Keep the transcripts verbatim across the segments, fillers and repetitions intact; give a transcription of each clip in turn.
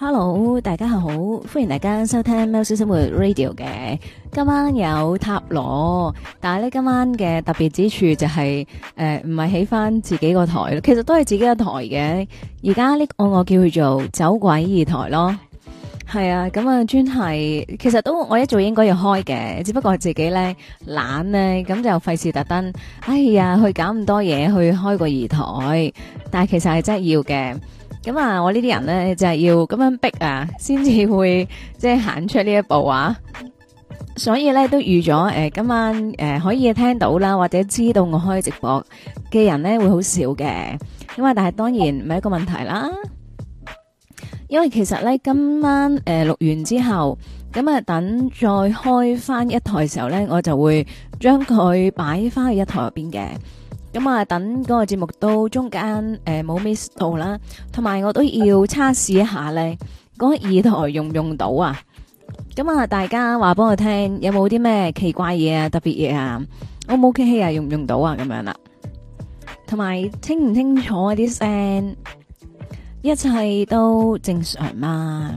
Hello，大家好，歡迎大家收聽喵式生活 Radio 嘅。今晚有塔羅，但係咧今晚嘅特別之處就係誒唔係起翻自己個台咯，其實都係自己個台嘅。而家呢個我叫佢做走鬼二台咯，係啊，咁啊專係，其實都我一早應該要開嘅，只不過自己咧懶咧，咁就費事特登，哎呀去搞咁多嘢去開個二台，但係其實係真係要嘅。咁啊，我呢啲人咧就係、是、要咁樣逼啊，先至會即係行出呢一步啊。所以咧都預咗誒，今晚誒、呃、可以聽到啦，或者知道我開直播嘅人咧會好少嘅。咁啊，但係當然唔係一個問題啦。因為其實咧今晚誒錄、呃、完之後，咁啊等再開翻一台嘅時候咧，我就會將佢擺翻去一台入邊嘅。咁啊，等嗰個節目都中間誒冇 miss 到啦，同埋我都要測試一下咧，嗰個二台用唔用到啊？咁啊，大家話幫我聽，有冇啲咩奇怪嘢啊、特別嘢啊？O 唔 OK 啊？用唔用到啊？咁樣啦，同埋清唔清楚啲聲，一切都正常嘛？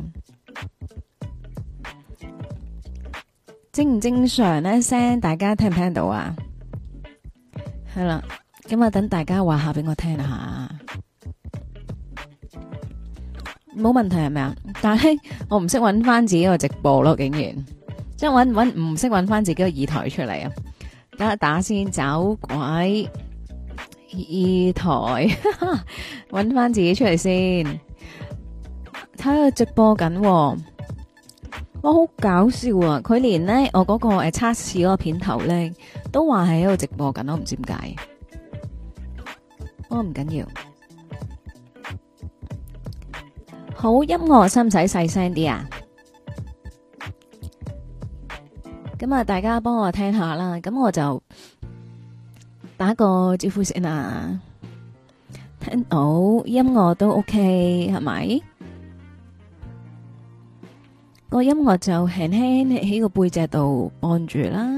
正唔正常咧？聲大家聽唔聽到啊？係啦。咁啊，等大家話下俾我聽下，冇問題係咪啊？但係我唔識搵翻自己個直播咯，竟然即係搵搵唔識搵翻自己個二台出嚟啊！等下打先，走鬼二台，搵翻自己出嚟先，睇下直播緊，哇，好搞笑啊！佢連咧我嗰個誒測試嗰個片頭咧都話係喺度直播緊，我唔知點解。我唔緊要，好音樂使唔使細聲啲啊？咁啊，大家幫我聽下啦。咁我就打個招呼先啊。聽到音樂都 OK 係咪？個音樂就輕輕喺個背脊度按住啦。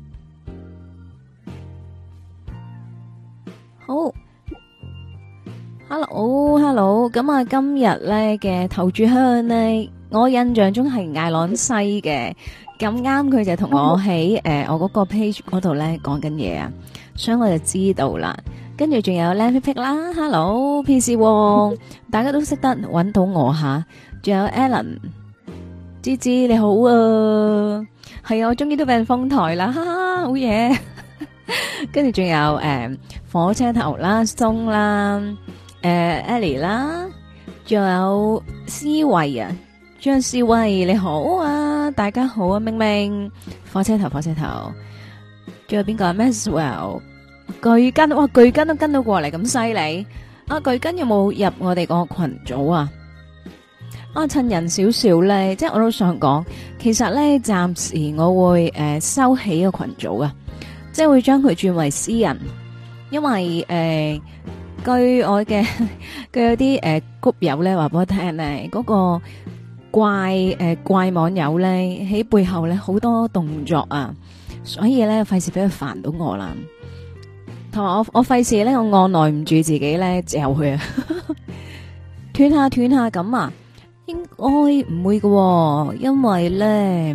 好。Hello，Hello， 咁啊，今日咧嘅頭炷香咧，我印象中係艾朗西嘅，咁啱佢就同我喺誒、呃、我嗰個 page 嗰度咧講緊嘢啊，所以我就知道啦。跟住仲有靚皮皮啦 ，Hello，P C 王，大家都識得搵到我吓，仲有 Alan，芝芝你好啊，係啊，我終於都俾人封台啦，哈哈，好嘢。跟住仲有誒、呃、火車頭啦，松啦。誒、uh, ，Ellie 啦，仲有思慧啊，張思慧你好啊，大家好啊，明明火車頭火車頭，仲有邊個 Maxwell 巨根，哇巨根都跟到過嚟咁犀利，啊巨根有冇入我哋個群組啊？啊趁人少少咧，即係我都想講，其實咧暫時我會誒、呃、收起個群組啊，即係會將佢轉為私人，因為誒。呃據我嘅，據有啲誒谷友咧話俾我聽咧，嗰、那個怪誒、呃、怪網友咧喺背後咧好多動作啊，所以咧費事俾佢煩到我啦。同埋我我費事咧，我按耐唔住自己咧嚼佢啊，斷下斷下咁啊，應該唔會㗎喎，因為咧，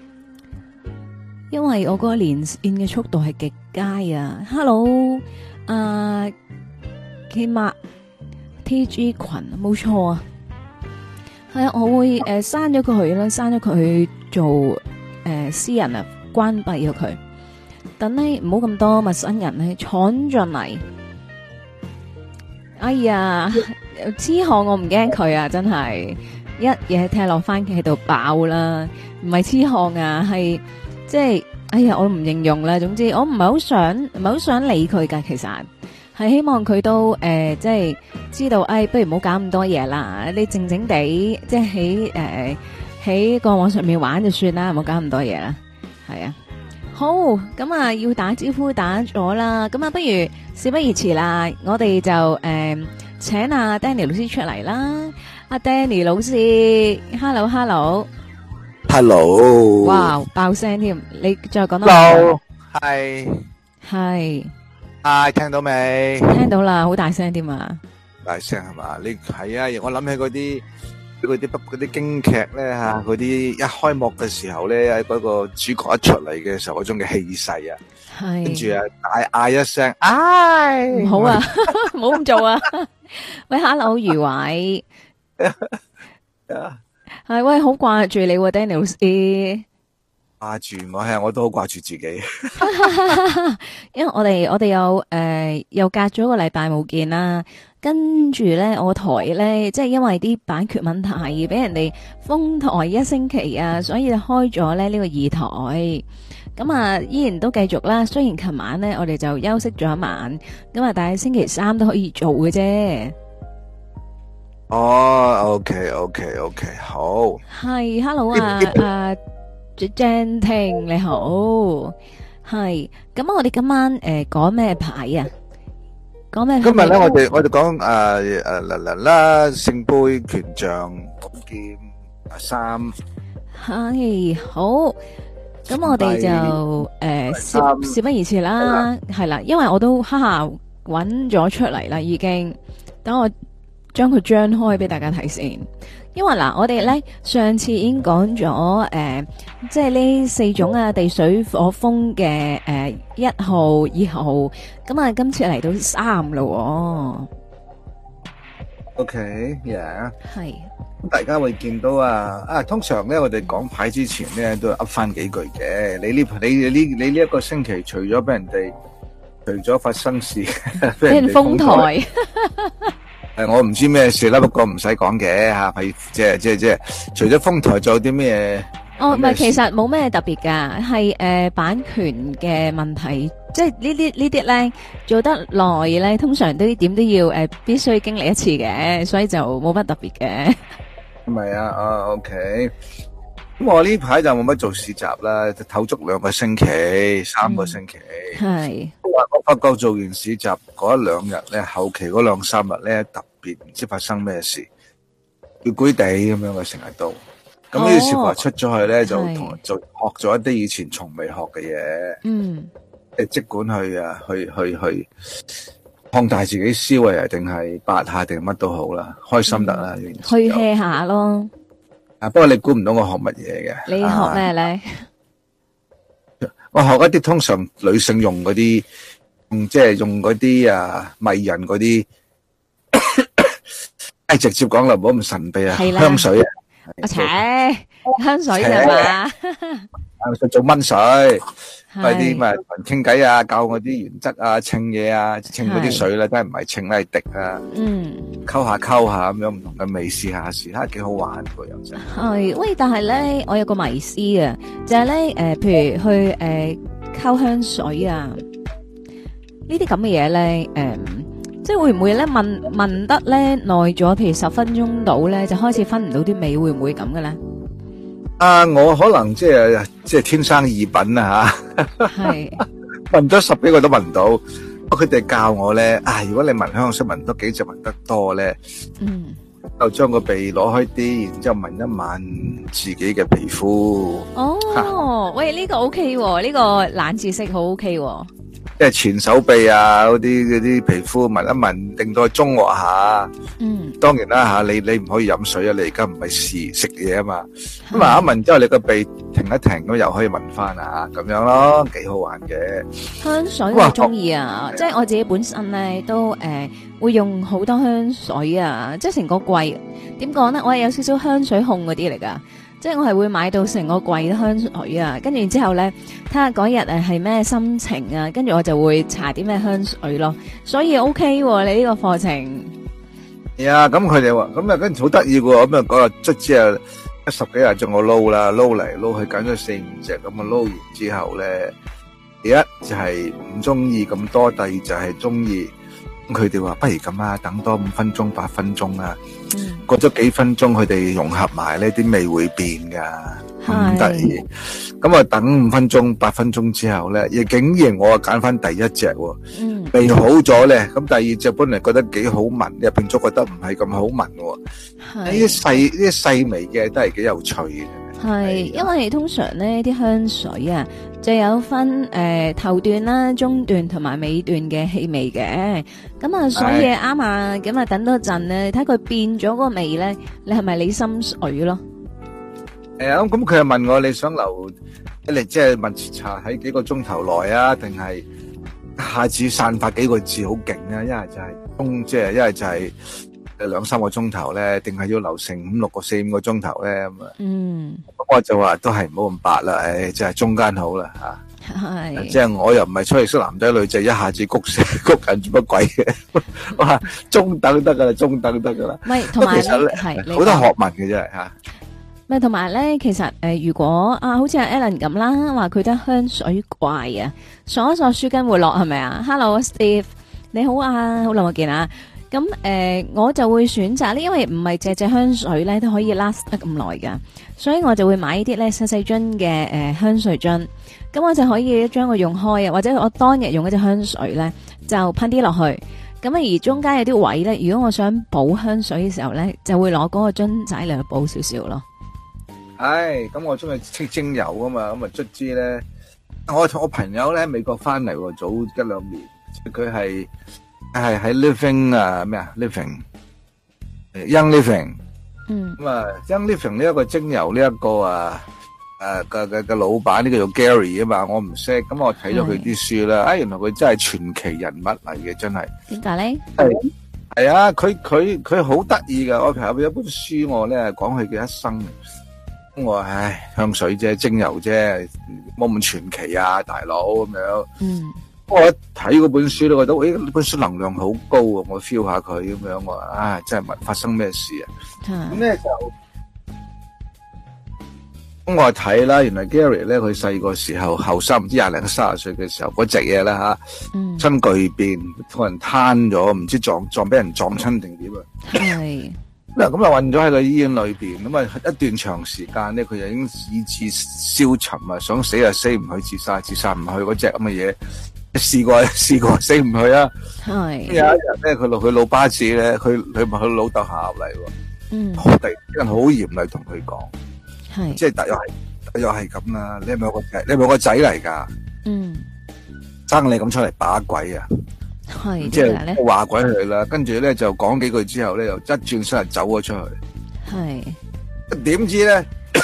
因為我嗰個連線嘅速度係極佳啊。Hello，啊。K 碼 T G 群冇錯啊，係啊，我會誒刪咗佢啦，刪咗佢做誒、呃、私人啊，關閉咗佢，等呢唔好咁多陌生人咧闖進嚟。哎呀，痴漢我唔驚佢啊，真係一嘢踢落番茄度爆啦，唔係痴漢啊，係即係哎呀，我唔形容啦，總之我唔係好想唔係好想理佢噶，其實。係希望佢都誒、呃，即係知道，哎，不如唔好搞咁多嘢啦。你靜靜地，即係喺誒喺個網上面玩就算啦，唔好搞咁多嘢啦。係啊，好，咁啊要打招呼打咗啦，咁啊不如事不宜遲啦，我哋就誒、呃、請阿 Danny 老師出嚟啦。阿 Danny 老師 ，hello hello hello， 哇爆聲添，你再講多 ，hello，係係。 啊，聽到未？ 聽到啦，好大聲添啊！ 大聲係嘛？你係啊！我諗起嗰啲嗰啲不嗰啲京劇咧吓，嗰啲一開幕嘅時候咧，喺嗰個主角一出嚟嘅時候嗰種嘅氣勢啊， 係跟住啊大嗌一聲，唉， 唔好啊，唔好咁做啊！喂，Hello，余偉，係喂，好掛住你喎，Danny 老師。 掛住我係，我都好掛住自己。 因為我哋我哋有誒、呃、又隔咗一個禮拜冇見啦，跟住咧我台咧即係因為啲版權問題而俾人哋封台一星期啊，所以就開咗咧呢、這個二台。咁啊依然都繼續啦，雖然琴晚咧我哋就休息咗一晚，咁啊但係星期三都可以做嘅啫。 哦，OK OK OK，好。 係，Hello 啊啊！Jan Ting 你好，係咁我哋今晚誒講咩牌啊？講咩？ 今日咧，我哋我哋講誒誒啦啦啦聖杯權杖寶劍三， 係好。咁我哋就誒事事不宜遲啦，係啦，因為我都哈哈揾咗出嚟啦，已經等我將佢張開俾大家睇先。因為嗱，我哋咧上次已經講咗誒，即係呢四種啊地水火風嘅誒一號、二號，咁啊今次嚟到三咯。 OK，yeah， 係。 咁大家會見到啊啊，通常咧我哋講牌之前咧都噏翻幾句嘅。你呢你你呢你呢一個星期除咗俾人哋，除咗發生事，俾人封台。 誒，我唔知咩事啦，不過唔使講嘅吓，係即係即係即係，除咗封台，仲有啲咩？ 哦，唔係，其實冇咩特別噶，係誒版權嘅問題，即係呢啲呢啲咧做得耐咧，通常都點都要誒必須經歷一次嘅，所以就冇乜特別嘅。 唔係啊，啊 OK，咁我呢排就冇乜做市集啦，唞足兩個星期，三個星期。 係。 我發覺做完市集嗰一兩日咧，後期嗰兩三日咧特別唔知發生咩事，攰攰地咁樣嘅成日都。咁於是乎出咗去咧，就同就學咗一啲以前從未學嘅嘢。 嗯， 即係即管去啊，去去去擴大自己思維啊，定係八下定乜都好啦，開心得啦。 去 hea 下咯。 啊，不過你估唔到我學乜嘢嘅？ 你學咩咧？ 我學一啲通常女性用嗰啲，嗯，即係用嗰啲啊迷人嗰啲，誒，直接講啦，唔好咁神秘啊，香水啊， 阿切香水啫嘛， 啊，做蚊水，快啲咪同人傾偈啊，教我啲原則啊，稱嘢啊，稱嗰啲水咧，都係唔係稱咧，係滴啊，嗯，溝下溝下咁樣唔同嘅味試下試，睇下幾好玩喎又真係。喂，但係咧，我有個迷思啊，就係咧，誒，譬如去誒溝香水啊，呢啲咁嘅嘢咧，誒，即係會唔會咧聞聞得咧耐咗，譬如十分鐘到咧，就開始分唔到啲味，會唔會咁嘅咧？ 啊！我可能即係即係天生異品啊吓，係聞咗十幾個都聞唔到。佢哋教我咧，啊！如果你聞香水聞多幾隻聞得多咧，嗯，就將個鼻攞開啲，然之後聞一聞自己嘅皮膚。 哦，喂，呢個 OK 喎，呢個冷知識好 OK 喎。 即係前手臂啊，嗰啲嗰啲皮膚聞一聞，定到中和下。嗯，當然啦吓，你你唔可以飲水啊，你而家唔係試食嘢啊嘛。咁聞一聞之後，你個鼻停一停，咁又可以聞翻啊，咁樣咯，幾好玩嘅。香水我中意啊， 即係我自己本身咧都誒會用好多香水啊，即係成個櫃。點講咧？我係有少少香水控嗰啲嚟噶。即係我係會買到成個櫃香水啊，跟住之後咧睇下嗰日誒係咩心情啊，跟住我就會搽啲咩香水咯，所以 OK 喎，你呢個課程。 係啊，咁佢哋話咁啊，跟住好得意喎，咁啊嗰日卒之啊十幾日將我撈啦，撈嚟撈去揀咗四五隻，咁啊撈完之後咧，第一就係唔中意咁多，第二就係中意。佢哋話不如咁啊，等多五分鐘、八分鐘啊。嗯，過咗幾分鐘，佢哋融合埋呢啲味會變噶，咁得意。咁啊，等五分鐘、八分鐘之後咧，亦竟然我啊揀翻第一隻，嗯，味好咗咧。咁第二隻本嚟覺得幾好聞，入變咗覺得唔係咁好聞。係呢啲細呢啲細微嘅都係幾有趣嘅。 係，因為通常咧啲香水啊，就有分誒、呃、頭段啦、中段同埋尾段嘅氣味嘅。咁啊，所以啱啊，咁啊等多陣咧，睇佢變咗個味咧，你係咪你心水咯？ 誒，咁咁佢又問我你想留，你即係問茶喺幾個鐘頭內啊，定係一下子散發幾個字好勁啊？一係就係中，即係一係就係誒兩三個鐘頭咧，定係要留成五六個四五個鐘頭咧咁啊？嗯，咁我就話都係唔好咁白啦，誒，即係中間好啦吓。係，即係我又唔係出去識男仔女仔，一下子谷死谷緊做乜鬼嘅？我話中等得噶啦，中等得噶啦。 唔係，同埋咧係好多學問嘅真係吓。 咪同埋咧，其實誒、呃，如果啊，好似阿 Alan 咁啦，話佢得香水怪啊，鎖一鎖書巾會落係咪啊 ？Hello Steve，你好啊，好耐冇見啊！咁誒、呃，我就會選擇呢，因為唔係隻隻香水咧都可以 last 得咁耐噶，所以我就會買呢啲咧細細樽嘅誒香水樽，咁我就可以將佢用開啊，或者我當日用一隻香水咧就噴啲落去，咁啊而中間有啲位咧，如果我想補香水嘅時候咧，就會攞嗰個樽仔嚟去補少少咯。 唉，咁我中意識精油啊嘛，咁啊卒之咧，我同我朋友咧喺美國翻嚟，早一兩年，佢係係喺 Living 啊咩啊 Living，Young Living，嗯，咁啊 Young Living 呢一個精油呢一個啊誒嘅嘅嘅老闆呢個叫做 Gary 啊嘛，我唔識，咁我睇咗佢啲書啦，啊原來佢真係傳奇人物嚟嘅，真係。點解咧？係係啊，佢佢佢好得意噶，我朋友有一本書我咧講佢嘅一生。我話唉，香水啫，精油啫，冇咁傳奇啊，大佬咁樣。嗯，我一睇嗰本書咧，覺得誒呢本書能量好高啊，我 feel 下佢咁樣，我話唉，真係問發生咩事啊？咁咧就咁我睇啦，原來 Gary 咧佢細個時候後生唔知廿零三十歲嘅時候嗰隻嘢啦吓，嗯，身巨變，個人癱咗，唔知撞撞俾人撞親定點啊？係。嗱咁啊，混咗喺個醫院裏邊，咁啊一段長時間咧，佢就已經意志消沉啊，想死啊死唔去，自殺自殺唔去嗰隻咁嘅嘢，試過試過死唔去啊。係有一日咧，佢落佢老巴子咧，佢佢問佢老豆下嚟喎，嗯，好突然間好嚴厲同佢講，係即係但又係又係咁啦，你係咪有個仔？你係咪有個仔嚟噶？嗯，生你咁出嚟把鬼啊！係即係話鬼佢啦，跟住咧就講幾句之後咧，又一轉身就走咗出去。係點知咧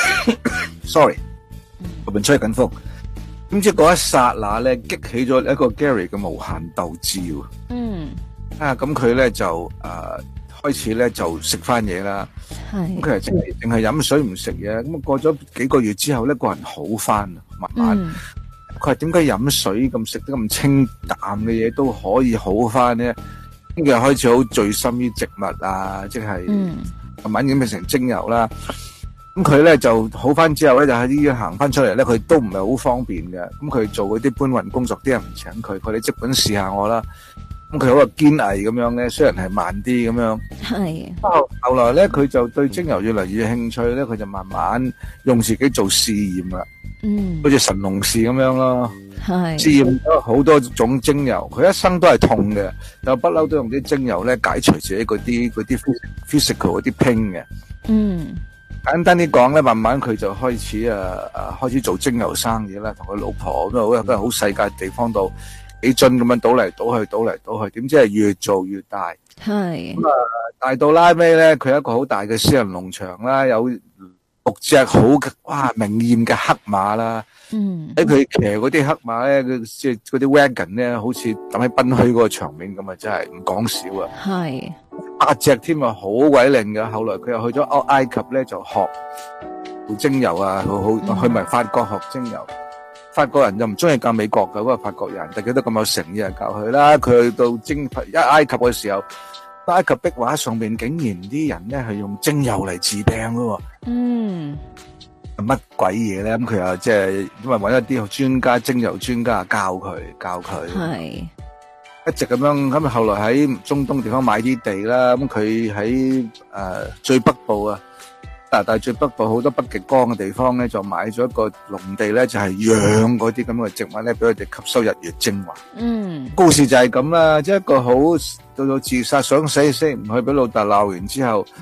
？sorry，我邊吹緊風。點知嗰一剎那咧，激起咗一個 Gary 嘅無限鬥志。嗯。啊，咁佢咧就誒開始咧就食翻嘢啦。係。咁佢係淨係淨係飲水唔食嘢。咁過咗幾個月之後咧，個人好翻，慢慢。嗯。佢話點解飲水咁食得咁清淡嘅嘢都可以好翻咧？跟住開始好醉心於植物啊，即係慢慢已經變成精油啦。咁佢咧就好翻之後咧，就喺醫院行翻出嚟咧，佢都唔係好方便嘅。咁佢做嗰啲搬運工作，啲人唔請佢，佢哋即管試下我啦。咁佢好個堅毅咁樣咧，雖然係慢啲咁樣。係。後後來咧，佢就對精油越嚟越興趣咧，佢就慢慢用自己做試驗啦。嗯，好似神農氏咁樣咯，係試驗咗好多種精油，佢一生都係痛嘅，就不嬲都用啲精油咧解除自己嗰啲嗰啲 physical 嗰啲 pain 嘅。嗯，簡單啲講咧，慢慢佢就開始誒誒開始做精油生意啦，同佢老婆咁啊，好好細嘅地方度幾樽咁樣倒嚟倒去，倒嚟倒去，點知係越做越大。係咁啊，大到拉尾咧，佢有一個好大嘅私人農場啦，有六隻好哇明豔嘅黑馬啦，嗯，喺佢騎嗰啲黑馬咧，佢即係嗰啲 wagon 咧，好似等喺賓墟嗰個場面咁啊，真係唔講少啊！係八隻添啊，好鬼靚嘅。後來佢又去咗埃及咧，就學做精油啊，好好去埋法國學精油。法國人就唔中意教美國嘅嗰個法國人，但係佢都咁有誠意嚟教佢啦。佢去到精一埃及嘅時候。埃及壁畫上邊竟然啲人咧係用精油嚟治病咯，嗯，乜鬼嘢咧？咁佢又即係因為揾一啲專家精油專家教佢教佢，係一直咁樣咁。後來喺中東地方買啲地啦，咁佢喺誒最北部啊，加拿大最北部好多北極光嘅地方咧，就買咗一個農地咧，就係養嗰啲咁嘅植物咧，俾佢哋吸收日月精華。嗯，故事就係咁啦，即係一個好。到到自殺想死死唔去，俾老豆鬧完之後，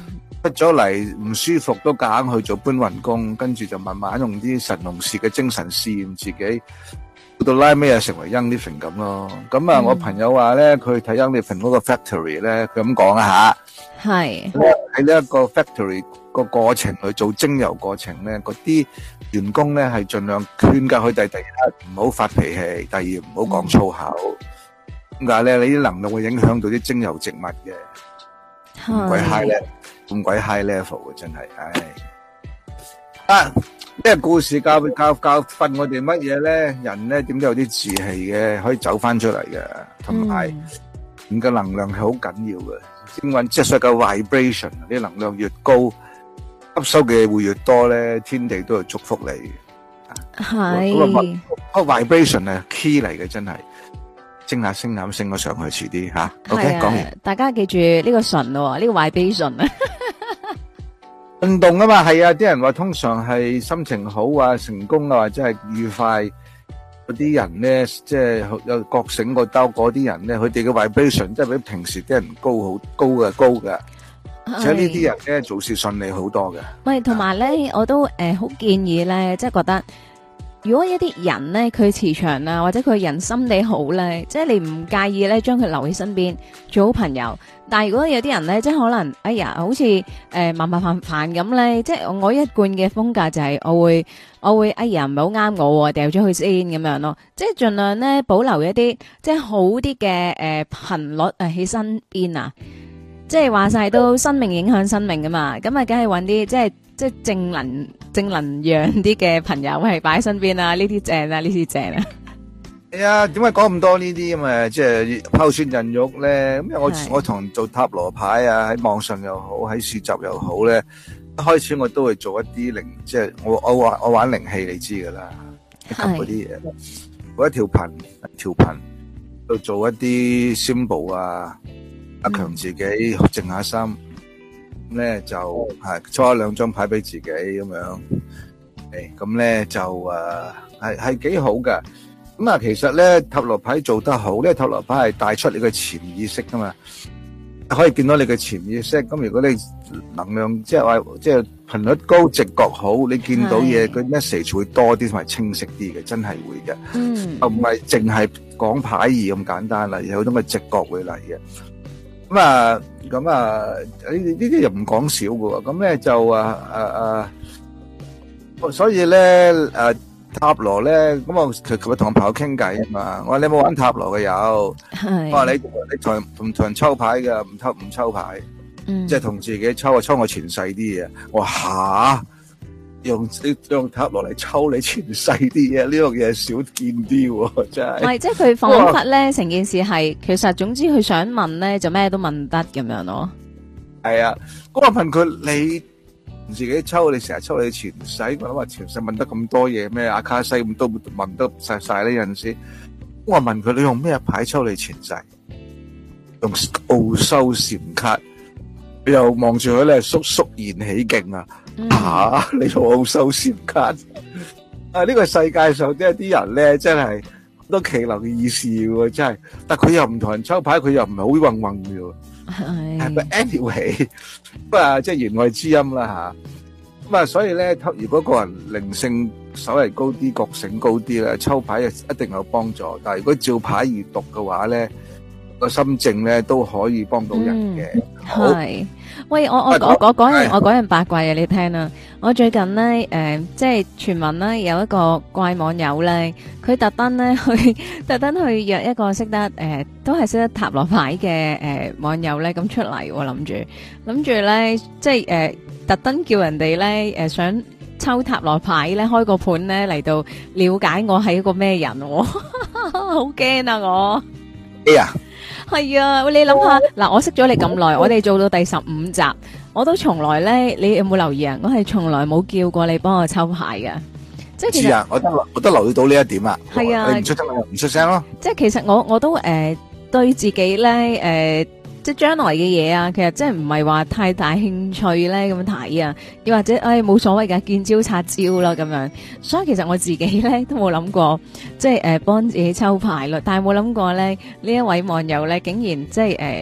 出咗嚟唔舒服都夾硬去做搬運工，跟住就慢慢用啲神農氏嘅精神試驗自己，到拉尾又成為 Young Living 咁咯。咁啊，我朋友話咧，佢睇 Young Living 嗰個 factory 咧，佢咁講啊吓，係喺呢一個 factory 個過程去做精油過程咧，嗰啲員工咧係盡量勸教佢哋第一唔好發脾氣，第二唔好講粗口。點解咧？你啲能量會影響到啲精油植物嘅，咁鬼 high 咧，咁鬼 high level 嘅真係，唉！啊，呢個故事教教教訓我哋乜嘢咧？人咧點都有啲志氣嘅，可以走翻出嚟嘅，同埋咁嘅能量係好緊要嘅。點講？即係所謂嘅 vibration，啲能量越高，吸收嘅會越多咧，天地都係祝福你嘅。係。嗰個 vibration 係 key 嚟嘅，真係。升下升下升咗上去，遲啲吓。OK，講完。大家記住呢個純咯，呢個 vibration 啊。運動啊嘛，係啊，啲人話通常係心情好啊、成功啊或者係愉快嗰啲人咧，即係有覺醒個兜嗰啲人咧，佢哋嘅 vibration 即係比平時啲人高好高嘅高嘅，而且呢啲人咧做事順利好多嘅。喂，同埋咧，我都誒好建議咧，即係覺得。如果一啲人咧，佢磁場啊，或者佢人心地好咧，即係你唔介意咧，將佢留喺身邊做好朋友。但係如果有啲人咧，即係可能，哎呀，好似誒麻麻煩煩咁咧，即係我一貫嘅風格就係我會，我會，哎呀，唔係好啱我，掉咗佢先咁樣咯。即係盡量咧保留一啲即係好啲嘅誒頻率誒喺身邊啊。即係話晒都生命影響生命噶嘛，咁啊，梗係揾啲即係即係正能正能量啲嘅朋友係擺喺身邊啊，呢啲正啊，呢啲正啊。係啊，點解講咁多呢啲咁啊？即係拋磚引玉咧。咁我我同人做塔羅牌啊，喺網上又好，喺市集又好咧。一開始我都會做一啲靈，即係我我玩我玩靈氣，你知噶啦，吸嗰啲嘢，嗰一條頻條頻，度做一啲 symbol 啊。加強自己，靜下心，咁咧就係抽咗兩張牌俾自己咁樣，誒，咁咧就誒係係幾好㗎。咁啊，其實咧塔羅牌做得好，呢個塔羅牌係帶出你嘅潛意識噶嘛，可以見到你嘅潛意識。咁如果你能量即係話即係頻率高、直覺好，你見到嘢個 message 會多啲同埋清晰啲嘅，真係會嘅。嗯，唔係淨係講牌意咁簡單啦，有好多嘅直覺會嚟嘅。咁啊，咁啊，呢呢啲又唔講少嘅喎，咁咧就啊啊啊，所以咧誒塔羅咧，咁我佢佢同我朋友傾偈啊嘛，我話你有冇玩塔羅嘅有？係。我話你你同同同人抽牌嘅，唔抽唔抽牌，嗯，即係同自己抽啊，抽我前世啲嘢。我話吓，用你用塔羅嚟抽你前世啲嘢，呢樣嘢少見啲喎，真係。唔係，即係佢彷彿咧，成件事係其實總之佢想問咧，就咩都問得咁樣咯。係啊，咁我問佢你自己抽，你成日抽你前世，我諗話前世問得咁多嘢咩？阿卡西咁都問得曬曬呢陣時。我問佢你用咩牌抽你前世？用奧修禪卡。佢又望住佢咧，肅肅然起敬啊！吓，你用奧修禪卡啊？呢個世界上即係啲人咧，真係好多奇能異事嘅，真係。但佢又唔同人抽牌，佢又唔係好混混嘅。係。係咪 anyway？咁啊，即係言外之音啦吓。咁啊，所以咧，如果個人靈性稍為高啲、覺醒高啲咧，抽牌啊一定有幫助。但係如果照牌而讀嘅話咧，個心靜咧都可以幫到人嘅。係，喂，我我我我講樣我講樣八卦嘢你聽啦。我最近咧誒，即係傳聞咧有一個怪網友咧，佢特登咧去特登去約一個識得誒，都係識得塔羅牌嘅誒網友咧咁出嚟，諗住諗住咧即係誒特登叫人哋咧誒想抽塔羅牌咧開個盤咧嚟到了解我係一個咩人，好驚啊我。哎呀！係啊，你諗下嗱，我識咗你咁耐，我哋做到第十五集，我都從來咧，你有冇留意啊？我係從來冇叫過你幫我抽牌嘅，即係其實我都我都留意到呢一點啊。係啊，你唔出聲唔出聲咯。即係其實我我都誒對自己咧誒。即係將來嘅嘢啊，其實真係唔係話太大興趣咧咁睇啊，又或者誒冇所謂噶，見招拆招啦咁樣。所以其實我自己咧都冇諗過，即係誒幫自己抽牌咯。但係冇諗過咧呢一位網友咧，竟然即係誒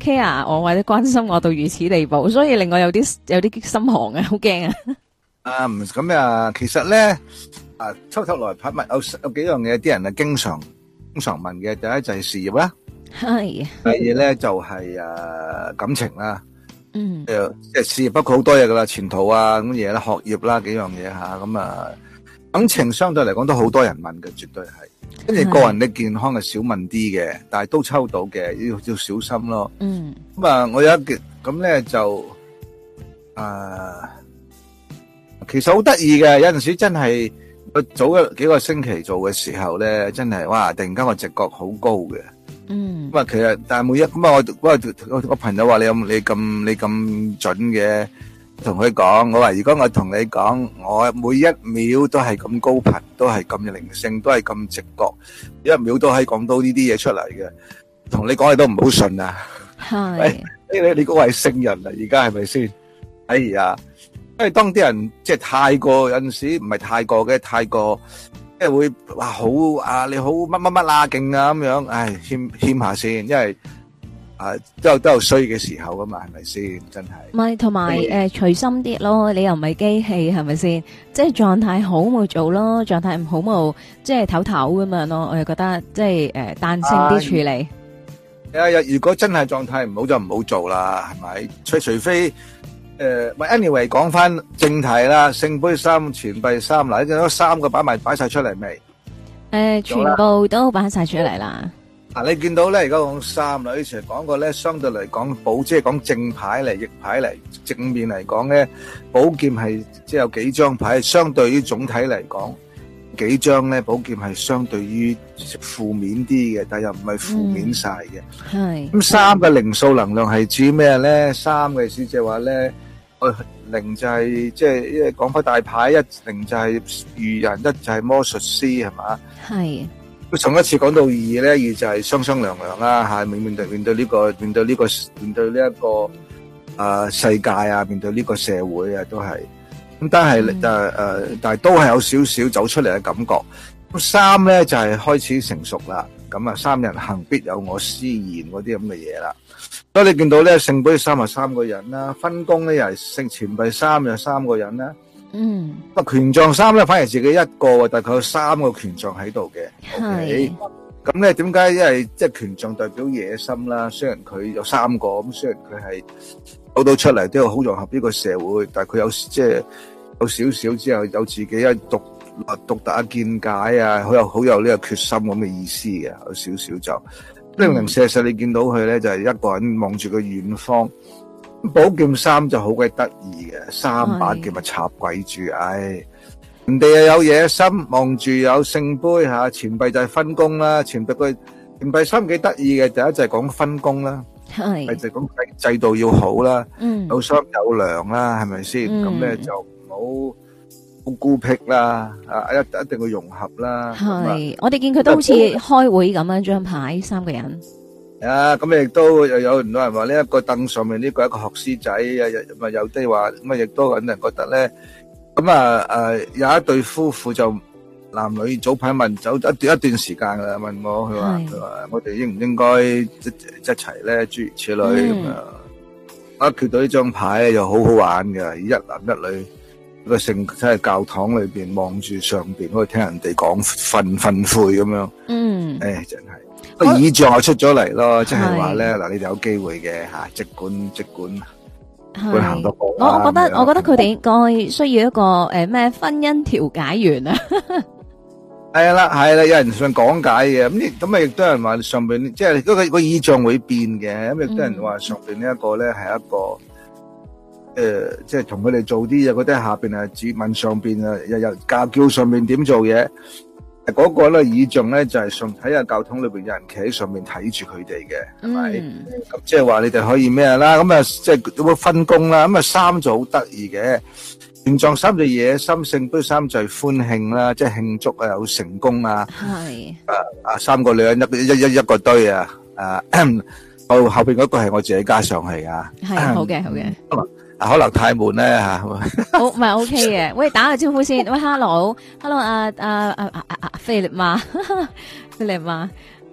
care 我或者關心我到如此地步，所以令我有啲有啲心寒啊，好驚啊！ 啊，唔咁啊，其實咧啊，抽抽來拍物有有幾樣嘢，啲人啊經常經常問嘅，第一就係事業啦， 係， 第二咧就係誒感情啦， 嗯， 誒即係事業包括好多嘢噶啦，前途啊咁嘢啦，學業啦幾樣嘢吓，咁啊感情相對嚟講都好多人問嘅，絕對係。跟住個人的健康係少問啲嘅，但係都抽到嘅，要要小心咯。 嗯， 咁啊，我有一件咁咧就啊，其實好得意嘅，有陣時真係我早一幾個星期做嘅時候咧，真係哇！突然間個直覺好高嘅。 嗯， 咁啊，其實但係每一咁啊，我我我我朋友話你有你咁你咁準嘅。同佢講，我話如果我同你講，我每一秒都係咁高頻，都係咁靈性，都係咁直覺，一秒都可以講到呢啲嘢出嚟嘅。同你講你都唔好信啊！ 係， 你你你嗰個係聖人啊，而家係咪先？哎呀，因為當啲人即係太過有陣時唔係太過嘅，太過即係會話好啊，你好乜乜乜啊勁啊咁樣，唉謙謙下先，因為。啊，都有都有衰嘅時候噶嘛，係咪先？真係。 唔係，同埋誒隨心啲咯，你又唔係機器，係咪先？即係狀態好冇做咯，狀態唔好冇即係唞唞咁樣咯。我又覺得即係誒彈性啲處理。 係啊，如果真係狀態唔好就唔好做啦，係咪？除除非誒，喂 anyway 講翻正題啦，聖杯三、錢幣三，嗱，呢三個擺埋擺晒出嚟未？ 誒，全部都擺晒出嚟啦。 嗱，你見到咧，而家講三啦，以前講過咧，相對嚟講寶，即係講正牌嚟，逆牌嚟，正面嚟講咧，寶劍係即係有幾張牌，相對於總體嚟講，幾張咧寶劍係相對於負面啲嘅，但又唔係負面晒嘅。 係。 咁三嘅靈數能量係指咩咧？三嘅意思即係話咧，誒零就係即係因為講翻大牌，一零就係愚人，一就係魔術師，係嘛？ 係。 佢上一次講到二咧，二就係雙雙涼涼啦，吓面面對面對呢個面對呢個面對呢一個啊世界啊，面對呢個社會啊，都係咁，但係誒誒，但係都係有少少走出嚟嘅感覺。咁三咧就係開始成熟啦，咁啊三人行必有我師焉嗰啲咁嘅嘢啦。所以你見到咧聖杯三係三個人啦，分工咧又係聖錢幣三又三個人啦。 嗯， 啊權杖三咧反而自己一個，但係佢有三個權杖喺度嘅。 係。 咁咧點解？因為即係權杖代表野心啦。雖然佢有三個，咁雖然佢係走到出嚟都要好融合呢個社會，但係佢有即係有少少之後有自己一獨獨特嘅見解啊，好有好有呢個決心咁嘅意思嘅，有少少就零零舍舍你見到佢咧就係一個人望住個遠方。寶劍三就好鬼得意嘅，三把劍咪插鬼住，唉，人哋又有野心，望住有聖杯吓，錢幣就係分工啦，錢幣佢錢幣三幾得意嘅，第一就係講分工啦，係就係講制制度要好啦，嗯，有商有量啦，係咪先？咁咧就唔好好孤僻啦，啊一一定要融合啦， 係，我哋見佢都好似開會咁樣，張牌三個人。 啊，咁亦都又有唔多人話呢一個凳上面呢個一個學師仔，又咪有啲話咁啊，亦都有人覺得咧，咁啊誒有一對夫婦就男女早排問走一段一段時間噶啦，問我佢話佢話我哋應唔應該一一齊咧，諸如此類咁啊，我決到呢張牌又好好玩嘅，一男一女一個聖即係教堂裏邊望住上邊，可以聽人哋講訓訓誨咁樣，嗯，誒真係。個意象又出咗嚟咯，即係話咧嗱，你哋有機會嘅吓，即管即管，會行得過。 我我覺得，我覺得佢哋應該需要一個誒咩婚姻調解員啊。 係啦係啦，有人想講解嘅，咁咁啊亦都有人話上邊即係嗰個個意象會變嘅，咁亦都有人話上邊呢一個咧係一個誒，即係同佢哋做啲嘢，嗰啲下邊啊指問上邊啊，又又教叫上邊點做嘢。嗰個咧意象咧就係上睇下教堂裏邊有人企喺上面睇住佢哋嘅，係咪？咁即係話你哋可以咩啦？咁啊即係有冇分工啦？咁啊三就好得意嘅，權杖三就野心，聖杯三就係歡慶啦，即係慶祝啊有成功啊。係啊啊三個女人一一一一個堆啊！啊後後邊嗰個係我自己加上去噶。 係好嘅好嘅。 啊，可能太悶咧吓，好唔係 OK 嘅。喂，打個招呼先。喂 ，Hello，Hello，阿阿阿阿阿阿菲力媽，菲力媽。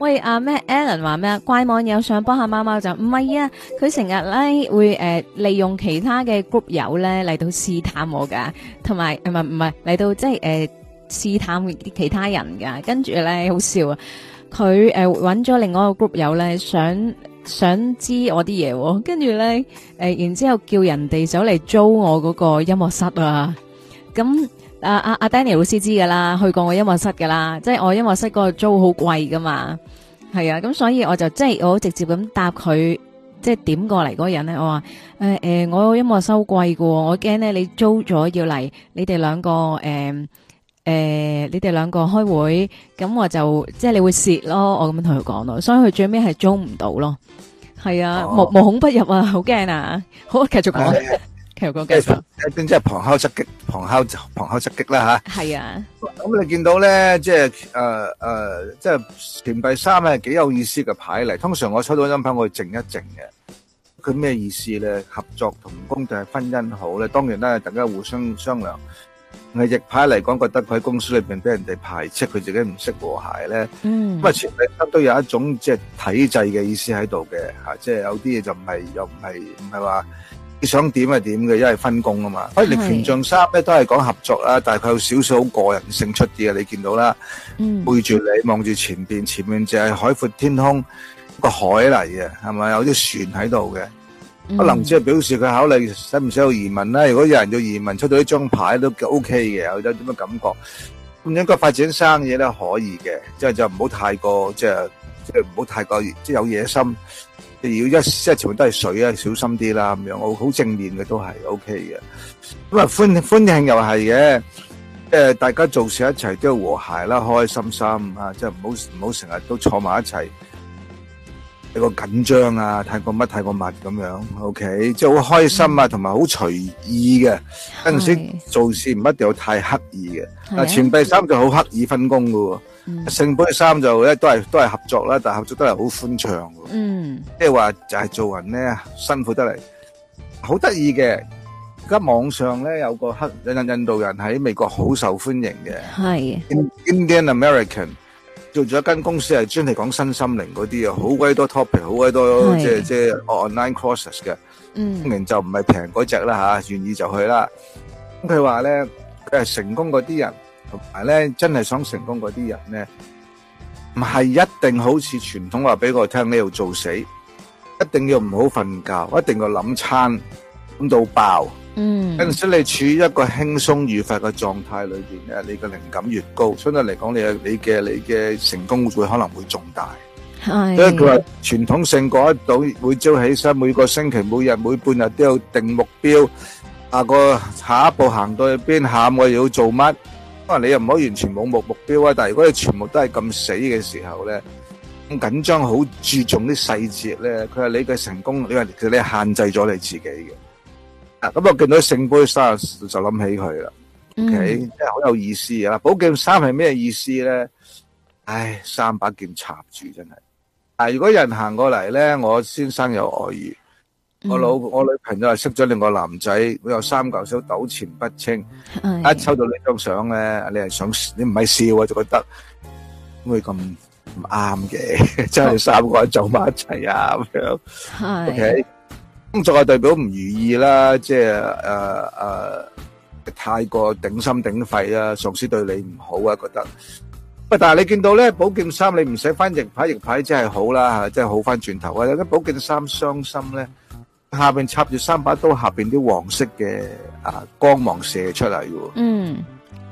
喂，阿咩 Alan 話咩啊？怪網友想幫下貓貓就唔係啊，佢成日咧會誒、呃、利用其他嘅 group 友咧嚟到試探我噶，同埋唔係唔係嚟到即係誒試探啲其他人噶，跟住咧好笑啊！佢誒揾咗另外一個 group 友咧，想想知我啲嘢、哦，跟住咧誒，然之後叫人哋走嚟租我嗰個音樂室啊，咁。阿阿阿 Danny 老師知噶啦，去過我音樂室噶啦，即係我音樂室嗰個租好貴噶嘛，係啊，咁所以我就即係我直接咁答佢，即係點過嚟嗰個人咧，我話誒誒，我音樂收貴噶，我驚咧你租咗要嚟，你哋兩個誒誒、呃呃，你哋兩個開會，咁我就即係你會蝕咯，我咁樣同佢講咯，所以佢最尾係租唔到咯，係啊，無無孔不入啊，好驚啊，好繼續講。其實即係一邊即係旁敲側擊，旁敲旁敲側擊啦吓。係啊， 咁你見到咧，即係誒誒，即係錢幣三係幾有意思嘅牌嚟。通常我抽到張牌，我會靜一靜嘅。佢咩意思咧？合作同工定係婚姻好咧？當然啦，大家互相商量。係逆牌嚟講，覺得佢喺公司裏邊俾人哋排斥，佢自己唔識和諧咧。嗯。咁啊，錢幣三都有一種即係體制嘅意思喺度嘅吓，即係有啲嘢就唔係又唔係唔係話。你想點係點嘅，因為分工啊嘛。反而權杖三咧都係講合作啦，但係佢有少少好個人性出啲嘅，你見到啦。嗯。背住你望住前邊，前面就係海闊天空個海嚟嘅，係咪有啲船喺度嘅？可能只係表示佢考慮使唔使有移民啦。如果有人要移民，出到呢張牌都 O K 嘅，有啲咁嘅感覺。咁應該發展生意咧可以嘅，即係就唔好太過即係即係唔好太過即係有野心。要一即係全部都係水啊，小心啲啦咁樣，我好正面嘅都係 O K 嘅。咁啊歡歡慶又係嘅，即係大家做事一齊都要和諧啦，開開心心啊，即係唔好唔好成日都坐埋一齊，一個緊張啊，太過乜太過密咁樣 O K， 即係好開心啊，同埋好隨意嘅。有陣時做事唔一定要太刻意嘅。啊，錢幣三就好刻意分工噶喎。聖杯三就咧都係都係合作啦，但係合作都係好歡暢嘅。嗯，即係話就係做人咧辛苦得嚟，好得意嘅。而家網上咧有個黑印印度人喺美國好受歡迎嘅，係 Indian American 做咗一間公司係專係講身心靈嗰啲啊，好鬼多 topic， 好鬼多即係即係 online courses 嘅。嗯，當然就唔係平嗰隻啦吓，願意就去啦。咁佢話咧，佢係成功嗰啲人。同埋咧，真係想成功嗰啲人咧，唔係一定好似傳統話俾我聽呢度做死，一定要唔好瞓覺，一定要諗餐諗到爆。嗯，有陣時你處於一個輕鬆愉快嘅狀態裏邊咧，你嘅靈感越高，相對嚟講，你嘅你嘅你嘅成功會可能會重大。係，所以佢話傳統性過得到，每朝起身，每個星期，每日每半日都要定目標，下個下一步行到去邊，下午我要做乜？可能你又唔可以完全冇目目標啊，但係如果你全部都係咁死嘅時候咧，咁緊張，好注重啲細節咧，佢話你嘅成功，你話其實你係限制咗你自己嘅。啊，咁我見到聖杯三就諗起佢啦。O K，真係好有意思啊！寶劍三係咩意思咧？唉，三把劍插住真係。啊，如果有人行過嚟咧，我先生有外遇。我老我女朋友係識咗另個男仔，佢有三嚿手糾纏不清。一抽到呢張相咧，你係想你唔係笑啊，就覺得咁會咁唔啱嘅，真係三個人走埋一齊啊咁樣。係。O K，工作係代表唔如意啦，即係誒誒太過頂心頂肺啦，上司對你唔好啊，覺得。喂，但係你見到咧，寶劍三你唔使翻逆牌，逆牌真係好啦，真係好翻轉頭啊！有啲寶劍三傷心咧。下邊插住三把刀，下邊啲黃色嘅啊光芒射出嚟嘅。嗯，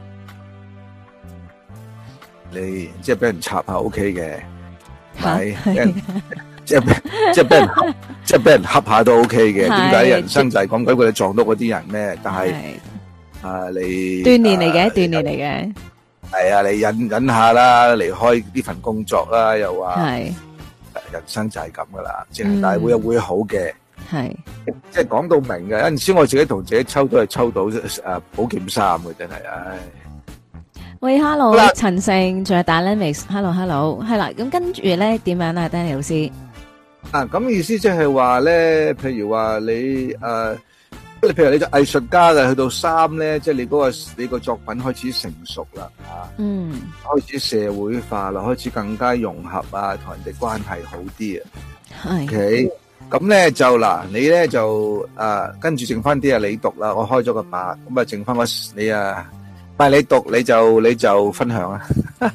你即係俾人插下 O K 嘅，係，即係即係俾人即係俾人恰下都 O K 嘅。點解人生就係講緊佢哋撞到嗰啲人咩？但係啊，你鍛煉嚟嘅，鍛煉嚟嘅。 係啊，你忍忍下啦，離開呢份工作啦，又話係人生就係咁噶啦，即係但係會有會好嘅。係，即係講到明嘅。有陣時我自己同自己抽都係抽到誒寶劍三嘅，真係，唉。 喂 ，hello，陳勝，仲有 Dynamics，hello，hello，係啦。咁跟住咧點樣啊，Danny 老師？ 啊，咁意思即係話咧，譬如話你誒你譬如你做藝術家嘅，去到三咧，即係你嗰個你個作品開始成熟啦，啊， 嗯， 開始社會化啦，開始更加融合啊，同人哋關係好啲啊。 係。 OK，咁咧就嗱，你咧就誒跟住剩翻啲啊，你讀啦，我開咗個八，咁啊剩翻個你啊，唔係你讀你就你就分享啊。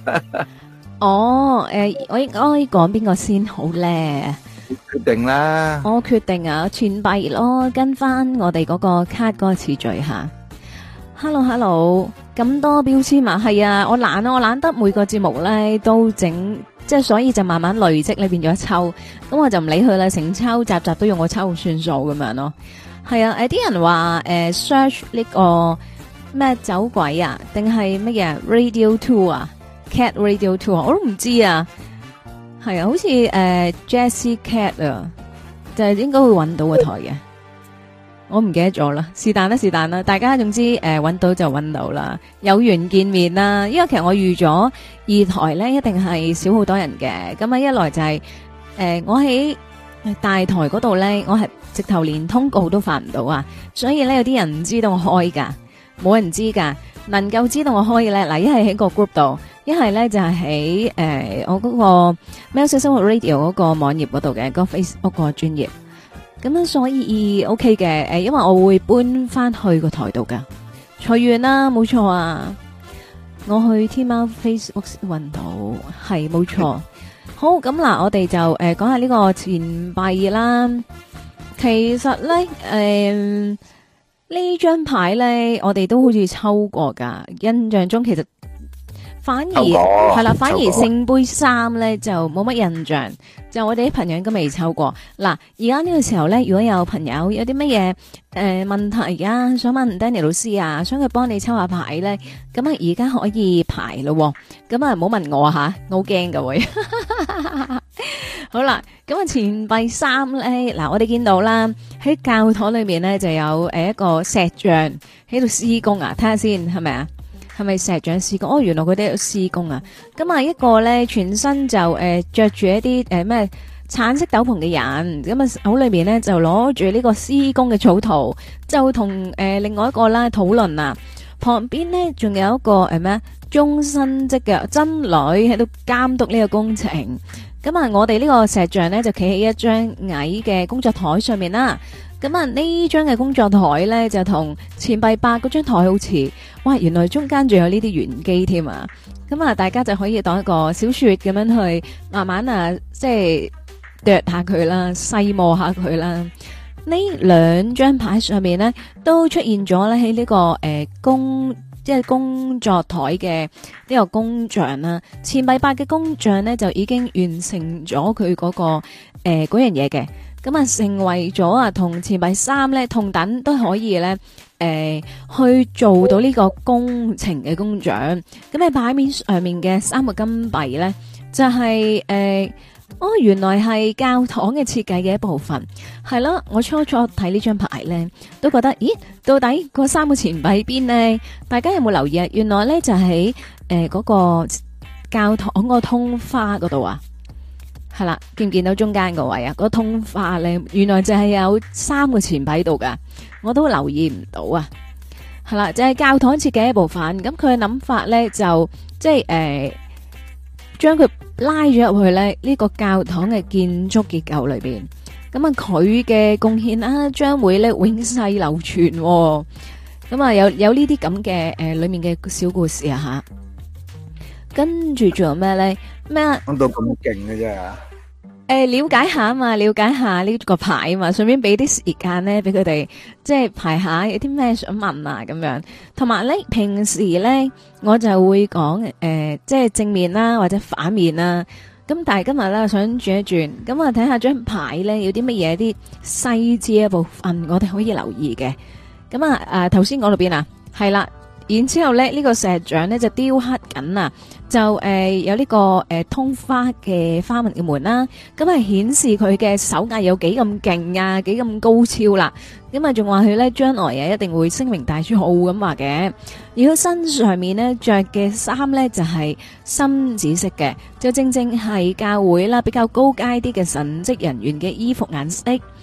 哦，誒，我應該講邊個先好咧？ 決定啦。 我決定啊，錢幣咯，跟翻我哋嗰個卡嗰個次序吓。Hello，Hello， 咁多標籤嘛？係啊，我懶啊，我懶得每個節目咧都整，即係所以就慢慢累積咧變咗抽，咁我就唔理佢啦，成抽集集都用我抽算數咁樣咯。係啊，誒，啲人話誒 search 呢個咩走鬼啊，定係乜嘢 Radio Two 啊 ，Cat Radio Two 啊，我都唔知啊。係啊，好似誒、呃、Jessie Cat 啊，就係應該會揾到個台嘅，我唔記得咗啦。是但啦，是但啦，大家總之誒揾、呃、到就揾到啦，有緣見面啦。因為其實我預咗二台咧一定係少好多人嘅，咁啊一來就係、是、誒、呃、我喺大台嗰度咧，我係直頭連通告都發唔到啊，所以咧有啲人唔知道我開噶，冇人知噶，能夠知道我開嘅咧，嗱一係喺個 group 度。一係咧就係喺誒我嗰個喵式生活 Radio 嗰個網頁嗰度嘅，個 Facebook 個專頁，咁樣所以 OK 嘅，誒因為我會搬翻去個台度噶，隨緣啦，冇錯啊，我去天貓 Facebook 搵到，係冇錯。好，咁嗱，我哋就誒講下呢個錢幣啦。其實咧，誒呢張牌咧，我哋都好似抽過噶，印象中其實。反而係啦，反而聖杯三咧就冇乜印象，就我哋啲朋友應該未抽過。嗱，而家呢個時候咧，如果有朋友有啲乜嘢誒問題啊，想問 Danny 老師啊，想佢幫你抽下牌咧，咁啊而家可以排咯，咁啊唔好問我吓，我好驚噶會。好啦，咁啊錢幣三咧，嗱我哋見到啦，喺教堂裏面咧就有誒一個石像喺度施工啊，睇下先係咪啊？係咪石像施工？哦，原來佢哋有施工啊！咁啊，一個咧全身就誒着住一啲誒咩橙色斗篷嘅人，咁啊手裏面咧就攞住呢個施工嘅草圖，就同誒、呃、另外一個啦討論啊。旁邊咧仲有一個誒咩終身職嘅僧侶喺度監督呢個工程。咁啊，我哋呢個石像咧就企喺一張矮嘅工作台上面啦。咁啊，呢張嘅工作台咧就同錢幣八嗰張台好似，哇！原來中間仲有呢啲玄機添啊！咁啊，大家就可以當一個小說咁樣去慢慢啊，即係啄下佢啦，細磨下佢啦。呢兩張牌上面咧都出現咗咧喺呢個誒、呃、工即係工作台嘅呢個工匠啦。錢幣八嘅工匠咧就已經完成咗佢嗰個誒嗰樣嘢嘅。咁啊，成為咗啊，同錢幣三咧同等都可以咧，誒、呃、去做到呢個工程嘅工匠。咁喺牌面上面嘅三個金幣咧，就係、是、誒、呃，哦，原來係教堂嘅設計嘅一部分，係咯。我初初睇呢張牌咧，都覺得，咦，到底嗰三個錢幣邊呢？大家有冇留意啊？原來咧就喺誒嗰個教堂個通花嗰度啊。係啦，見唔見到中間個位啊？嗰個通花咧，原來就係有三個錢幣喺度噶，我都留意唔到啊。係啦，就係、是、教堂設計一部分，咁佢嘅諗法咧就即係誒，將、呃、佢拉咗入去咧呢、這個教堂嘅建築結構裏邊。咁啊，佢嘅貢獻啦，將會咧永世流傳、哦。咁啊，有有呢啲咁嘅誒裏面嘅小故事啊吓。跟住仲有咩咧？咩啊？ 講到咁勁嘅啫。 誒、呃，了解下啊嘛，了解下呢個牌啊嘛，順便俾啲時間咧，俾佢哋即係排下有啲咩想問啊咁樣。同埋咧，平時咧我就會講誒、呃，即係正面啦或者反面啦。咁但係今日咧想轉一轉，咁啊睇下張牌咧有啲乜嘢啲細節嘅部分，我哋可以留意嘅。咁啊誒，頭先講到邊啊？係啦。然之後咧，呢、這個石像咧就雕刻緊啊，就誒、呃、有呢、這個誒、呃、通花嘅花紋嘅門啦，咁係顯示佢嘅手藝有幾咁勁啊，幾咁高超啦，咁啊仲話佢咧將來啊一定會聲名大噪咁話嘅。而佢身上面咧着嘅衫咧就係、是、深紫色嘅，就正正係教會啦比較高階啲嘅神職人員嘅衣服顏色。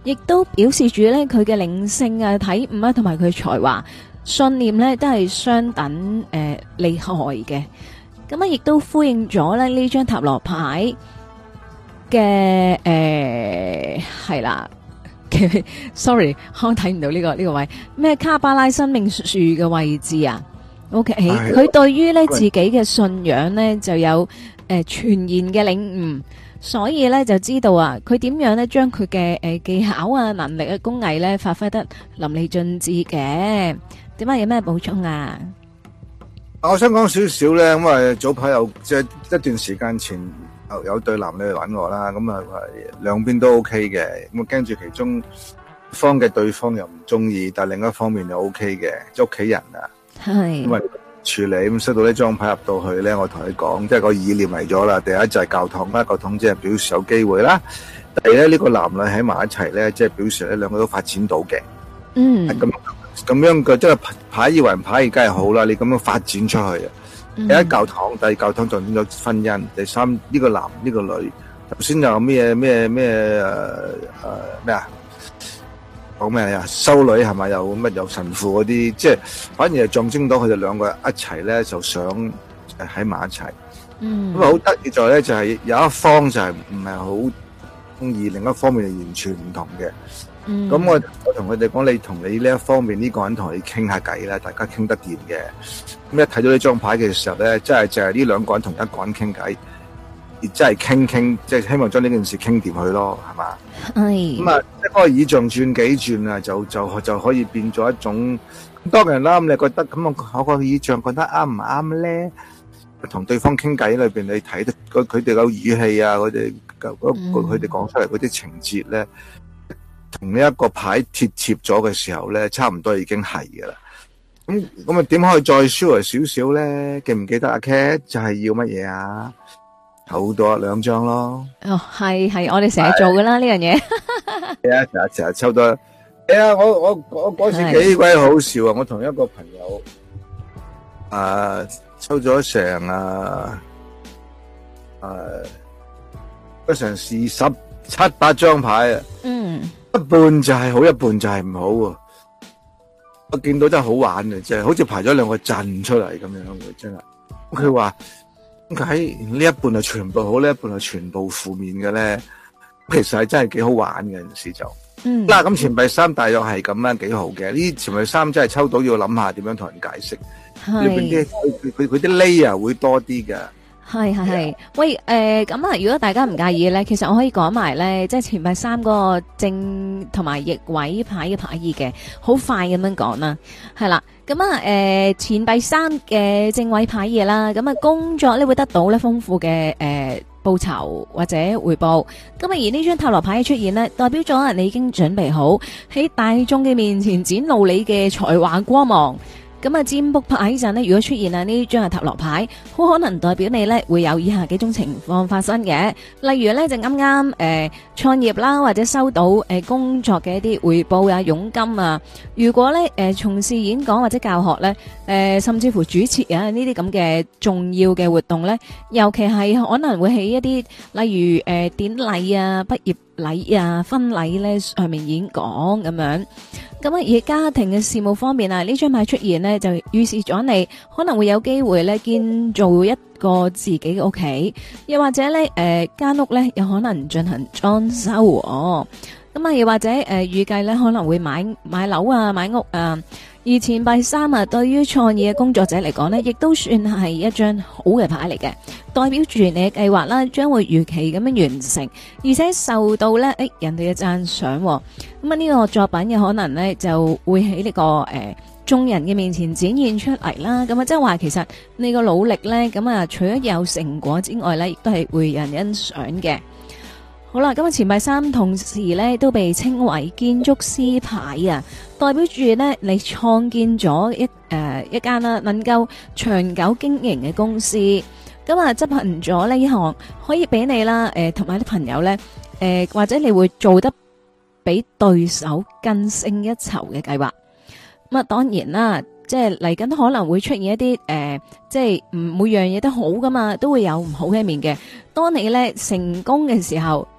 亦都表示住咧佢嘅靈性啊、體悟啊，同埋佢才華、信念咧都係相等誒厲害嘅。咁啊，亦都呼應咗咧呢張塔羅牌嘅誒係啦。sorry， 我睇唔到呢、這個呢、這個位咩卡巴拉生命樹嘅位置啊。OK，佢對於咧自己嘅信仰咧就有誒全然嘅領悟，所以咧就知道啊，佢點樣咧將佢嘅誒技巧啊、能力嘅工藝咧發揮得淋漓盡致嘅。點解有咩補充啊？ 我想講少少咧，咁啊早排有即係一段時間前有有對男女嚟揾我啦，咁啊兩邊都 OK 嘅，咁啊驚住其中方嘅對方又唔中意，但係另一方面又 OK 嘅，即係屋企人啊。係，因為處理咁收到呢張牌入到去咧，我同你講，即係個意念嚟咗啦。第一就係教堂啦，教堂即係表示有機會啦。第二咧，呢個男女喺埋一齊咧，即係表示咧兩個都發展到嘅。嗯，咁咁樣嘅即係牌以為牌，梗係好啦。你咁樣發展出去啊，第一教堂，第二教堂就變咗婚姻，第三呢個男呢個女，頭先有咩咩咩誒誒咩啊？講咩啊？修女係咪有乜有神父嗰啲？即係反而係象徵到佢哋兩個一齊咧，就想喺埋一齊。嗯，咁啊好得意在咧，就係有一方就係唔係好中意，另一方面係完全唔同嘅。嗯，咁我我同佢哋講，你同你呢一方面呢個人同你傾下偈啦，大家傾得掂嘅。咁一睇到呢張牌嘅時候咧，真係就係呢兩個人同一個人傾偈。而真係傾傾，即係希望將呢件事傾掂去咯，係嘛？係。咁啊，即係嗰個以象轉幾轉啊，就就就可以變咗一種。當然啦，咁你覺得咁我我個以象覺得啱唔啱咧？同對方傾偈裏邊，你睇得佢哋個語氣啊，佢哋嗰佢哋講出嚟嗰啲情節咧，同呢一個牌貼切咗嘅時候咧，差唔多已經係噶啦。咁咁啊，點可以再 sure 少少咧？記唔記得阿 Cat 就係要乜嘢啊？好多兩張咯， 哦，係係，我哋成日做噶啦呢樣嘢。 係啊，成日成日抽多。係啊，我我我嗰時幾鬼好笑啊！我同一個朋友，啊，抽咗成啊，誒，嗰成二十七八張牌啊。嗯。一半就係好，一半就係唔好啊！我見到真係好玩嘅，即係好似排咗兩個陣出嚟咁樣嘅，真係。佢話。點解呢一半係全部好，呢一半係全部負面嘅咧？其實係真係幾好玩嘅，有陣時就。嗯。嗱，咁錢幣三大約係咁樣，幾好嘅。呢錢幣三真係抽到要諗下點樣同人解釋。係。裏邊啲佢佢佢啲 layer 會多啲嘅。係係係。 喂，誒，咁啊，如果大家唔介意咧，其實我可以講埋咧，即係錢幣三嗰個正同埋逆位牌嘅牌意嘅，好快咁樣講啦。係啦。咁啊，誒，錢幣三嘅正位牌嘢啦，咁啊，工作咧會得到咧豐富嘅誒報酬或者回報。咁啊，而呢張塔羅牌嘅出現呢，代表咗你已經準備好喺大眾嘅面前展露你嘅才華光芒。咁啊，占卜牌陣呢，如果出現啊呢張係塔羅牌，好可能代表你呢會有以下幾種情況發生嘅。例如呢，就啱啱誒創業啦，或者收到誒、呃、工作嘅一啲回報啊、佣金啊。如果呢誒、呃、從事演講或者教學呢，誒、呃、甚至乎主持啊呢啲咁嘅重要嘅活動呢，尤其係可能會喺一啲例如誒、呃、典禮啊、畢業禮啊、婚禮呢上面演講咁樣。咁啊，而家庭嘅事務方面啊，呢張牌出現呢，就預示咗你可能會有機會咧建造一個自己嘅屋企，又或者咧誒間屋咧有可能進行裝修哦。咁啊，又或者誒預計咧可能會買買樓啊、買屋啊。而錢幣三啊，對於創業嘅工作者嚟講呢，亦都算係一張好嘅牌嚟嘅，代表住你嘅計劃啦，將會如期咁樣完成，而且受到咧誒人哋嘅讚賞。咁啊，呢個作品嘅可能呢，就會喺呢、這個誒、呃、眾人嘅面前展現出嚟啦。咁啊，即係話其實你個努力呢，咁啊，除咗有成果之外呢，亦都係會人欣賞嘅。好啦，咁啊，錢幣三同時咧都被稱為建築師牌啊，代表住咧你創建咗一誒、呃、一間啦，能夠長久經營嘅公司。咁啊，執行咗呢一項可以俾你啦，誒同埋啲朋友咧，誒、呃、或者你會做得比對手更勝一籌嘅計劃。咁啊，當然啦，即係嚟緊可能會出現一啲誒、呃，即係唔每樣嘢都好噶嘛，都會有唔好嘅一面嘅。當你咧成功嘅時候，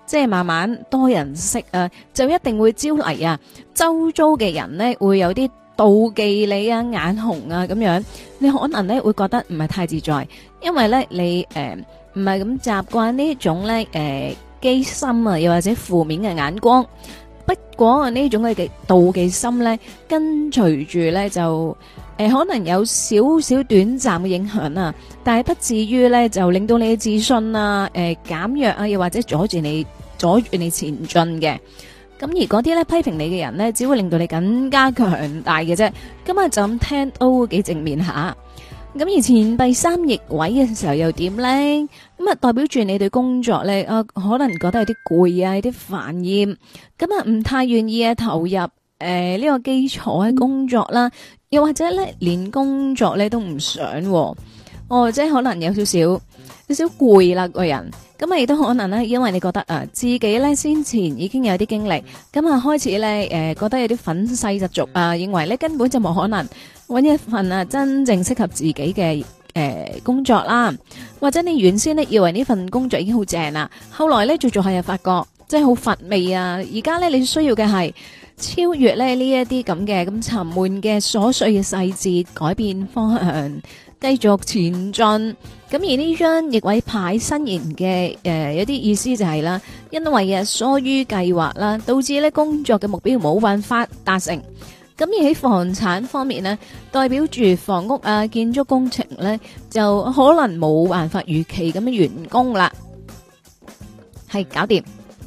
即係慢慢多人識啊，就一定會招嚟啊，周遭嘅人咧會有啲妒忌你啊、眼紅啊咁樣，你可能咧會覺得唔係太自在，因為咧你誒唔係咁習慣呢種咧誒機心啊，又或者負面嘅眼光。不過呢種嘅妒忌心咧，跟隨住咧就誒、呃、可能有少少短暫嘅影響啊，但係不至於咧就令到你嘅自信啊誒減弱啊，又或者阻住你阻住你前進嘅。咁而嗰啲咧批評你嘅人咧，只會令到你更加強大嘅啫。今日就咁聽都幾正面下。咁而錢幣三逆位嘅時候又點咧？咁啊代表住你對工作咧，啊可能覺得有啲攰啊，有啲煩厭，咁啊唔太願意啊投入誒呢、呃這個基礎嘅工作啦，又或者咧連工作咧都唔想、啊，哦即係可能有少少有少攰啦個人。咁啊亦都可能咧，因為你覺得啊自己咧先前已經有啲經歷，咁啊開始咧誒、呃、覺得有啲憤世嫉俗啊，認為咧根本就冇可能搵一份啊真正適合自己嘅誒、呃、工作啦，或者你原先咧以為呢份工作已經好正啦，後來咧做做下又發覺真係好乏味啊！而家咧你需要嘅係超越咧呢一啲咁嘅咁沉悶嘅瑣碎嘅細節，改變方向，繼續前進。咁而呢張逆位牌新言嘅誒有啲意思就係啦，因為啊疏於計劃啦，導致咧工作嘅目標冇辦法達成。咁而喺房產方面呢，代表住房屋啊建築工程呢，就可能冇辦法預期咁樣完工啦。係搞掂。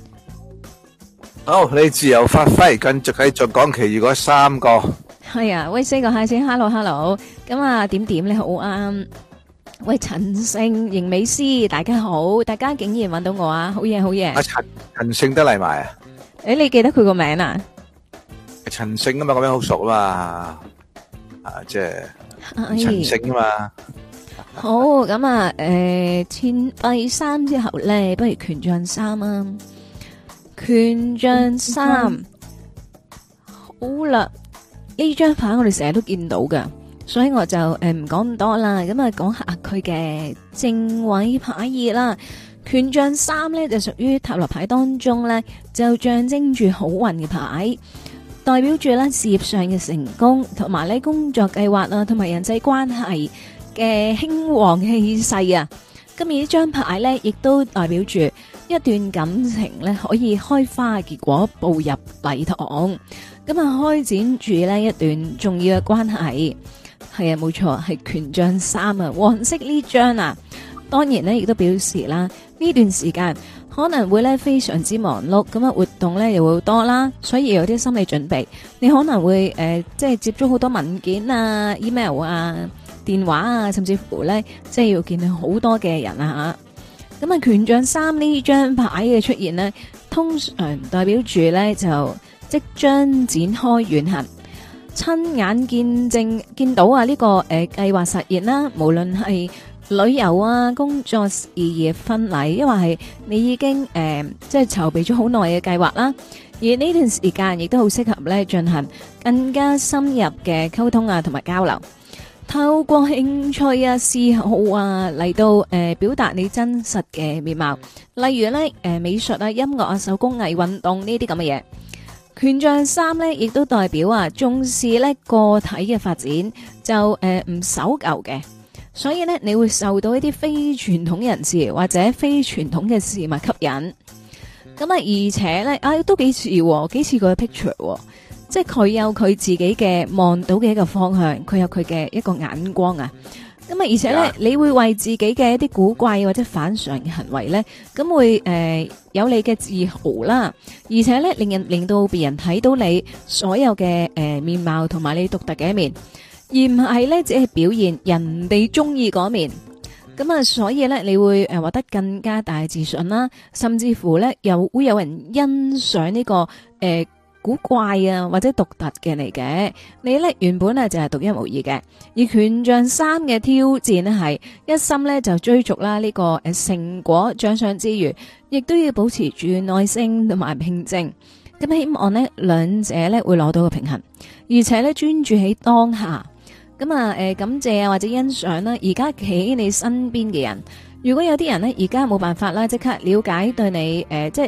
好，你自由發揮，繼續繼續講其餘嗰三個。 係啊，喂，四個嗨先 ，hello hello，咁啊點點你好啱。喂，陳勝、邢美詩，大家好，大家竟然揾到我啊，好嘢好嘢。 阿陳陳勝得嚟埋啊？ 誒，你記得佢個名啊？ 陳勝啊嘛，個名好熟啊嘛，啊即係陳勝啊嘛。 好，咁啊，誒，錢幣三之後咧，不如權杖三啊。權杖三，好啦，呢張牌我哋成日都見到噶。所以我就誒唔講咁多啦，咁啊講下佢嘅正位牌意啦。權杖三咧就屬於塔羅牌當中咧，就象徵住好運嘅牌，代表住咧事業上嘅成功，同埋咧工作計劃啊，同埋人際關係嘅興旺氣勢啊。咁而呢張牌咧，亦都代表住一段感情咧可以開花結果，步入禮堂，咁啊開展住呢一段重要嘅關係。係啊，冇錯，係權杖三啊，黃色呢張啊，當然咧亦都表示啦，呢段時間可能會咧非常之忙碌，咁啊活動咧又會好多啦，所以有啲心理準備，你可能會誒、呃、即係接觸好多文件啊、email 啊、電話啊，甚至乎咧即係要見到好多嘅人啊吓。咁啊，權杖三呢張牌嘅出現呢，通常代表住咧就即將展開遠行。親眼見證見到啊呢、這個誒計劃實現啦，無論係旅遊啊、工作事業、婚禮，因為係你已經誒、呃、即係籌備咗好耐嘅計劃啦。而呢段時間亦都好適合咧進行更加深入嘅溝通啊，同埋交流。透過興趣啊、嗜好啊嚟到誒、呃、表達你真實嘅面貌，例如咧誒、呃、美術啊、音樂啊、手工藝、運動呢啲咁嘅嘢。權杖三咧，亦都代表啊重視咧個體嘅發展，就誒唔、呃、守舊嘅，所以咧你會受到一啲非傳統人士或者非傳統嘅事物吸引。咁啊，而且咧啊都幾似幾似佢嘅 picture，即係佢有佢自己嘅望到嘅一個方向，佢有佢嘅一個眼光啊。咁啊，而且咧，yeah. 你會為自己嘅一啲古怪或者反常嘅行為咧，咁會誒、呃、有你嘅自豪啦，而且咧令人令到別人睇到你所有嘅誒、呃、面貌同埋你獨特嘅一面，而唔係咧只係表現人哋中意嗰面。咁啊，所以咧你會誒獲得更加大嘅自信啦，甚至乎咧又會有人欣賞呢、這個誒。呃古怪啊，或者獨特嘅嚟嘅，你咧原本咧就係獨一無二嘅。而權杖三嘅挑戰咧係一心咧就追逐啦呢個誒成果獎賞之餘，亦都要保持住耐性同埋平靜。咁希望呢兩者咧會攞到個平衡，而且咧專注喺當下。咁啊誒感謝啊或者欣賞啦，而家企喺你身邊嘅人。如果有啲人咧而家冇辦法啦，即刻了解對你誒、呃、即係。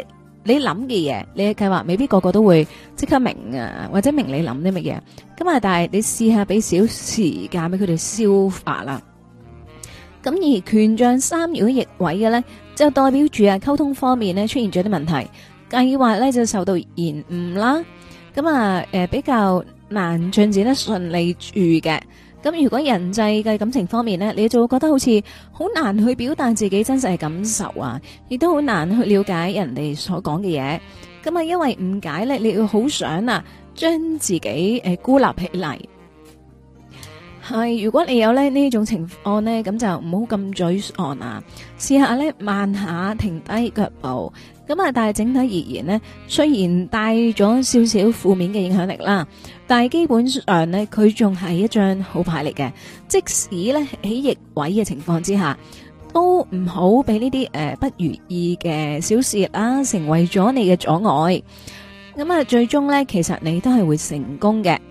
你諗嘅嘢，你嘅計劃未必個個都會即刻明啊，或者明你諗啲乜嘢。咁啊，但係你試下俾少時間俾佢哋消化啦。咁而權杖三如果逆位嘅咧，就代表住啊溝通方面咧出現咗啲問題，計劃咧就受到延誤啦。咁啊，誒比較難進展得順利住嘅。咁如果人際嘅感情方面呢，你就會覺得好似好難去表達自己真實嘅感受啊，亦都好難去了解人哋所講嘅嘢。咁啊，因為誤解呢，你要好想啊，將自己誒孤立起嚟。係，如果你有咧呢種情況呢，咁就唔好咁沮喪啊，試下呢，慢下停低腳步。咁啊，但係整體而言呢，雖然帶咗少少負面嘅影響力啦，但係基本上呢，佢仲係一張好牌嚟嘅。即使呢喺逆位嘅情況之下，都唔好俾呢啲誒不如意嘅小事啦，成為咗你嘅阻礙。咁啊，最終呢，其實你都係會成功嘅。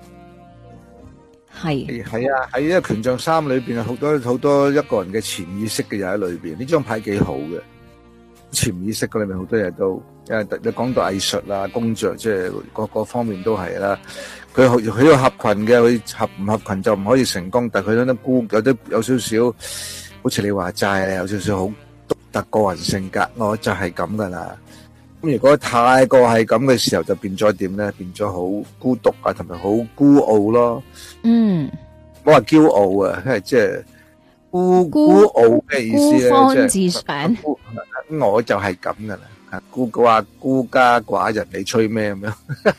係係啊，喺呢個權杖三裏邊好多好多一個人嘅潛意識嘅嘢喺裏邊。呢張牌幾好嘅。潛意識嗰裏面好多嘢都，誒，你講到藝術啦、工作，即係各個方面都係啦。佢佢要合群嘅，佢合唔合群就唔可以成功。但係佢有啲孤，有啲有少少，好似你話齋，有少少好獨特個人性格，我就係咁噶啦。咁如果太過係咁嘅時候，就變咗點咧？變咗好孤獨啊，同埋好孤傲咯。 嗯， 我話驕傲啊，因為即係。孤孤傲嘅意思咧， 孤芳自賞。 我就係咁噶啦，孤話孤家寡人，你吹咩咁樣？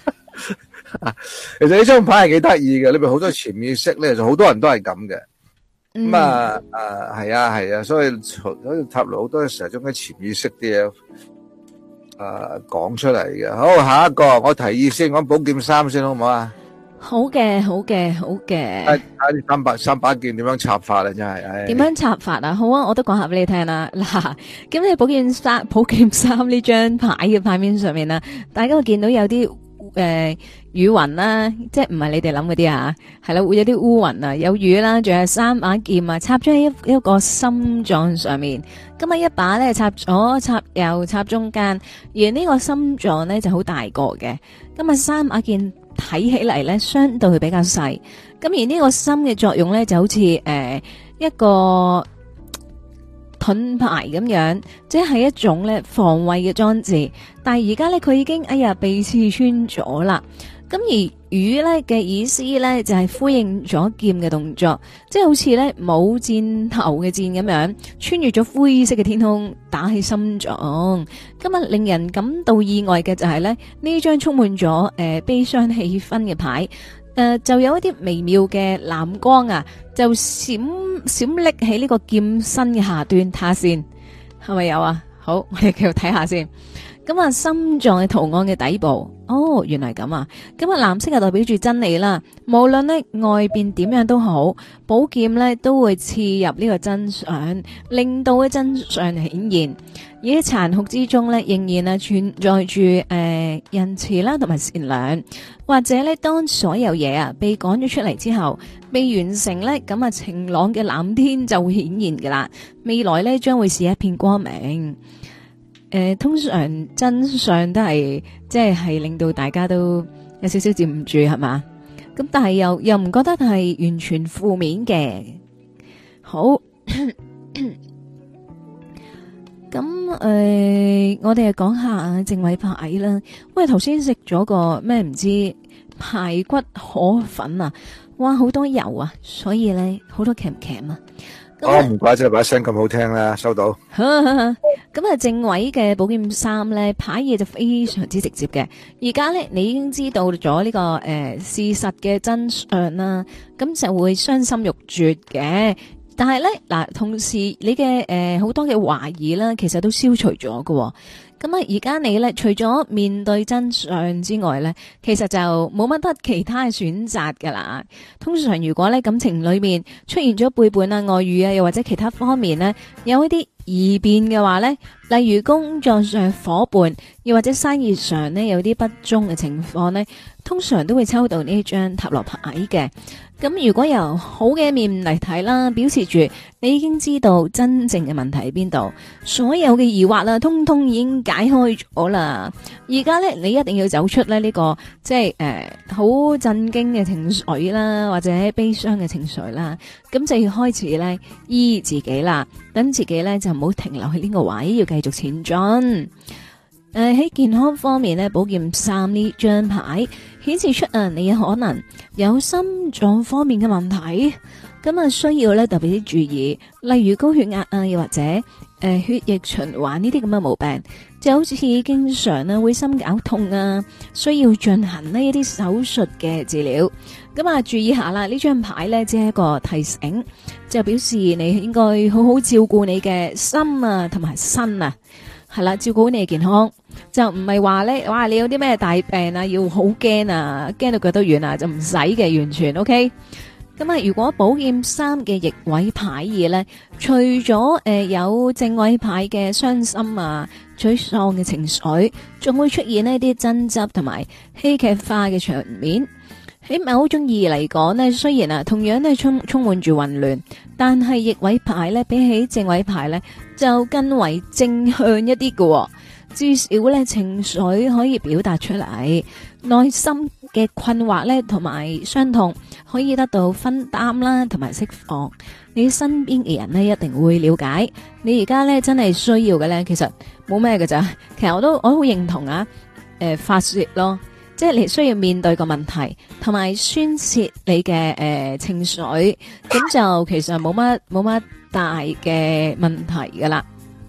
其實呢張牌係幾得意嘅，裏邊好多潛意識咧，就好多人都係咁嘅。咁啊啊，係啊係啊，所以所以塔羅好多時候將啲潛意識啲嘢啊講出嚟嘅。好，下一個我提議先講寶劍三先好唔好啊？ 好嘅，好嘅，好嘅。 睇睇三把三把劍點樣插法啊！真係， 點樣插法啊？好啊，我都講下俾你聽啦。嗱，咁你寶劍三寶劍三呢張牌嘅牌面上面啦，大家會見到有啲誒雨雲啦，即係唔係你哋諗嗰啲啊？係啦，會有啲烏雲啊，有雨啦，仲有三把劍啊，插咗喺一一個心臟上面。咁啊，一把咧插左插右插中間，而呢個心臟咧就好大個嘅。咁啊，三把劍。睇起嚟咧，相對比較細。咁而呢個心嘅作用咧，就好似誒、呃、一個盾牌咁樣，即係一種咧防衛嘅裝置。但係而家咧，佢已經哎呀被刺穿咗啦。咁而魚咧嘅意思咧，就係、是、呼應咗劍嘅動作，即係好似咧冇箭頭嘅箭咁樣，穿越咗灰色嘅天空，打起心臟。今日令人感到意外嘅就係咧，呢張充滿咗誒、呃、悲傷氣氛嘅牌，誒、呃、就有一啲微妙嘅藍光啊，就閃閃爍喺呢個劍身嘅下端，睇下先係咪有啊？好，我哋繼續睇下先。咁啊，心臟嘅圖案嘅底部，哦，原來咁啊！咁啊，藍色係代表住真理啦。無論呢外邊點樣都好，寶劍呢都會刺入呢個真相，令到嘅真相顯現。而喺殘酷之中呢，仍然啊存在住誒、呃、仁慈啦，同埋善良。或者呢，當所有嘢啊被趕咗出嚟之後，被完成呢，咁啊晴朗嘅藍天就會顯現噶啦。未來呢，將會是一片光明。誒、呃，通常真相都係即係係令到大家都有少少接唔住係嘛，咁但係又又唔覺得係完全負面嘅。好，咁誒、呃，我哋講下正位牌啦。喂，頭先食咗個咩唔知排骨河粉啊，哇，好多油啊，所以咧好多鉗鉗啊。 哦，唔怪之把聲咁好聽啦，收到。 咁啊，正位嘅寶劍三咧，牌嘢就非常之直接嘅。而家咧，你已經知道咗呢、這個誒、呃、事實嘅真相啦，咁就會傷心欲絕嘅。但係咧，嗱，同時你嘅誒好多嘅懷疑啦，其實都消除咗喎。咁啊，而家你咧，除咗面對真相之外咧，其實就冇乜得其他嘅選擇噶啦。通常如果咧感情裏面出現咗背叛啊、外遇啊，又或者其他方面咧有一啲異變嘅話咧， 例如工作上伙伴，又或者生意上呢有啲不忠嘅情況呢，通常都會抽到呢張塔羅牌嘅。咁如果由好嘅一面嚟睇啦，表示住你已經知道真正嘅問題喺邊度，所有嘅疑惑啦，通通已經解開咗啦。而家咧，你一定要走出咧、這、呢個即係誒好震驚嘅情緒啦，或者悲傷嘅情緒啦，咁就要開始咧醫自己啦，等自己咧就唔好停留喺呢個位，要繼續前進。誒、呃、喺健康方面咧，寶劍三呢張牌顯示出啊，你可能有心臟方面嘅問題，咁啊需要咧特別啲注意，例如高血壓啊，又或者誒、呃、血液循環呢啲咁嘅毛病，就好似經常啊會心絞痛啊，需要進行呢一啲手術嘅治療。咁啊注意下啦，呢張牌咧只係一個提醒，就表示你應該好好照顧你嘅心啊同埋身啊。係啦，照顧好你嘅健康，就唔係話咧，哇！你有啲咩大病啊，要好驚啊，驚到腳都軟啊，就唔使嘅，完全 OK。咁啊，如果寶劍三嘅逆位牌二咧，除咗誒、呃、有正位牌嘅傷心啊、沮喪嘅情緒，仲會出現呢啲爭執同埋戲劇化嘅場面。喺某種意義嚟講呢，雖然啊同樣都係充充滿住混亂，但係逆位牌呢，比起正位牌呢，就更為正向一啲嘅。至少呢，情緒可以表達出嚟，內心嘅困惑呢，同埋傷痛可以得到分擔啦，同埋釋放。你身邊嘅人呢，一定會了解你而家呢，真係需要嘅呢，其實冇咩嘅咋。其實我都我都好認同啊，誒、呃、發洩咯。即係你需要面對個問題，同埋宣洩你嘅誒、呃、情緒，咁就其實冇乜冇乜大嘅問題噶啦。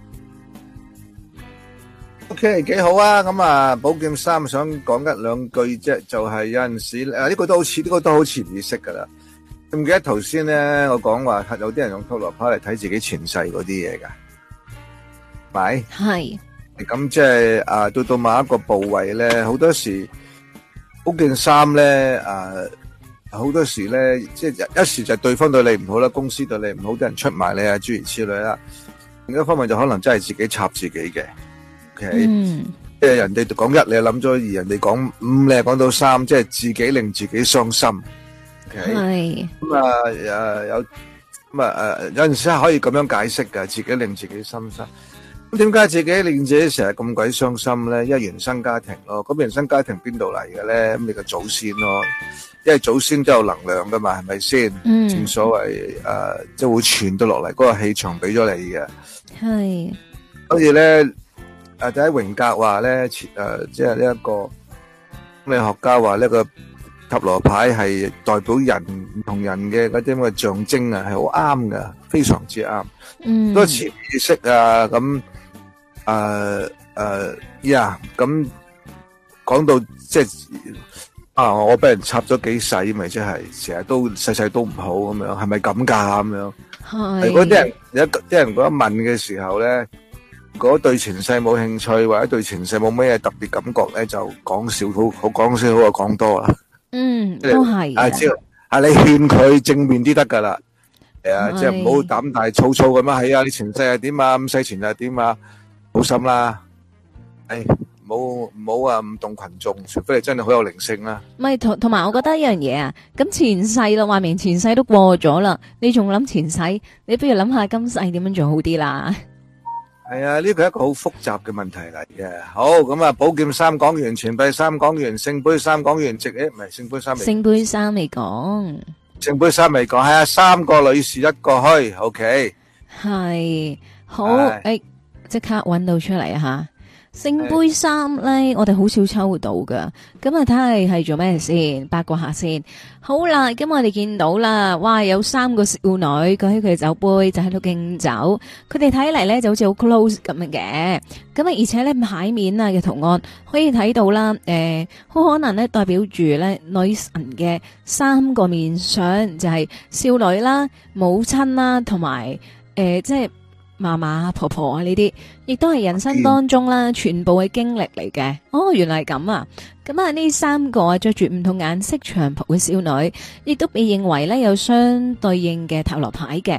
OK， 幾好啊！咁啊，寶劍三想講一兩句啫，就係、是、有陣時誒，呢、啊這個都好似呢、這個都好潛意識噶啦。記唔記得頭先咧，我講話有啲人用塔羅牌嚟睇自己前世嗰啲嘢噶，咪係咁即係啊，到到某一個部位咧，好多時。嗰件衫咧，誒，好多時咧，即係一時就對方對你唔好啦，公司對你唔好，啲人出賣你啊，諸如此類啦。另一方面就可能真係自己插自己嘅，OK， 嗯， 即係人哋講一，你又諗咗二；人哋講五，你又講到三，即係自己令自己傷心。OK， 係咁啊，誒有咁啊誒，有陣時係可以咁樣解釋㗎，自己令自己傷心。咁點解自己令自己成日咁鬼傷心咧？因為原生家庭咯，咁原生家庭邊度嚟嘅咧？咁你個祖先咯，因為祖先都有能量噶嘛，係咪先？嗯，正所謂誒，即係會傳到落嚟，嗰個氣場俾咗你嘅。係，所以咧，誒，第一榮格話咧，誒，即係呢一個心理學家話呢個塔羅牌係代表人唔同人嘅嗰啲咁嘅象徵啊，係好啱噶，非常之啱。嗯，嗰個潛意識啊，咁。誒誒呀，咁講到即係啊，我俾人插咗幾世，咪即係成日都世世都唔好咁樣，係咪咁噶咁樣？係。如果啲人有一啲人嗰一問嘅時候咧，如果對前世冇興趣，或者對前世冇咩特別感覺咧，就講少好，好講少好過講多啦。嗯，都係。啊，只要啊，你勸佢正面啲得噶啦，係啊，即係唔好膽大粗粗咁啊。係啊，你前世係點啊？咁世前係點啊？好心啦，誒，唔好唔好啊，唔動群眾，除非你真係好有靈性啦。 咪同同埋，我覺得一樣嘢啊，咁前世咯，話明前世都過咗啦，你仲諗前世？你不如諗下今世點樣做好啲啦。 係啊，呢個係一個好複雜嘅問題嚟嘅。好，咁啊，寶劍三講完，錢幣三講完，聖杯三講完，直誒唔係聖杯三未。聖杯三未講。聖杯三未講，係啊，三個女士一個虛，OK。係好誒。即刻揾到出嚟啊！吓，聖杯三咧，我哋好少抽到噶。咁啊，睇下係做咩先，八卦下先。好啦，咁我哋見到啦，哇，有三個少女舉起佢嘅酒杯，就喺度敬酒。佢哋睇嚟咧就好似好 close 咁樣嘅。咁啊，而且咧牌面啊嘅圖案可以睇到啦，誒、呃，好可能咧代表住咧女神嘅三個面相，就係、是、少女啦、母親啦，同埋誒，即係。嫲嫲、婆婆啊，呢啲亦都係人生當中啦，全部嘅經歷嚟嘅。哦，原來係咁啊！咁啊，呢三個啊着住唔同顏色長袍嘅少女，亦都被認為咧有相對應嘅塔羅牌嘅。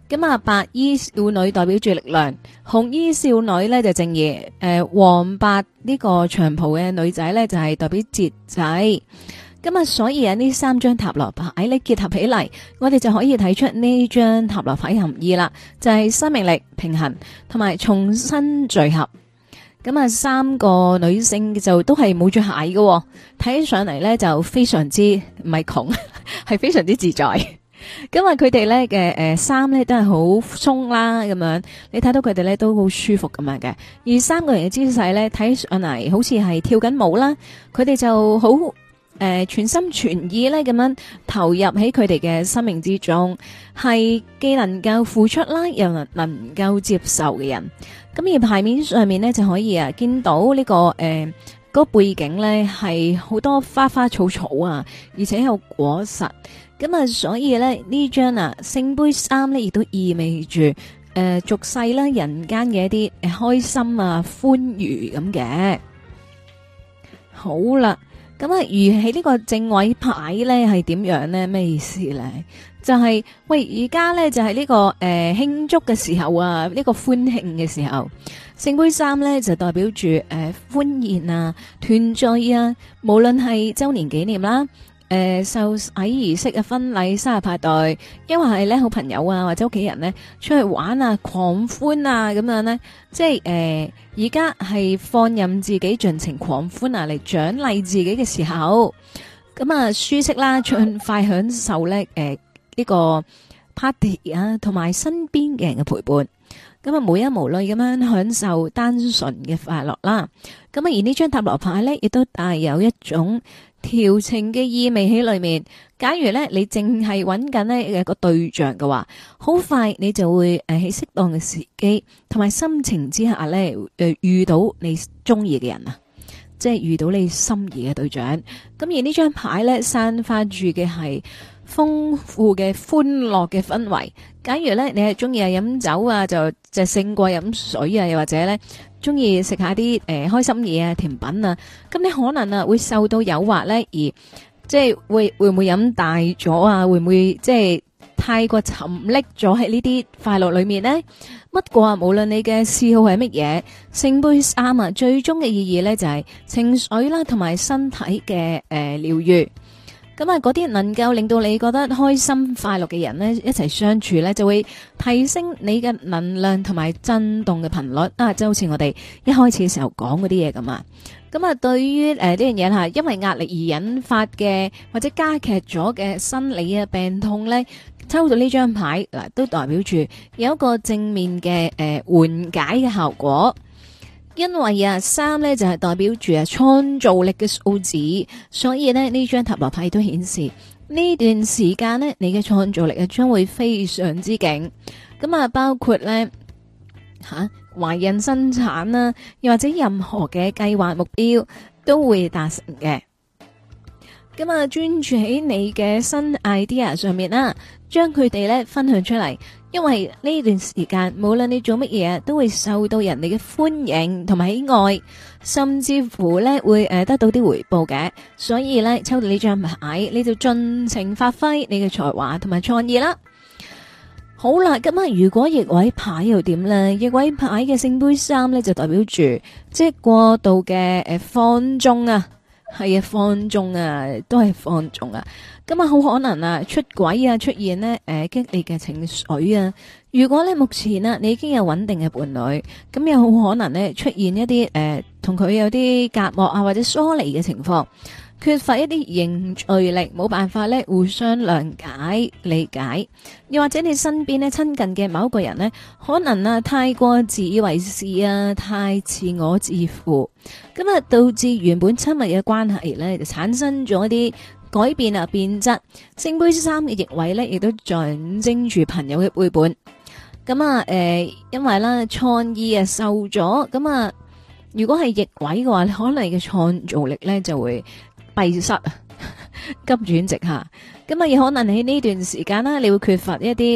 咁啊，白衣少女代表住力量，紅衣少女咧就正義，誒、呃，黃白呢個長袍嘅女仔咧就係、是、代表節制。咁啊，所以啊，呢三張塔羅牌咧結合起嚟，我哋就可以睇出呢張塔羅牌含義啦，就係、是、生命力、平衡同埋重新聚合。咁啊，三個女性就都係冇着鞋嘅，睇起上嚟咧就非常之唔係窮，係非常之自在。咁啊，佢哋咧嘅誒衫咧都係好鬆啦，咁樣你睇到佢哋咧都好舒服咁樣嘅。而三個人嘅姿勢咧睇上嚟好似係跳緊舞啦，佢哋就好誒、呃、全心全意咧咁樣投入喺佢哋嘅生命之中，係既能夠付出啦，又能能夠接受嘅人。咁而牌面上面咧就可以啊見到呢、這個誒。呃嗰個背景咧係好多花花草草啊，而且有果實，咁啊，所以咧呢張啊聖杯三咧亦都意味住誒俗世啦人間嘅一啲誒開心啊歡愉咁嘅。好啦，咁啊，如喺呢個正位牌咧係點樣咧？咩意思咧？就係、是、喂，而家咧就係、是、呢、這個誒慶、呃、祝嘅時候啊，呢、這個歡慶嘅時候。聖杯三咧就代表住誒、呃、歡宴啊、團聚啊，無論係周年紀念啦、誒、呃、受洗儀式嘅婚禮、生日派對，因為係咧好朋友啊或者屋企人咧出去玩啊、狂歡啊咁樣咧，即係誒而家係放任自己盡情狂歡啊嚟獎勵自己嘅時候，咁啊舒適啦，盡快享受咧誒呢個 party 啊，同埋身邊嘅人嘅陪伴。咁啊，無憂無慮咁樣享受單純嘅快樂啦。咁啊，而呢張塔羅牌咧，亦都帶有一種調情嘅意味喺裏面。假如咧你淨係揾緊呢一個對象嘅話，好快你就會誒喺適當嘅時機同埋心情之下咧，誒遇到你中意嘅人啊，即係遇到你心儀嘅對象。咁而呢張牌咧，散發住嘅係豐富嘅歡樂嘅氛圍。假如咧你係中意啊飲酒啊，就就勝過飲水啊，又或者咧中意食下啲誒開心嘢啊甜品啊，咁你可能啊會受到誘惑咧，而即係會會唔會飲大咗啊？會唔會即係太過沉溺咗喺呢啲快樂裏面呢？不過啊，無論你嘅嗜好係乜嘢，聖杯三啊，最終嘅意義咧就係情緒啦，同埋身體嘅誒療愈。咁啊，嗰啲能夠令到你覺得開心快樂嘅人呢，一齊相處呢，就會提升你嘅能量同埋震動嘅頻率啊！就好似我哋一開始嘅時候講嗰啲嘢咁啊。咁啊，對於誒呢樣嘢吓，因為壓力而引發嘅或者加劇咗嘅生理啊病痛呢，抽到呢張牌嗱，都代表住有一個正面嘅誒緩解嘅效果。因為啊，三咧就係代表住啊創造力嘅數字，所以呢呢張塔羅牌都顯示呢段時間呢，你嘅創造力啊將會非常之勁。咁啊，包括呢吓懷孕生產啦，又或者任何嘅計劃目標都會達成嘅。咁啊，專注喺你嘅新 idea 上面啦，將佢哋咧分享出嚟。因為呢段時間，無論你做乜嘢，都會受到人哋嘅歡迎同埋喜愛，甚至乎咧會誒得到啲回報嘅。所以咧，抽到呢張牌，你就盡情發揮你嘅才華同埋創意啦。好啦，咁啊，如果逆位牌又點咧？逆位牌嘅聖杯三咧就代表住即係過度嘅誒放縱啊。係啊，放縱啊，都係放縱啊。咁啊，好可能啊，出軌啊，出現呢誒、呃、激烈嘅情緒啊。如果咧目前啊，你已經有穩定嘅伴侶，咁又好可能呢出現一啲誒同佢有啲隔膜啊，或者疏離嘅情況，缺乏一啲凝聚力，冇辦法咧互相諒解理解。又或者你身邊咧親近嘅某一個人呢，可能啊太過自以為是啊，太自我自負，咁啊導致原本親密嘅關係咧就產生咗一啲改變啊變質。聖杯三嘅逆位咧亦都象徵住朋友嘅背叛。咁啊誒，因為啦創意啊受咗，咁啊如果係逆位嘅話，可能你嘅創造力咧就會閉塞啊，急轉直下。咁啊，有可能喺呢段時間啦，你會缺乏一啲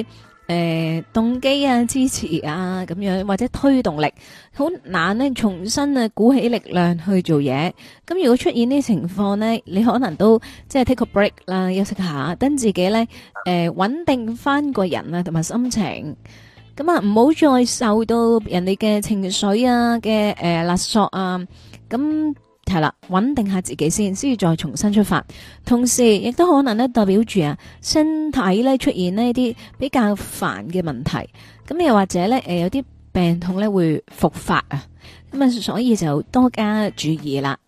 誒動機啊、支持啊咁樣，或者推動力，好難呢重新啊鼓起力量去做嘢。咁如果出現呢啲情況呢，你可能都即係 take a break 啦，休息下，等自己呢誒穩定翻個人啊同埋心情。咁啊，唔好再受到人哋嘅情緒啊嘅誒勒索啊，咁係啦，穩定下自己先，先至再重新出發。同時亦都可能咧代表住啊身體咧出現呢啲比較煩嘅問題，咁又或者咧誒有啲病痛咧會復發啊，咁啊所以就多加注意啦。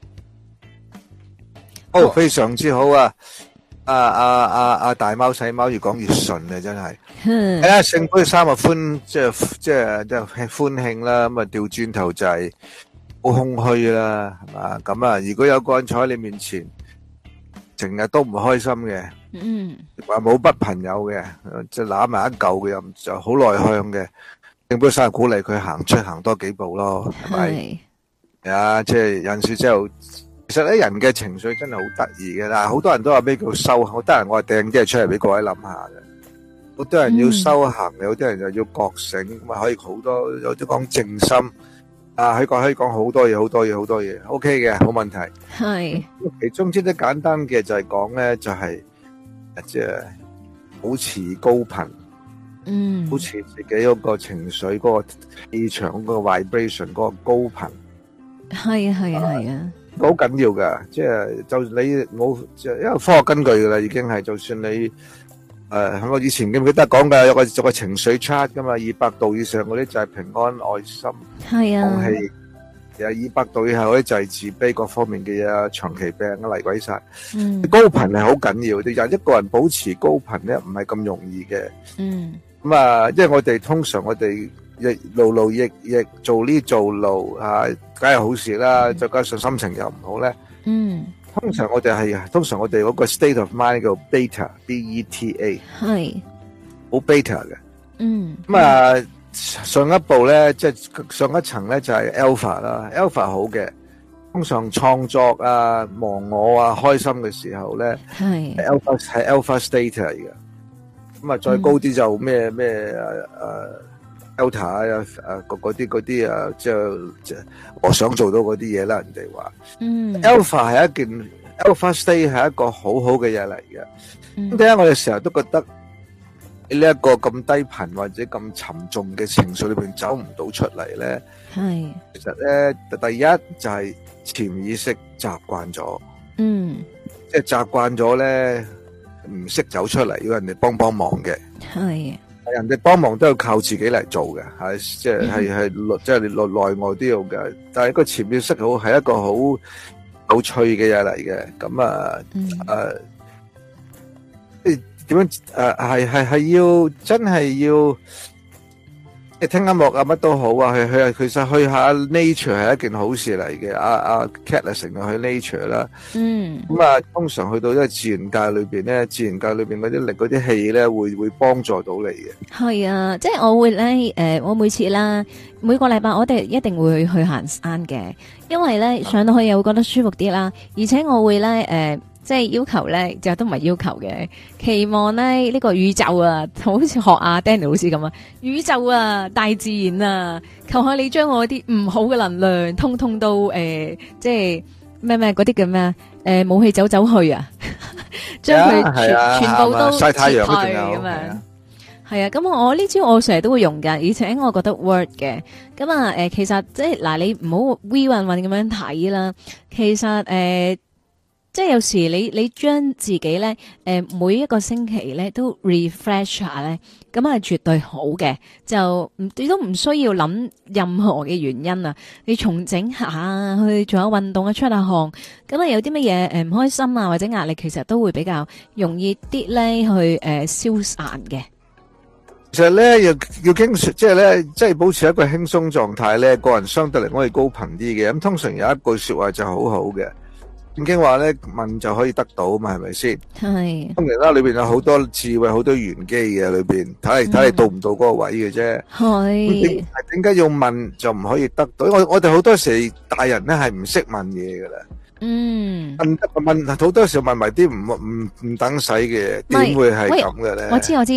哦，非常之好啊！啊啊啊啊！大貓細貓越講越順啊，真係。係啊，聖杯三啊歡，即係即係即係歡慶啦。咁啊，調轉頭就係好空虛啦，係嘛？咁啊，如果有個人坐喺你面前，成日都唔開心嘅， 嗯， 話冇筆朋友嘅，即係攬埋一嚿嘅，又就好內向嘅，聖杯三鼓勵佢行出行多幾步咯，係咪？係啊，即係有陣時之後。其實咧，人嘅情緒真係好得意嘅啦，好多人都話咩叫修行，好多人我係掟啲嘢出嚟俾各位諗下嘅。好多人要修行，有啲人就要覺醒，咁啊可以好多，有啲講靜心，啊可以講可以講好多嘢，好多嘢，好多嘢，OK 嘅，冇問題。係，其中之啲簡單嘅就係講咧，就係即係保持高頻，嗯，保持自己嗰個情緒、嗰個氣場、嗰個 vibration 嗰個高頻。係啊，係啊，係啊。好緊要噶，即係就你冇，即係因為科學根據噶啦，已經係就算你誒，我以前記唔記得講噶，有個有個情緒 chart 噶嘛，二百度以上嗰啲就係平安、愛心、係啊、空氣，有二百度以下嗰啲就係自卑各方面嘅嘢啊，長期病啊，嚟鬼晒。嗯，高頻係好緊要，啲人一個人保持高頻咧，唔係咁容易嘅。嗯，咁啊，因為我哋通常我哋。亦勞勞役役做呢做路嚇，梗係好事啦。再加上心情又唔好咧，嗯，通常我哋係通常我哋嗰個 state of mind 叫 beta，b e t a，係好 beta 嘅，嗯。咁啊，上一步咧，即係上一層咧就係 alpha 啦 ，alpha 好嘅，通常創作啊、忘我啊、開心嘅時候咧，係 alpha 係 alpha state 嚟嘅。咁啊，再高啲就咩咩誒誒。Delta 啊，誒，嗰啲嗰啲啊，即係即係我想做到嗰啲嘢啦。人哋話，嗯 ，Alpha 係一件 Alpha State 係一個好好嘅嘢嚟嘅。咁點解我哋成日都覺得呢一個咁低頻或者咁沉重嘅情緒裏邊走唔到出嚟咧？係，其實咧，第一就係潛意識習慣咗，嗯，即係習慣咗咧，唔識走出嚟，要人哋幫幫忙嘅，係。人哋幫忙都要靠自己嚟做嘅，係即係係係內即係內內外都要嘅。但係個潛意識好係一個好有趣嘅嘢嚟嘅。咁啊誒，即係點樣誒？係係係要真係要。你聽音樂啊，乜都好啊，去去其實去下 nature 係一件好事嚟嘅。阿阿 Cat 成日去 nature 啦，嗯，咁啊，通常去到一個自然界裏邊咧，自然界裏邊嗰啲力、嗰啲氣咧，會會幫助到你嘅。係啊，即係我會咧，誒、呃，我每次啦，每個禮拜我哋一定會去行山嘅，因為咧上到去又會覺得舒服啲啦，而且我會咧，誒、呃。即係要求咧，就都唔係要求嘅，期望咧呢、這個宇宙啊，好似學阿 Danny 老師咁啊，宇宙啊，大自然啊，求下你將我啲唔好嘅能量，通通都誒、呃，即係咩咩嗰啲叫咩誒，武器走走去啊，將佢全、啊、全部都晒太陽咁樣。係啊，咁我呢招我成日都會用噶，而且我覺得 work 嘅。咁啊，誒、呃，其實即係嗱，你唔好 we 運運咁樣睇啦。其實誒。呃即係有時你你將自己咧，誒、呃、每一個星期咧都 refresh 下咧，咁係絕對好嘅。就唔你都唔需要諗任何嘅原因啊，你重整下去做下運動啊，出下汗，咁啊有啲乜嘢誒唔開心啊或者壓力，其實都會比較容易啲咧去誒、呃、消散嘅。 其實咧要要經即係咧，即係保持一個輕鬆狀態咧，個人相對嚟講係高頻啲嘅。咁通常有一句說話就好好嘅。正經話咧，問就可以得到嘛，係咪先？係。咁其他裏邊有好多智慧，好多玄機嘅裏邊，睇嚟睇嚟到唔到嗰個位嘅啫。係。點解要問就唔可以得到？我我哋好多時大人咧係唔識問嘢噶啦。嗯。問問好多時候問埋啲唔唔唔等使嘅，點會係咁嘅咧？我知我知，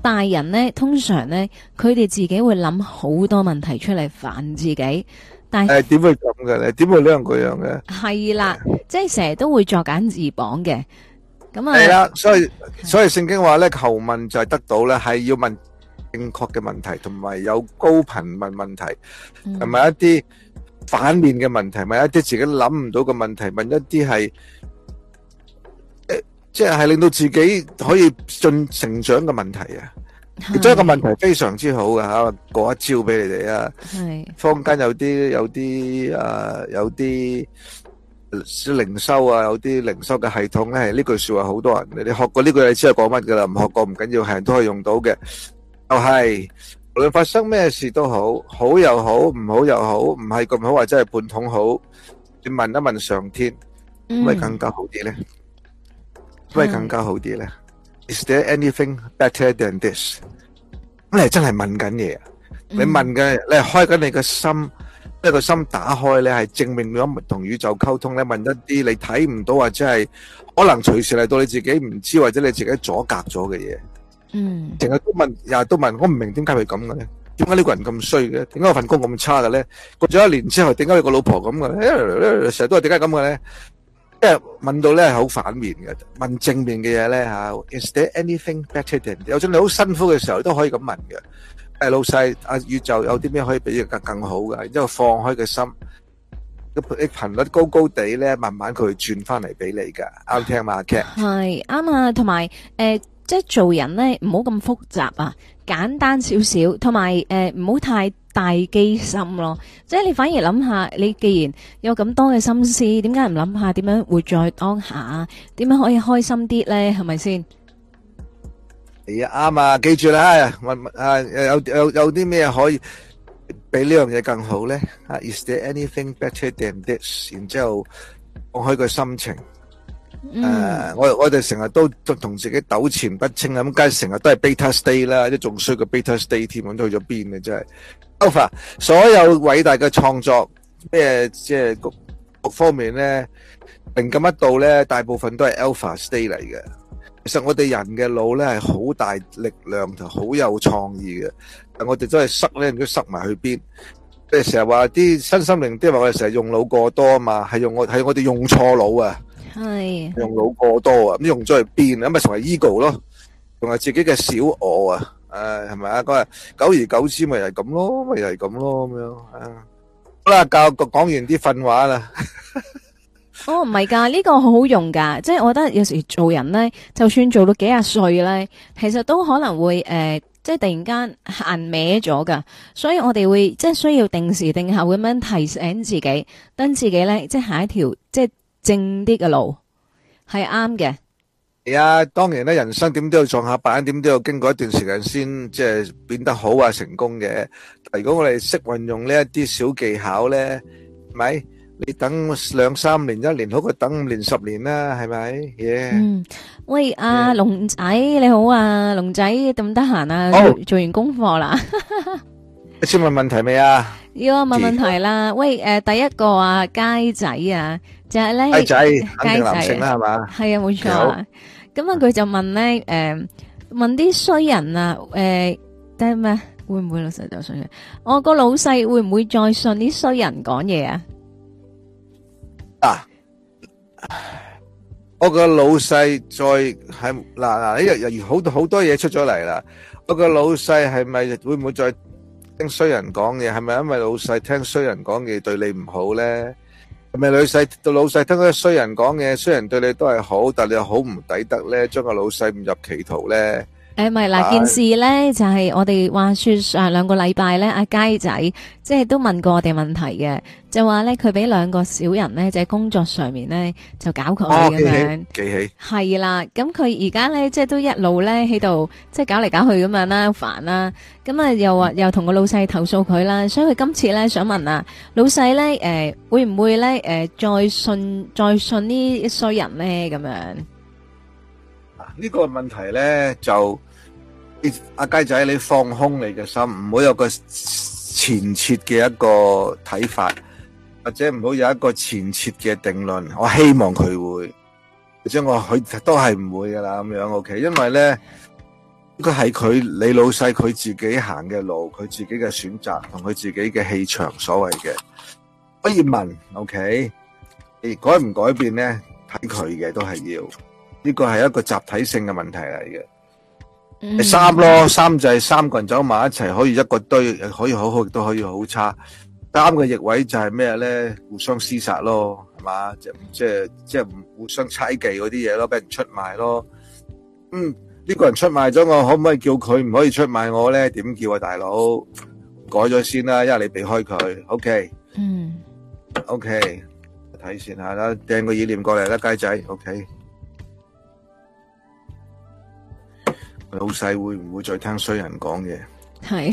大人咧，通常咧，佢哋自己會諗好多問題出嚟煩自己，但係誒點會咁嘅咧？點會呢樣嗰樣嘅？ 係啦，即係成日都會作繭自綁嘅。咁啊， 係啦，所以所以聖經話咧，求問就係得到咧，係要問正確嘅問題，同埋有高頻問問題，同埋一啲反面嘅問題，問一啲自己諗唔到嘅問題，問一啲係誒，即係係令到自己可以進成長嘅問題啊！其中一個問題非常之好嘅吓，過一招俾你哋啊！ 係坊間有啲有啲誒有啲靈修啊，有啲靈修嘅系統咧，係呢句說話好多人你學過呢句，你知係講乜噶啦？唔學過唔緊要，係人都可以用到嘅。就係無論發生咩事都好，好又好，唔好又好，唔係咁好或者係半桶好，你問一問上天，可唔可以更加好啲咧？可唔可以更加好啲咧？Is there anything better than this？咁你係真係問緊嘢啊！你問嘅，你係開緊你嘅心，即係個心打開咧，係正面咁同宇宙溝通咧，問一啲你睇唔到或者係可能隨時嚟到你自己唔知或者你自己阻隔咗嘅嘢。 嗯， 成日都問，日日都問，我唔明點解佢咁嘅咧？點解呢個人咁衰嘅？點解我份工咁差嘅咧？過咗一年之後，點解你個老婆咁嘅咧？成日都係點解咁嘅咧？即係問到咧係好反面嘅，問正面嘅嘢咧吓。Is there anything better than？有陣你好辛苦嘅時候都可以咁問嘅。誒，老細，阿宇宙有啲咩可以比佢更更好嘅？然之後放開個心，個頻率高高地咧，慢慢佢會轉翻嚟俾你噶。啱聽嘛，Cat？ 係啱啊，同埋誒。即係做人咧，唔好咁複雜啊，簡單少少，同埋誒唔好太大機心咯。即係你反而諗下，你既然有咁多嘅心思，點解唔諗下點樣活在當下？點樣可以開心啲咧？係咪先？ 係啊，啱啊，記住啦，問啊有有有啲咩可以比呢樣嘢更好咧？啊 ，Is there anything better than this？然之後放開個心情。誒、uh, 我我哋成日都同自己糾纏不清啦，咁梗係成日都係 beta state 啦，即仲衰過 beta state 添，咁都去咗邊嘅真係。Alpha 所有偉大嘅創作，咩即係各各方面咧，靈感一到咧，大部分都係 alpha state 嚟嘅。其實我哋人嘅腦咧係好大力量同好有創意嘅，但我哋都係塞咧，唔知塞埋去邊。即係成日話啲新心靈啲話我哋成日用腦過多啊嘛，係用我係我哋用錯腦啊。 係用腦過多啊，咁用咗去邊啊？咁咪成為 ego 咯，仲係自己嘅小我啊，誒係咪啊？嗰日久而久之咪又係咁咯，咪又係咁咯咁樣啊。好啦，教講完啲訓話啦。 哦，唔係噶，呢個好好用噶，即係我覺得有時做人咧，就算做到幾廿歲咧，其實都可能會誒，即係突然間行歪咗噶，所以我哋會即係需要定時定候咁樣提醒自己，等自己咧即係行一條即係正啲嘅路，係啱嘅。 係啊，當然咧，人生點都要撞下板，點都要經過一段時間先即係變得好啊，成功嘅。如果我哋識運用呢一啲小技巧咧，係咪？你等兩三年、一年好過等五年、十年啦，係咪？耶！ 嗯，喂，阿龍仔你好啊，龍仔得唔得閒啊？做完功課啦。 你先問問題未啊？ 要我問問題啦。喂，誒，第一個啊，佳仔啊，就係咧， 佳仔肯定男性啦，係嘛？ 係啊，冇錯啊。咁啊，佢就問咧，誒，問啲衰人啊，誒，得咩？會唔會老細就衰人？我個老細會唔會再信啲衰人講嘢啊？ 啊！我個老細再係嗱嗱呢日又好多好多嘢出咗嚟啦。我個老細係咪會唔會再聽衰人講嘢？係咪因為老細聽衰人講嘢對你唔好咧？係咪老細到老細聽嗰啲衰人講嘢，衰人對你都係好，但係你又好唔抵得咧，將個老細誤入歧途咧？誒， 咪嗱，件事咧就係我哋話說上兩個禮拜咧，阿佳仔即係都問過我哋問題嘅，就話咧佢俾兩個小人咧，就喺工作上面咧就搞佢咁樣， 記起係啦。咁佢而家咧即係都一路咧喺度即係搞嚟搞去咁樣啦，煩啦。咁啊又話又同個老細投訴佢啦，所以佢今次咧想問啊，老細咧誒會唔會咧誒再信再信呢衰人咧咁樣？ 呢個問題咧就。阿雞仔，你放空你嘅心，唔好有個前設嘅一個睇法，或者唔好有一個前設嘅定論。我希望佢會，或者我佢都係唔會噶啦咁樣。OK，因為咧佢係佢你老細佢自己行嘅路，佢自己嘅選擇同佢自己嘅氣場所謂嘅，可以問 OK， 改唔改變咧睇佢嘅都係要，呢個係一個集體性嘅問題嚟嘅。 嗯、 第三咯，三就係三個人走埋一齊，可以一個堆，可以好好，亦都可以好差。三個逆位就係咩咧？互相廝殺咯，係嘛？即即即互相猜忌嗰啲嘢咯，俾人出賣咯。嗯，呢個人出賣咗我，可唔可以叫佢唔可以出賣我咧？點叫啊，大佬？改咗先啦，因為你避開佢。OK， 嗯 ，OK，睇先下啦，掟個意念過嚟啦，雞仔。OK。老細會唔會再聽衰人講嘢？ 係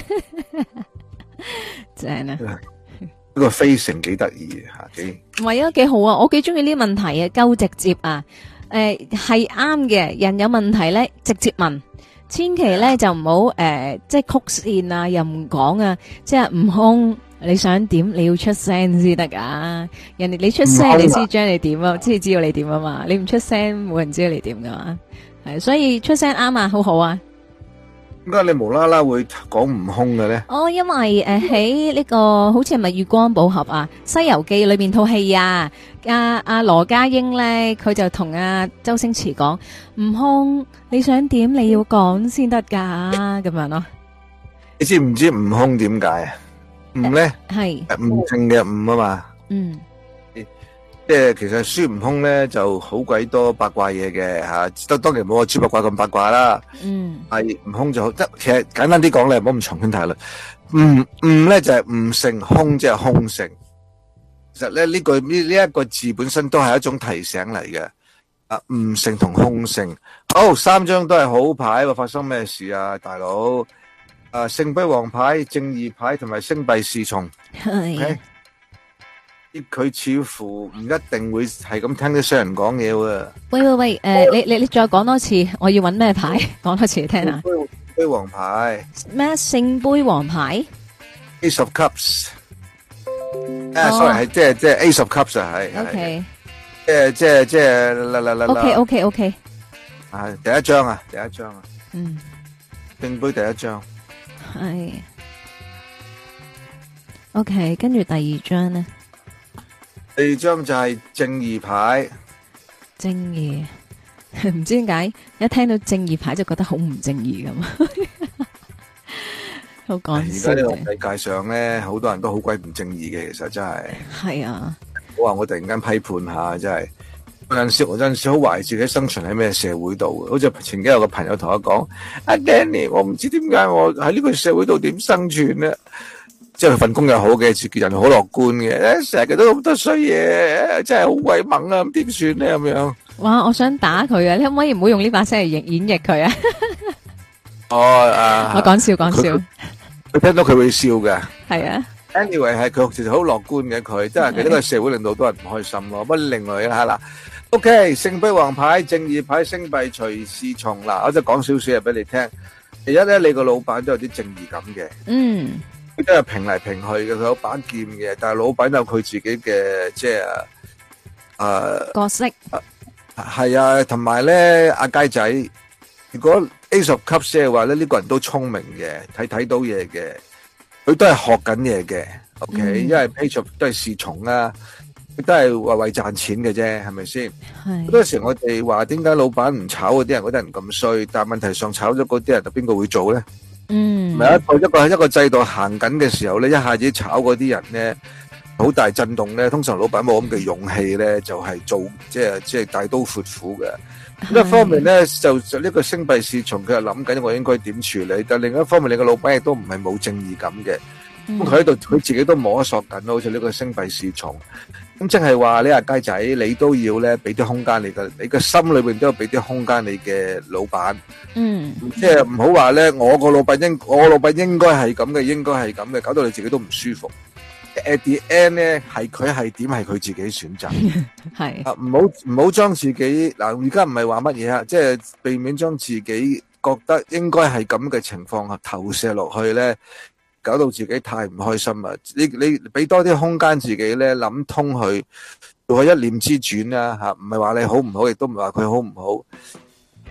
正啊！ 呢個非常幾得意吓，幾唔係啊，幾好啊！我幾中意呢啲問題啊，夠直接啊！誒，係啱嘅，人有問題咧，直接問，千祈咧就唔好誒，即係曲線啊，又唔講啊，即係悟空，你想點？你要出聲先得噶，人哋你出聲，你先將你點啊，先知道你點啊嘛，你唔出聲，冇人知道你點噶嘛。係，所以出聲啱啊，好好啊。 點解你無啦啦會講悟空嘅咧？ 哦，因為誒喺呢個好似係咪月光寶盒啊，《西遊記》裏邊套戲啊，阿阿羅家英咧，佢就同阿周星馳講：悟空，你想點？你要講先得噶，咁樣咯。 你知唔知悟空點解啊？悟咧係悟性嘅悟啊嘛。 嗯。 即係其實孫悟空咧就好鬼多八卦嘢嘅吓，當當然冇個豬八卦咁八卦啦。嗯，係悟空就好，即其實簡單啲講咧，唔好咁長篇大論。悟悟咧就係悟性，空即係空性。其實咧呢句呢呢一個字本身都係一種提醒嚟嘅。啊，悟性同空性，好，三張都係好牌喎，發生咩事啊，大佬？啊，聖杯王牌、正義牌同埋星幣侍從。係。佢似乎唔一定會係咁聽啲商人講嘢喎。喂喂喂，誒、呃，你你你再講多次，我要揾咩牌？講多次嚟聽下。 聖杯王牌咩？聖杯王牌 ？Ace of Cups。啊，sorry，係即係即係 Ace of Cups 啊，係。 O K。 即係即係即係啦啦啦啦。 O K O K O K。 係第一張啊，第一張啊。 嗯。 聖杯第一張。 係。O K，跟住第二張咧。 第二張就係正義牌， 正義唔知點解一聽到正義牌就覺得好唔正義咁，好講笑。 而家呢個世界上咧，好多人都好鬼唔正義嘅，其實真係。係啊， 我話我突然間批判下，真係有陣時，我有陣時好懷疑自己生存喺咩社會度。好似前幾日有個朋友同我講：阿 Danny，我唔知點解我喺呢個社會度點生存咧。即係佢份工又好嘅，自己人好樂觀嘅，成日都咁多衰嘢，真係好鬼猛啊！咁點算咧？咁樣哇！我想打佢啊！你可唔可以唔好用呢把聲嚟演演繹佢啊？ 哦，啊！ 我講笑講笑， 佢聽到佢會笑嘅。係啊 ，anyway 係佢其實好樂觀嘅，佢即係佢呢個社會令到多人唔開心咯。不過另外啦，嗱 ，OK，聖杯王牌、正義牌、星幣隨侍從嗱，我就講少少嘢俾你聽。第一咧，你個老闆都有啲正義感嘅。嗯。佢都係平嚟平去嘅，佢有把劍嘅，但係老闆有佢自己嘅即係誒角色。 係啊，同埋咧阿佳仔，如果 Ace of Cups 嘅話咧，呢個人都聰明嘅，睇睇到嘢嘅，佢都係學緊嘢嘅。OK，因為 Page of 都係侍從啊，佢都係為為賺錢嘅啫，係咪先？係。好多時我哋話點解老闆唔炒嗰啲人，嗰啲人咁衰，但係問題上炒咗嗰啲人，就邊個會做咧？嗯，咪一個一個一個制度行緊嘅時候咧，一下子炒嗰啲人咧，好大震動咧。通常老闆冇咁嘅勇氣咧，就係做即係即係大刀闊斧嘅。一方面咧，就就呢個星幣侍從，佢係諗緊我應該點處理。但另一方面，你個老闆亦都唔係冇正義感嘅。咁佢喺度，佢自己都摸索緊，好似呢個星幣侍從。咁即係話你阿雞仔，你都要咧俾啲空間你嘅，你嘅心裏邊都要俾啲空間你嘅老闆。嗯，即係唔好話咧，我個老闆應我老闆應該係咁嘅，應該係咁嘅，搞到你自己都唔舒服。At the end 咧，係佢係點係佢自己選擇。係啊，唔好唔好將自己嗱，而家唔係話乜嘢啊，即係避免將自己覺得應該係咁嘅情況投射落去咧。搞到自己太唔開心啦！你你俾多啲空間自己咧，諗通去做一念之轉啦吓，唔係話你好唔好，亦都唔係話佢好唔好。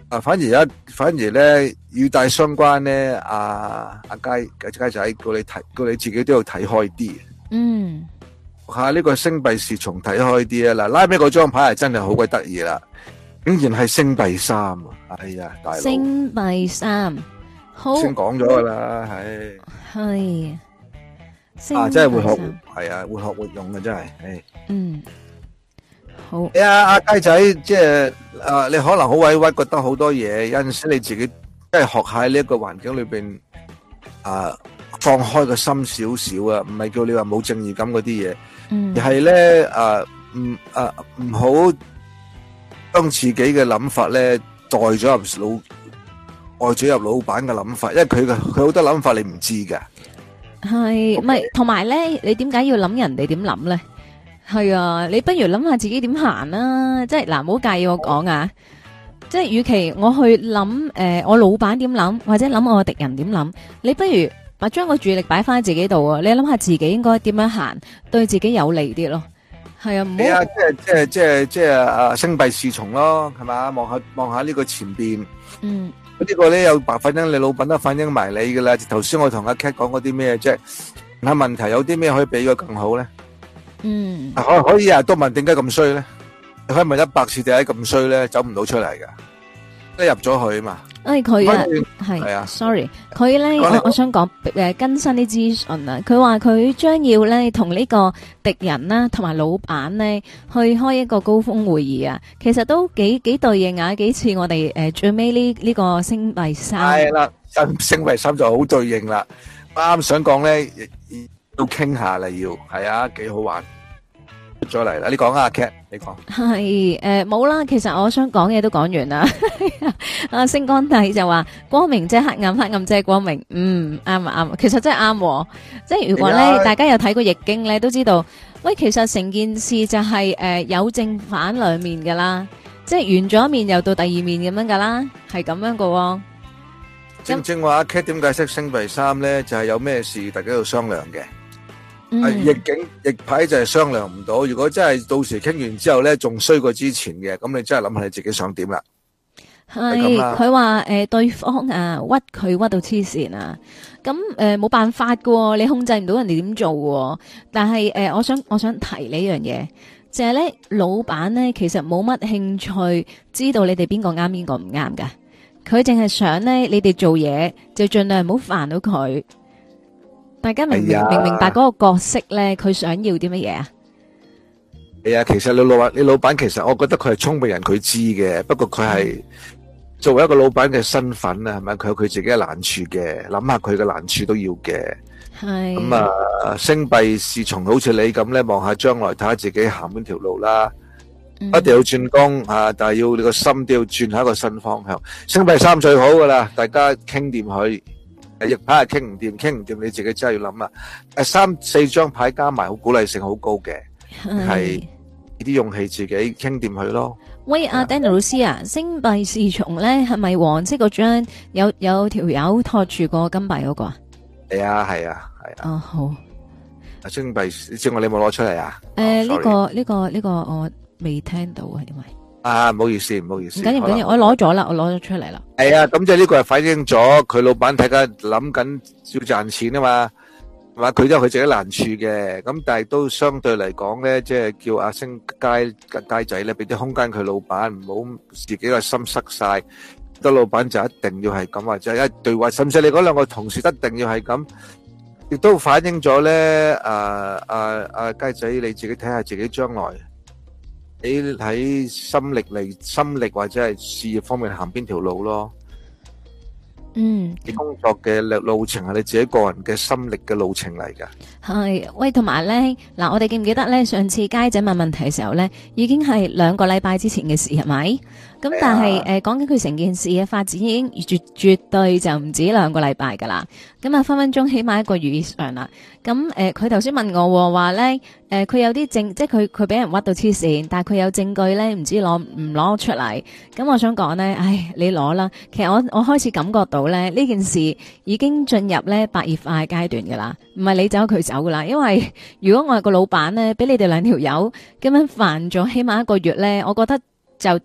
啊，反而一反而咧與大相關咧，阿阿佳佳仔叫你睇，叫你自己都要睇開啲。 嗯， 下呢個星幣侍從睇開啲啊！嗱，拉尾嗰張牌係真係好鬼得意啦，竟然係星幣三啊！哎呀，大佬， 星幣三，好， 先講咗噶啦，係係， 啊，真係會學星幣三， 係啊，會學會用嘅真係，誒， 嗯，好， 哎呀，阿佳仔，即係啊，你可能好委屈，覺得好多嘢，有陣時你自己即係學喺呢一個環境裏邊啊。放開個心少少啊，唔係叫你話冇正義感嗰啲嘢， 嗯， 而係咧誒唔誒唔好將自己嘅諗法咧代咗入老代咗入老闆嘅諗法，因為佢嘅佢好多諗法你唔知㗎。 係，唔係，同埋咧，你點解要諗人哋點諗咧？係啊，你不如諗下自己點行啦，即係嗱，唔好介意我講啊。即係，與其我去諗誒，我老闆點諗，或者諗我嘅敵人點諗，你不如把將個注意力擺翻喺自己度啊！你諗下自己應該點樣行，對自己有利啲咯。係啊，唔好。 係啊，即係即係即係即係啊，星幣侍從咯，係嘛？望下望下呢個前邊。 嗯。 呢個咧有白反映，你老闆都反映埋你噶啦。頭先我同阿 Cat 講嗰啲咩啫？問下問題有啲咩可以俾佢更好咧？ 嗯。 可可以啊？都問點解咁衰咧？你可以問一百次點解咁衰咧？走唔到出嚟噶，即係入咗去啊嘛。 誒，佢啊，係啊，sorry，佢咧，我我想講誒更新啲資訊啊。佢話佢將要咧同呢個敵人啦，同埋老闆咧去開一個高峰會議啊。其實都幾幾對應啊，幾似我哋誒最尾呢呢個星幣三。 係啦，星幣三就好對應啦。啱啱想講咧，要傾下啦，要係啊，幾好玩。出咗嚟啦，你講啊 Cat， 你講係誒冇啦，其實我想講嘢都講完啦。阿星光帝就話光明即係黑暗，黑暗即係光明。嗯，啱啊啱，其實真係啱。即係如果咧，大家有睇過易經咧，都知道，喂，其實成件事就係誒有正反兩面噶啦，即係完咗一面又到第二面咁樣噶啦，係咁樣噶。 正正話阿 Cat 點解釋星幣三咧？就係有咩事大家要商量嘅。係逆境逆牌就係商量唔到，如果真係到時傾完之後咧，仲衰過之前嘅，咁你真係諗下你自己想點啦。 係佢話誒，對方啊屈佢屈到黐線啊，咁誒冇辦法噶，你控制唔到人哋點做喎。但係誒、呃，我想我想提呢樣嘢，就係、是、咧，老闆咧其實冇乜興趣知道你哋邊個啱邊個唔啱噶，佢淨係想咧你哋做嘢就盡量唔好煩到佢。大家明唔明明明白嗰個角色咧，佢想要啲乜嘢啊？ 係啊，其實你老闆，你老闆其實我覺得佢係聰明人，佢知嘅。不過佢係作為一個老闆嘅身份啊，係咪？佢有佢自己嘅難處嘅，諗下佢嘅難處都要嘅。 係咁啊，星幣侍從好似你咁咧，望下將來睇下自己行邊條路啦。一定要轉工啊，但係要你個心都要轉下一個新方向。星幣三最好噶啦，大家傾掂佢。逆牌係傾唔掂，傾唔掂你自己真係要諗啦。誒，三四張牌加埋，好鼓勵性好高嘅，係啲勇氣自己傾掂佢咯。 喂，阿 Danny 老師啊，星幣侍從咧係咪黃色嗰張有有條友托住個金幣嗰個啊？ 係啊，係啊，係啊。 哦，好。 阿星幣，你知我你有冇攞出嚟啊？ 誒，呢個呢個呢個我未聽到啊，因為。 啊，唔好意思，唔好意思。 唔緊要，唔緊要，我攞咗啦，我攞咗出嚟啦。 係啊，咁即係呢個係反映咗佢老闆睇緊諗緊要賺錢啊嘛，係嘛？佢都有佢自己難處嘅，咁但係都相對嚟講咧，即係叫阿星街街仔咧，俾啲空間佢老闆，唔好自己個心塞晒。個老闆就一定要係咁，或者一對話，甚至你嗰兩個同事一定要係咁，亦都反映咗咧。啊啊啊，街仔你自己睇下自己將來。你喺心力嚟，心力或者係事業方面行邊條路咯？ 嗯， 你工作嘅路路程係你自己個人嘅心力嘅路程嚟噶。 係，喂，同埋咧，嗱，我哋記唔記得咧？上次街仔問問題嘅時候咧，已經係兩個禮拜之前嘅事，係咪？咁但係誒，講緊佢成件事嘅發展已經絕絕對就唔止兩個禮拜噶啦。咁啊，分分鐘起碼一個月以上啦。咁誒，佢頭先問我話咧，誒、呃，佢有啲證，即係佢佢俾人屈到黐線，但係佢有證據咧，唔知攞唔攞出嚟。咁我想講咧，唉，你攞啦。其實我我開始感覺到咧，呢件事已經進入咧白熱化嘅階段噶啦，唔係你走佢走噶啦。因為如果我係個老闆咧，俾你哋兩條友咁樣煩咗起碼一個月咧，我覺得就。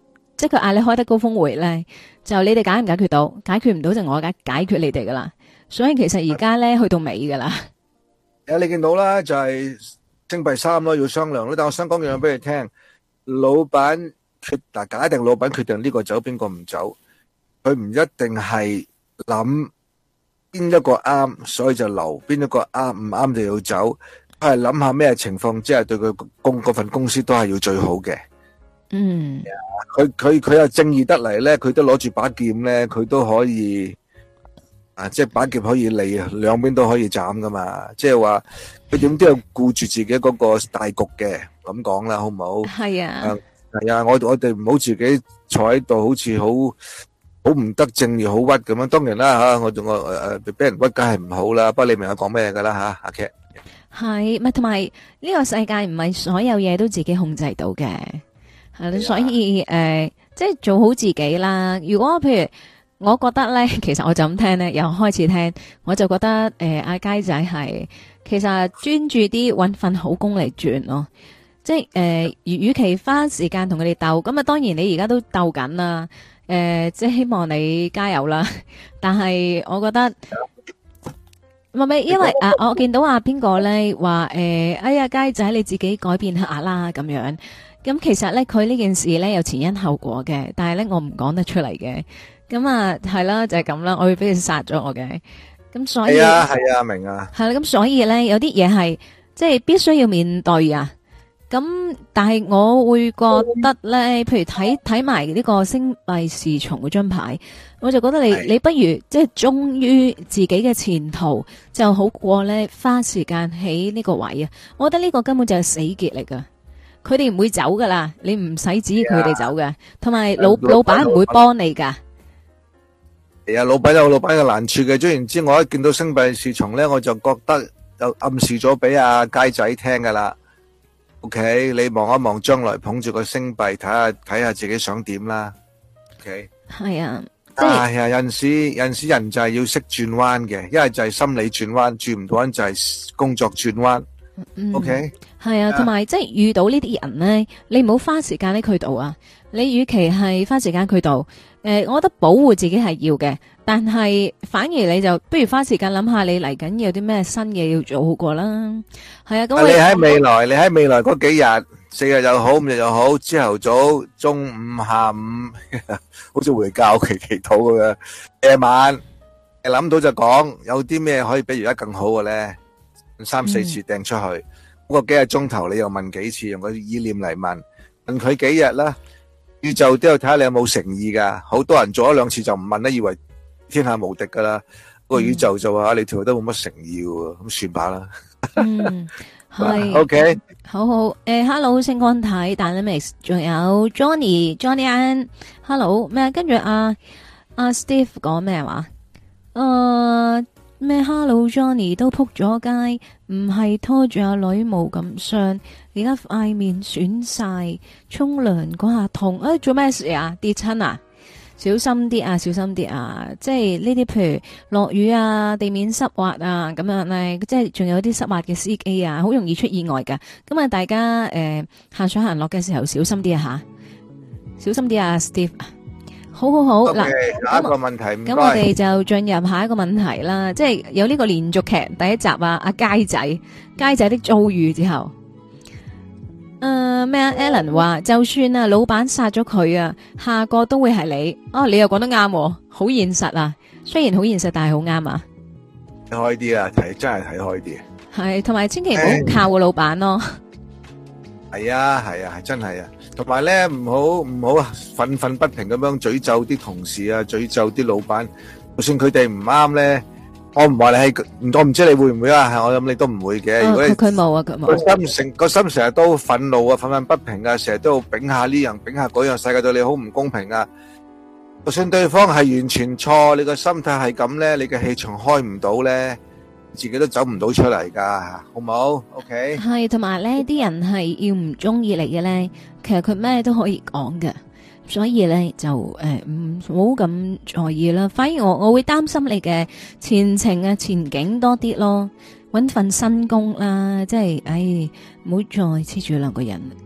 即係佢嗌你開得高峰會咧，就你哋解唔解決到？解決唔到就我解解決你哋噶啦。所以其實而家咧去到尾噶啦。 誒，你見到啦，就係星幣三咯，要商量咯。但我想講樣嘢俾你聽，老闆決嗱，假定老闆決定呢個走，邊個唔走，佢唔一定係諗邊一個啱，所以就留；邊一個啱唔啱就要走。佢係諗下咩情況之下對佢公嗰份公司都係要最好嘅。 嗯， 佢佢佢又正義得嚟咧，佢都攞住把劍咧，佢都可以啊，即係把劍可以利，兩邊都可以斬噶嘛。即係話佢點都要顧住自己嗰個大局嘅，咁講啦，好唔好？ 係啊， 係啊，我我哋唔好自己坐喺度，好似好好唔得正義好屈咁樣。當然啦吓，我仲我誒誒俾人屈，梗係唔好啦。不過你明我講咩噶啦吓，阿 Cat。 係咪同埋呢個世界唔係所有嘢都自己控制到嘅，係啦，所以誒，即係做好自己啦。如果譬如我覺得咧，其實我就咁聽咧，由開始聽，我就覺得誒，阿佳仔係其實專注啲搵份好工嚟轉咯。即係誒，與與其花時間同佢哋鬥，咁啊，當然你而家都鬥緊啦。誒，即係希望你加油啦。但係我覺得。唔係，因為啊，我見到啊邊個咧話誒，哎呀，佳仔你自己改變下啦咁樣。咁其實咧，佢呢件事咧有前因後果嘅，但係咧我唔講得出嚟嘅。咁啊係啦，就係咁啦，我會俾佢殺咗我嘅。咁所以係啊係啊，明啊。 係啦，咁所以咧有啲嘢係即係必須要面對啊。咁但係我會覺得咧，譬如睇睇埋呢個星幣侍從嗰張牌，我就覺得你你不如即係忠於自己嘅前途就好過咧花時間喺呢個位啊！我覺得呢個根本就係死結嚟噶，佢哋唔會走噶啦，你唔使指意佢哋走嘅，同埋老老闆唔會幫你噶。 係啊，老闆有老闆嘅難處嘅。總言之，我一見到星幣侍從咧，我就覺得就暗示咗俾阿佳仔聽噶啦。OK，你望一望將來，捧住個星幣，睇下睇下自己想點啦。OK， 係啊，即係係啊，有陣時有陣時人就係要識轉彎嘅，一係就係心理轉彎，轉唔到彎就係工作轉彎。OK， 係啊，同埋即係遇到呢啲人咧，你唔好花時間喺佢度啊。你與其係花時間佢度，誒，我覺得保護自己係要嘅，但係反而你就不如花時間諗下你嚟緊有啲咩新嘢要做好過啦。係啊，咁你喺未來，你喺未來嗰幾日，四日又好，五日又好，朝頭早、中午、下午，好似回教期祈禱咁樣。夜晚你諗到就講，有啲咩可以比而家更好嘅咧？三四次掟出去，嗰個幾個鐘頭你又問幾次，用個意念嚟問，問佢幾日啦。宇宙都要睇下你有冇誠意噶，好多人做咗兩次就唔問啦，以為天下無敵噶啦。個宇宙就話你條都冇乜誠意喎，咁算罷啦。 嗯，係。 OK， 好好。誒，Hello，星光體 Dynamics，仲有 Johnny，Johnny Ann，Hello 咩？跟住阿阿 Steve 講咩話？誒。咩 Hello Johnny 都撲咗街，唔係拖住阿女冇咁傷，而家塊面損晒，沖涼嗰下痛，誒做咩事啊？跌親啊？小心啲啊，小心啲啊！即係呢啲譬如落雨啊，地面濕滑啊，咁樣咧，即係仲有啲濕滑嘅司機啊，好容易出意外噶。咁啊，大家誒行上行落嘅時候小心啲啊吓，小心啲啊 Steve。好好好，嗱， 下一個問題， 咁我哋就進入下一個問題啦，即係有呢個連續劇第一集啊，阿佳仔，佳仔的遭遇之後，誒咩啊 Alan 話，就算啊老闆殺咗佢啊，下個都會係你，哦，你又講得啱，好現實啊，雖然好現實，但係好啱啊， 睇開啲啊，睇真係睇開啲， 係，同埋千祈唔好靠個老闆咯， 係啊係啊係真係啊。同埋咧，唔好唔好憤憤不平咁樣詛咒啲同事啊，詛咒啲老闆。就算佢哋唔啱咧，我唔話你係，我唔知你會唔會啊？我諗你都唔會嘅。如果你佢冇啊，佢冇。 個心成個心成日都憤怒啊，憤憤不平啊，成日都要丙下呢樣丙下嗰樣，世界對你好唔公平啊！就算對方係完全錯，你個心態係咁咧，你嘅氣場開唔到咧。自己都走唔到出嚟噶，好唔好 ？OK。係，同埋咧，啲人係要唔中意你嘅咧，其實佢咩都可以講嘅，所以咧就誒唔好咁在意啦。反而我我會擔心你嘅前程啊、前景多啲咯，搵份新工啦，即係，唉，唔好再黐住兩個人。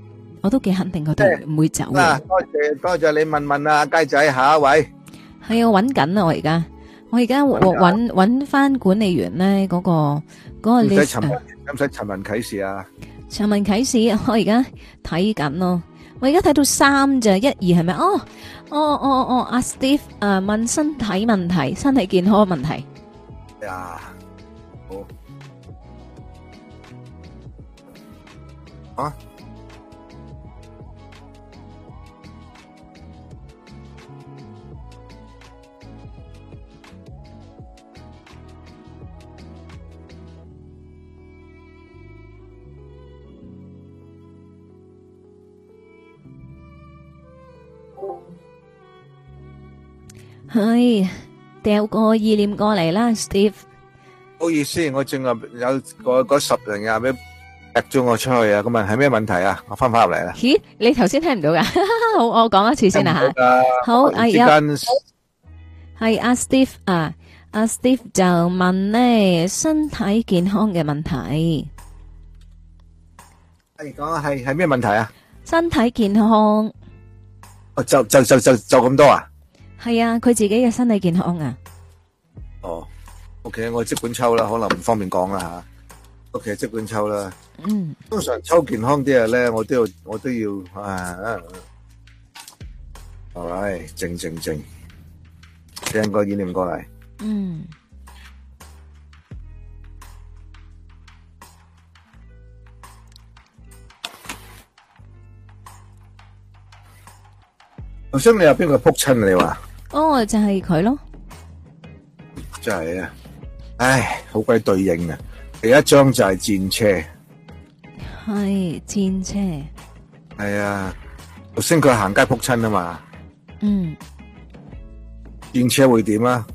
我都幾肯定佢哋唔會走嘅。 嗱，多謝多謝你問問啊，雞仔，下一位。 係啊，揾緊啊，我而家我而家揾揾翻管理員咧嗰個嗰個 list。 唔使尋唔使尋人啟事啊？ 尋人啟事，我而家睇緊咯。我而家睇到三咋，一二係咪？哦哦哦哦，阿 Steve 誒問身體問題，身體健康問題。 呀，好啊。 係掉個意念過嚟啦 ，Steve。 唔好意思，我正話有個嗰十零廿秒踢咗我出去啊！咁啊，係咩問題啊？我翻返入嚟啦。 咦，你頭先聽唔到噶？好，我講一次先啦吓。好，阿一係阿 Steve 啊，阿 Steve 就問咧身體健康嘅問題。 係講係係咩問題啊？ 身體健康。 哦，就就就就就咁多啊？ 係啊，佢自己嘅身體健康啊。 哦 ，OK，我即管抽啦，可能唔方便講啦吓。OK，即管抽啦。 嗯。 通常抽健康啲嘢咧，我都要我都要啊。All right，靜靜靜，聽個意念過嚟。 嗯。 頭先你有邊個撲親你話？ 哦，就係佢咯。 真係啊，唉，好鬼對應啊！第一張就係戰車， 係戰車。 係啊，頭先佢行街撲親啊嘛。 嗯。 戰車會點啊？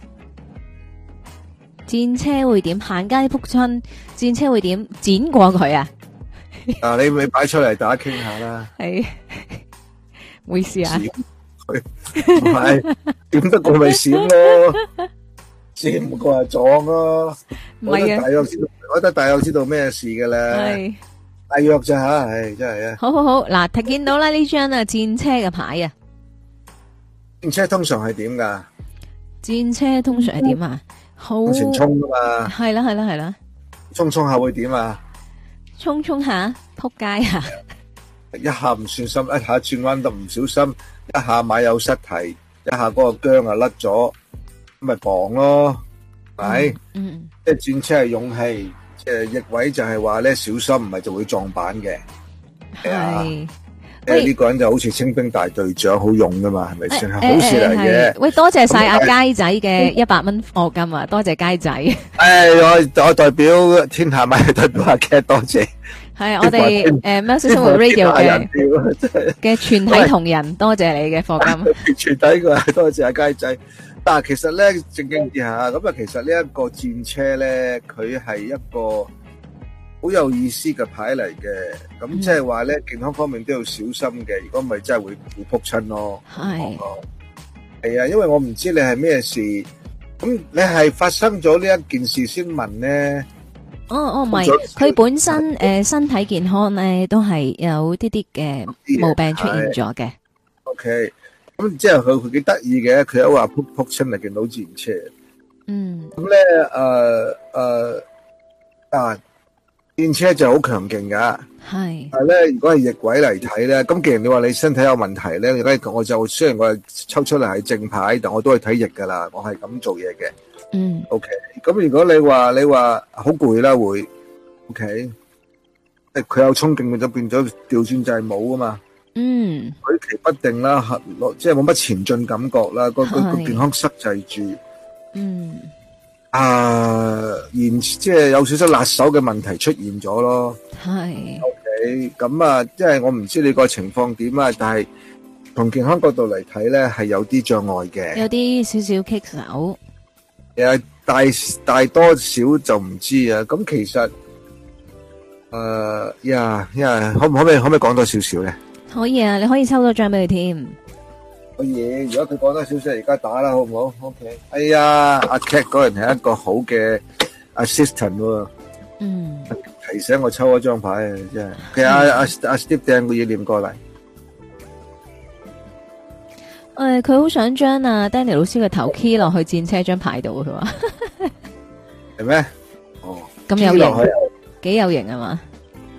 戰車會點？行街撲親，戰車會點？剪過佢啊？ 啊，你咪擺出嚟大家傾下啦。 係。唔好意思啊， 佢唔係點得過咪閃咯，閃過係撞咯。我覺得大約知道，我覺得大約知道咩事嘅咧。係大約咋吓？唉，真係啊。 好好好，嗱，睇見到啦呢張啊戰車嘅牌啊。 戰車通常係點噶？ 戰車通常係點啊？好往前衝噶嘛。係啦係啦係啦。衝衝下會點啊？ 衝衝下撲街啊！ 一下唔算心，一下轉彎得唔小心，一下買有失蹄，一下嗰個韁啊甩咗，咁咪磅咯，係， 嗯， 即係戰車係勇氣，即係逆位就係話咧小心，唔係就會撞板嘅，係啊，即係呢個人就好似清兵大隊長，好勇噶嘛，係咪先？係好事嚟嘅。 喂，多謝晒阿佳仔嘅一百蚊課金啊，多謝佳仔。 誒，我我代表天下咪代表阿 Cat 多謝。係我哋誒喵式生活 Radio 嘅嘅全體同仁，多謝你嘅課金。 全體嘅多謝阿佳仔。但係其實咧正經啲下，咁啊其實呢一個戰車咧，佢係一個好有意思嘅牌嚟嘅。咁即係話咧健康方面都要小心嘅。如果唔係真係會會撲親咯。係係啊，因為我唔知你係咩事。咁你係發生咗呢一件事先問咧？ 哦哦，唔係，佢本身誒身體健康咧都係有啲啲嘅毛病出現咗嘅。 OK，咁即係佢佢幾得意嘅，佢一話撲撲親嚟見到戰車。嗯。咁咧誒誒啊，戰車就好強勁噶。係。但係咧，如果係逆位嚟睇咧，咁既然你話你身體有問題咧，而家我就雖然我係抽出嚟係正牌，但我都係睇逆噶啦，我係咁做嘢嘅。嗯，OK，咁如果你話你話好攰啦會 ，OK，誒佢有衝勁，佢就變咗調轉就係冇啊嘛。嗯，舉棋不定啦，即係冇乜前進感覺啦，個個個健康塞滯住。嗯，啊，然即係有少少辣手嘅問題出現咗咯。係 ，OK，咁啊，即係我唔知你個情況點啊，但係從健康角度嚟睇咧，係有啲障礙嘅，有啲少少棘手。誒，大大多少就唔知啊。咁其實誒呀呀，可唔可唔可以可唔可以講多少少咧？可以啊，你可以抽多張俾佢添。可以，如果佢講多少少，而家打啦，好唔好 ？OK。哎呀，阿 Cat 嗰人係一個好嘅 assistant 喎。嗯。睇提醒我抽一張牌啊，真係。其實阿阿阿 Steve 掟個意念過嚟。 誒，佢好想將阿 Danny 老師嘅頭 key 落去戰車張牌度，佢話係咩？哦， 咁有型，幾有型啊嘛？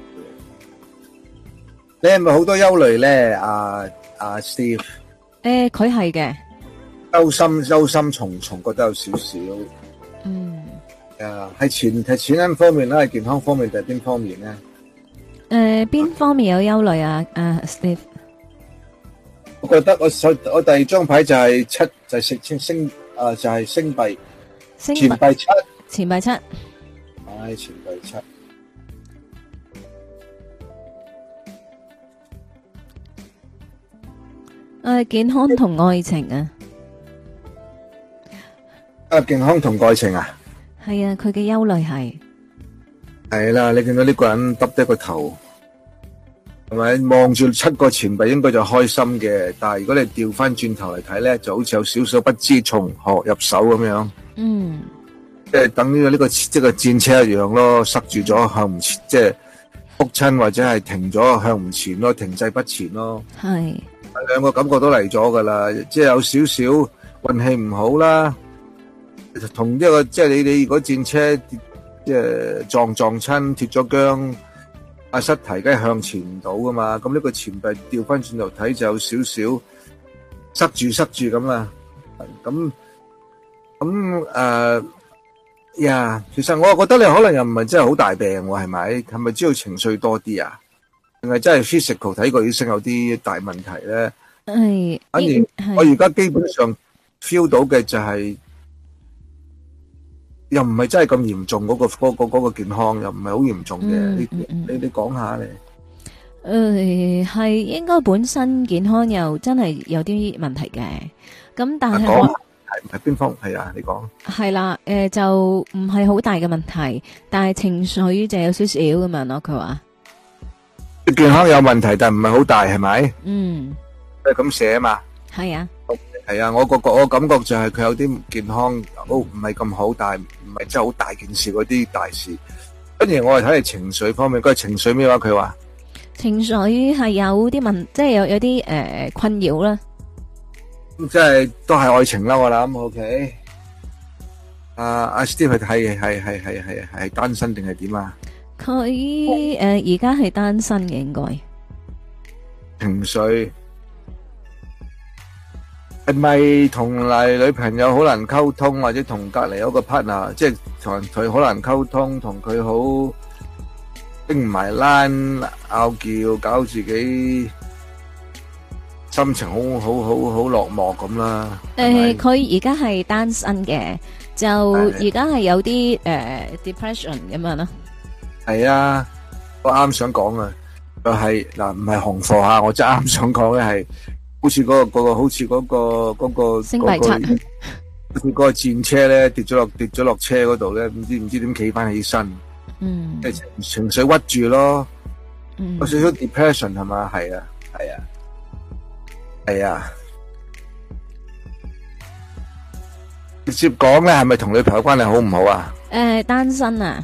你係咪好多憂慮咧？阿阿 Steve？ 誒，佢係嘅， 憂心憂心忡忡，覺得有少少。 嗯。 誒，係錢係錢銀方面啦，係健康方面定係邊方面咧？ 誒，邊方面有憂慮啊？阿 Steve？ 我覺得我手我第二張牌就係七，就係星星星啊，就係星幣，錢幣七， 錢幣七， 唉，錢幣七。 誒，健康同愛情啊， 啊，健康同愛情啊， 係啊，佢嘅憂慮係係啦，你見到呢個人耷低個頭。係咪望住七個錢幣應該就開心嘅？但係如果你調翻轉頭嚟睇咧，就好似有少少不知從何入手咁樣。 嗯， 即係等於呢個即係個戰車一樣咯，塞住咗向唔前，即係仆親或者係停咗向唔前咯，停滯不前咯。 係兩個感覺都嚟咗噶啦，即係有少少運氣唔好啦。同一個即係你你如果戰車即係撞撞親脫咗韁。阿失提梗係向前唔到噶嘛，咁呢個錢幣調翻轉頭睇就有少少塞住塞住咁啦，咁咁誒呀，其實我覺得你可能又唔係真係好大病喎，係咪？係咪知道情緒多啲啊？定係真係 physical 睇過醫生有啲大問題咧？ 係， 反而我而家基本上 feel 到嘅就係。又唔係真係咁嚴重，嗰個嗰個嗰個健康又唔係好嚴重嘅。你你你講下你。 誒，係應該本身健康又真係有啲問題嘅。咁但係我係係邊方係啊？你講。係啦，誒就唔係好大嘅問題，但係情緒就有少少咁樣咯。佢話健康有問題，但係唔係好大，係咪？ 嗯， 係咁寫啊嘛。 係啊。 係啊，我個個我感覺就係佢有啲健康都唔係咁好，但係唔係真係好大件事嗰啲大事。跟住我係睇係情緒方面，佢係情緒咩話？佢話情緒係有啲問，即係有有啲誒困擾啦。 咁即係都係愛情啦，我諗。OK，阿阿 Steve 係係係係係係係單身定係點啊？ 佢誒而家係單身嘅，應該情緒。係咪同嚟女朋友好難溝通，或者同隔籬嗰個 partner，即係同佢好難溝通，同佢好拎唔埋欄，拗撬，搞自己心情好好好好落寞咁啦。 誒，佢而家係單身嘅，就而家係有啲誒 depression 咁樣咯。係啊，我啱想講啊，就係嗱，唔係紅貨吓，我真係啱想講嘅係。好似嗰個嗰個好似嗰個嗰個星幣七， 好似嗰個戰車咧跌咗落跌咗落車嗰度咧，唔知唔知點企翻起身， 嗯， 即係情緒屈住咯， 嗯， 有少少 depression 係嘛，係啊，係啊，係啊，直接講咧，係咪同女朋友關係好唔好啊？ 誒，單身啊，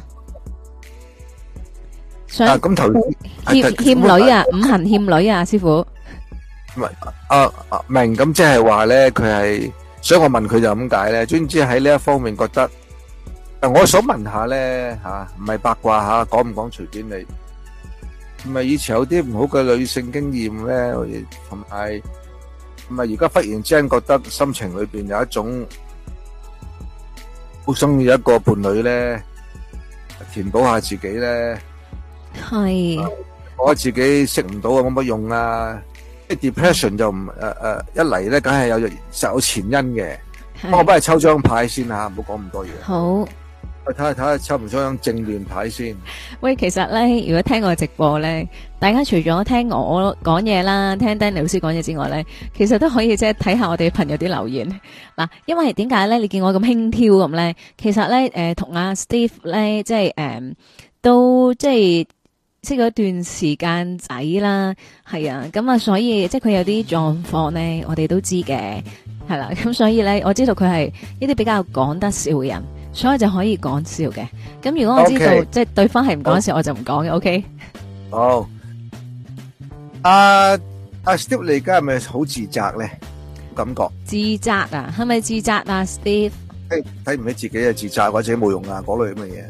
想咁頭欠欠女啊，五行欠女啊，師傅。 唔係，啊啊明咁即係話咧，佢係，所以我問佢就咁解咧。總之喺呢一方面覺得，誒，我想問下咧吓，唔係八卦吓，講唔講隨便你。唔係以前有啲唔好嘅女性經驗咧，同埋唔係而家忽然之間覺得心情裏邊有一種好中意一個伴侶咧，填補下自己咧。 係。 我自己識唔到啊，冇乜用啊。即係 depression 就唔誒誒一嚟咧，梗係有實有前因嘅。我幫你抽張牌先吓，唔好講咁多嘢。 好， 我睇下睇下抽唔抽張正面牌先。 喂，其實咧，如果聽我直播咧，大家除咗聽我講嘢啦，聽 Danny 老師講嘢之外咧，其實都可以即係睇下我哋朋友啲留言。嗱，因為點解咧？你見我咁輕佻咁咧？其實咧，誒，同阿 Steve 咧，即係誒，都即係。識咗一段時間仔啦，係啊，咁啊，所以即係佢有啲狀況咧，我哋都知嘅，係啦，咁所以咧，我知道佢係一啲比較講得笑嘅人， 所以就可以講笑嘅。咁如果我知道 OK 即係對方係唔講笑，我就唔講嘅。OK。 好，阿阿 Steve 你而家係咪好自責咧？感覺自責啊，係咪自責啊 ，Steve？ 睇睇唔起自己啊，自責或者冇用啊，嗰類咁嘅嘢。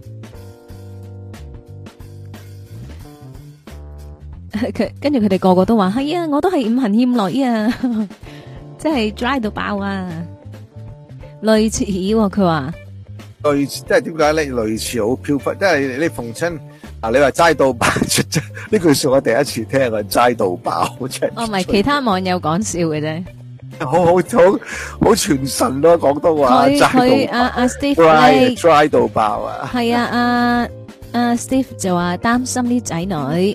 佢跟住佢哋個個都話係啊，我都係五行欠女啊，即係 dry 到爆啊，類似喎佢話。 類似即係點解咧？類似好飄忽，即係你逢親啊！你話齋到爆，呢句說我第一次聽啊！齋到爆，真係。 哦，唔係其他網友講笑嘅啫。 好好好好傳神咯，廣東話。 佢佢阿阿 Steve 咧 dry 到爆啊！ 係啊，阿阿 Steve 就話擔心啲仔女。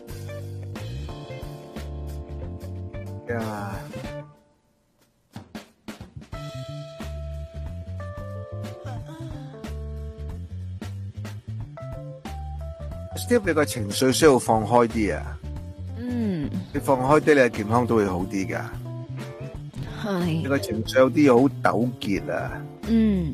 呀！Steve 你個情緒需要放開啲啊！ 嗯， 你放開啲，你嘅健康都會好啲噶。 係。 你個情緒有啲好糾結啊！ 嗯，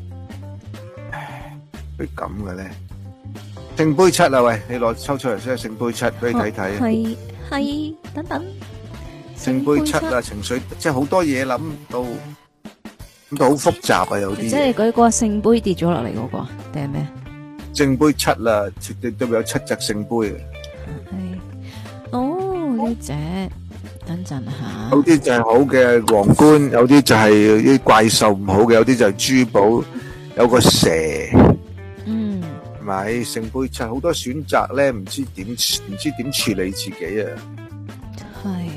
會咁嘅咧？聖杯七啊，喂，你攞抽出嚟先，聖杯七俾你睇睇。 係係，等等。 聖杯七啊，情緒即係好多嘢諗到，諗到好複雜啊，有啲嘢。 即係嗰個聖杯跌咗落嚟嗰個，定係咩？ 聖杯七啦，絕對都有七隻聖杯嘅。 係，哦呢隻，等陣下。 有啲就係好嘅皇冠，有啲就係啲怪獸唔好嘅，有啲就係珠寶，有個蛇。 嗯。 係咪？聖杯七好多選擇咧，唔知點唔知點處理自己啊。 係。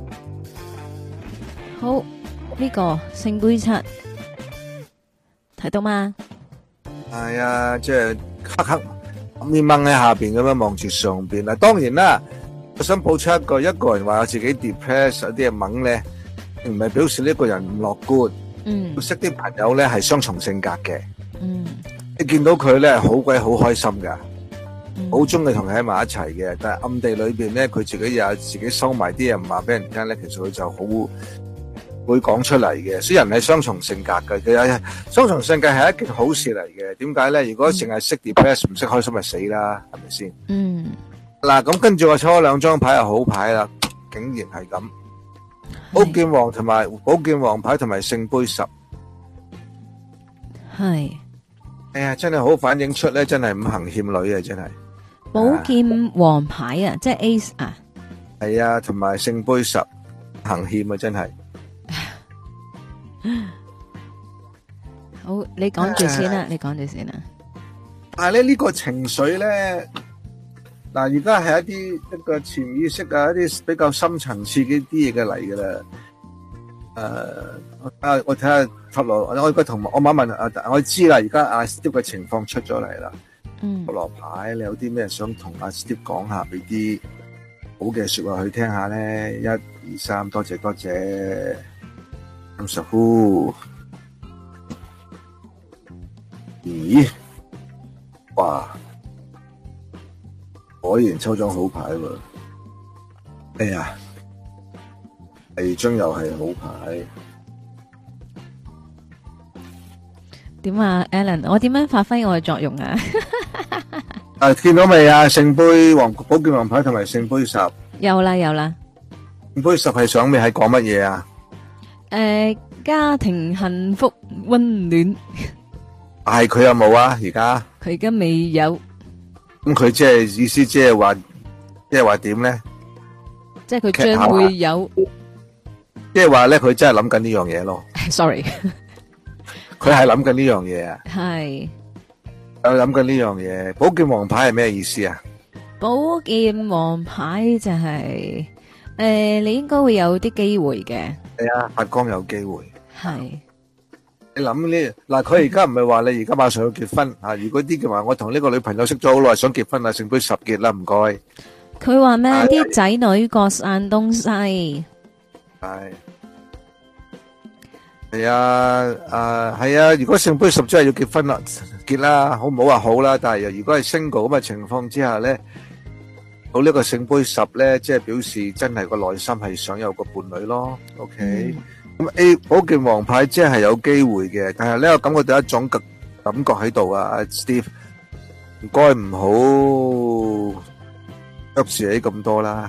好，呢個聖杯七睇到嗎？ 係啊，即係黑黑面掹喺下邊咁樣望住上邊啦。當然啦，我想補出一個，一個人話自己 depress 有啲嘢掹咧，唔係表示呢個人唔樂觀。 嗯， 要識啲朋友咧係雙重性格嘅。 嗯， 你見到佢咧好鬼好開心噶，好中意同佢喺埋一齊嘅，但係暗地裏邊咧佢自己又自己收埋啲嘢唔話俾人聽咧，其實佢就好會講出嚟嘅。所以人係雙重性格嘅，其實雙重性格係一件好事嚟嘅。點解咧？如果淨係識 depress 唔識開心咪死啦，係咪先？ 嗯。 嗱，咁跟住我抽咗兩張牌係好牌啦，竟然係咁。寶劍王同埋寶劍王牌同埋聖杯十。 係。 哎呀，真係好反映出咧，真係五行欠女啊，真係。 寶劍王牌啊，即係 Ace 啊。 係啊，同埋聖杯十行欠啊，真係。 好，你講住先啦，你講住先啦。 但係咧呢個情緒咧，嗱而家係一啲一個潛意識啊，一啲比較深層次嘅啲嘢嘅嚟噶啦。誒，啊，我睇下塔羅，我而家同我問一問啊，我知啦，而家阿 Steve 嘅情況出咗嚟啦。 嗯。塔羅牌，你有啲咩想同阿 Steve 講下，俾啲好嘅說話去聽下咧？一、二、三，多謝多謝。五十呼。咦？哇！果然抽張好牌喎。哎呀！第二張又係好牌。 點啊 ，Alan？我點樣發揮我嘅作用啊？ 啊，見到未啊？聖杯王寶劍王牌同埋聖杯十。有啦，有啦。 聖杯十係想咩？係講乜嘢啊？ 誒，家庭幸福溫暖。 係佢有冇啊？而家佢而家未有。 咁佢即係意思，即係話，即係話點咧？ 即係佢將會有。 即係話咧，佢真係諗緊呢樣嘢咯。 Sorry， 佢係諗緊呢樣嘢啊。 係。 有諗緊呢樣嘢。寶劍王牌係咩意思啊？ 寶劍王牌就係誒，你應該會有啲機會嘅。 係啊，發光有機會。 係。 你諗呢？嗱，佢而家唔係話你而家馬上要結婚啊？如果啲嘅話，我同呢個女朋友識咗好耐，想結婚啦，聖杯十結啦，唔該。 佢話咩？啲仔女各散東西。 係。係啊，啊係啊！如果聖杯十真係要結婚啦，結啦，好唔好話好啦？但係如果係 single 咁嘅情況之下咧，到呢個聖杯十咧，即係表示真係個內心係想有個伴侶咯。OK。咁 A 寶劍王牌即係有機會嘅，但係咧我感覺到一種極感覺喺度啊，阿 Steve，唔該唔好急住起咁多啦。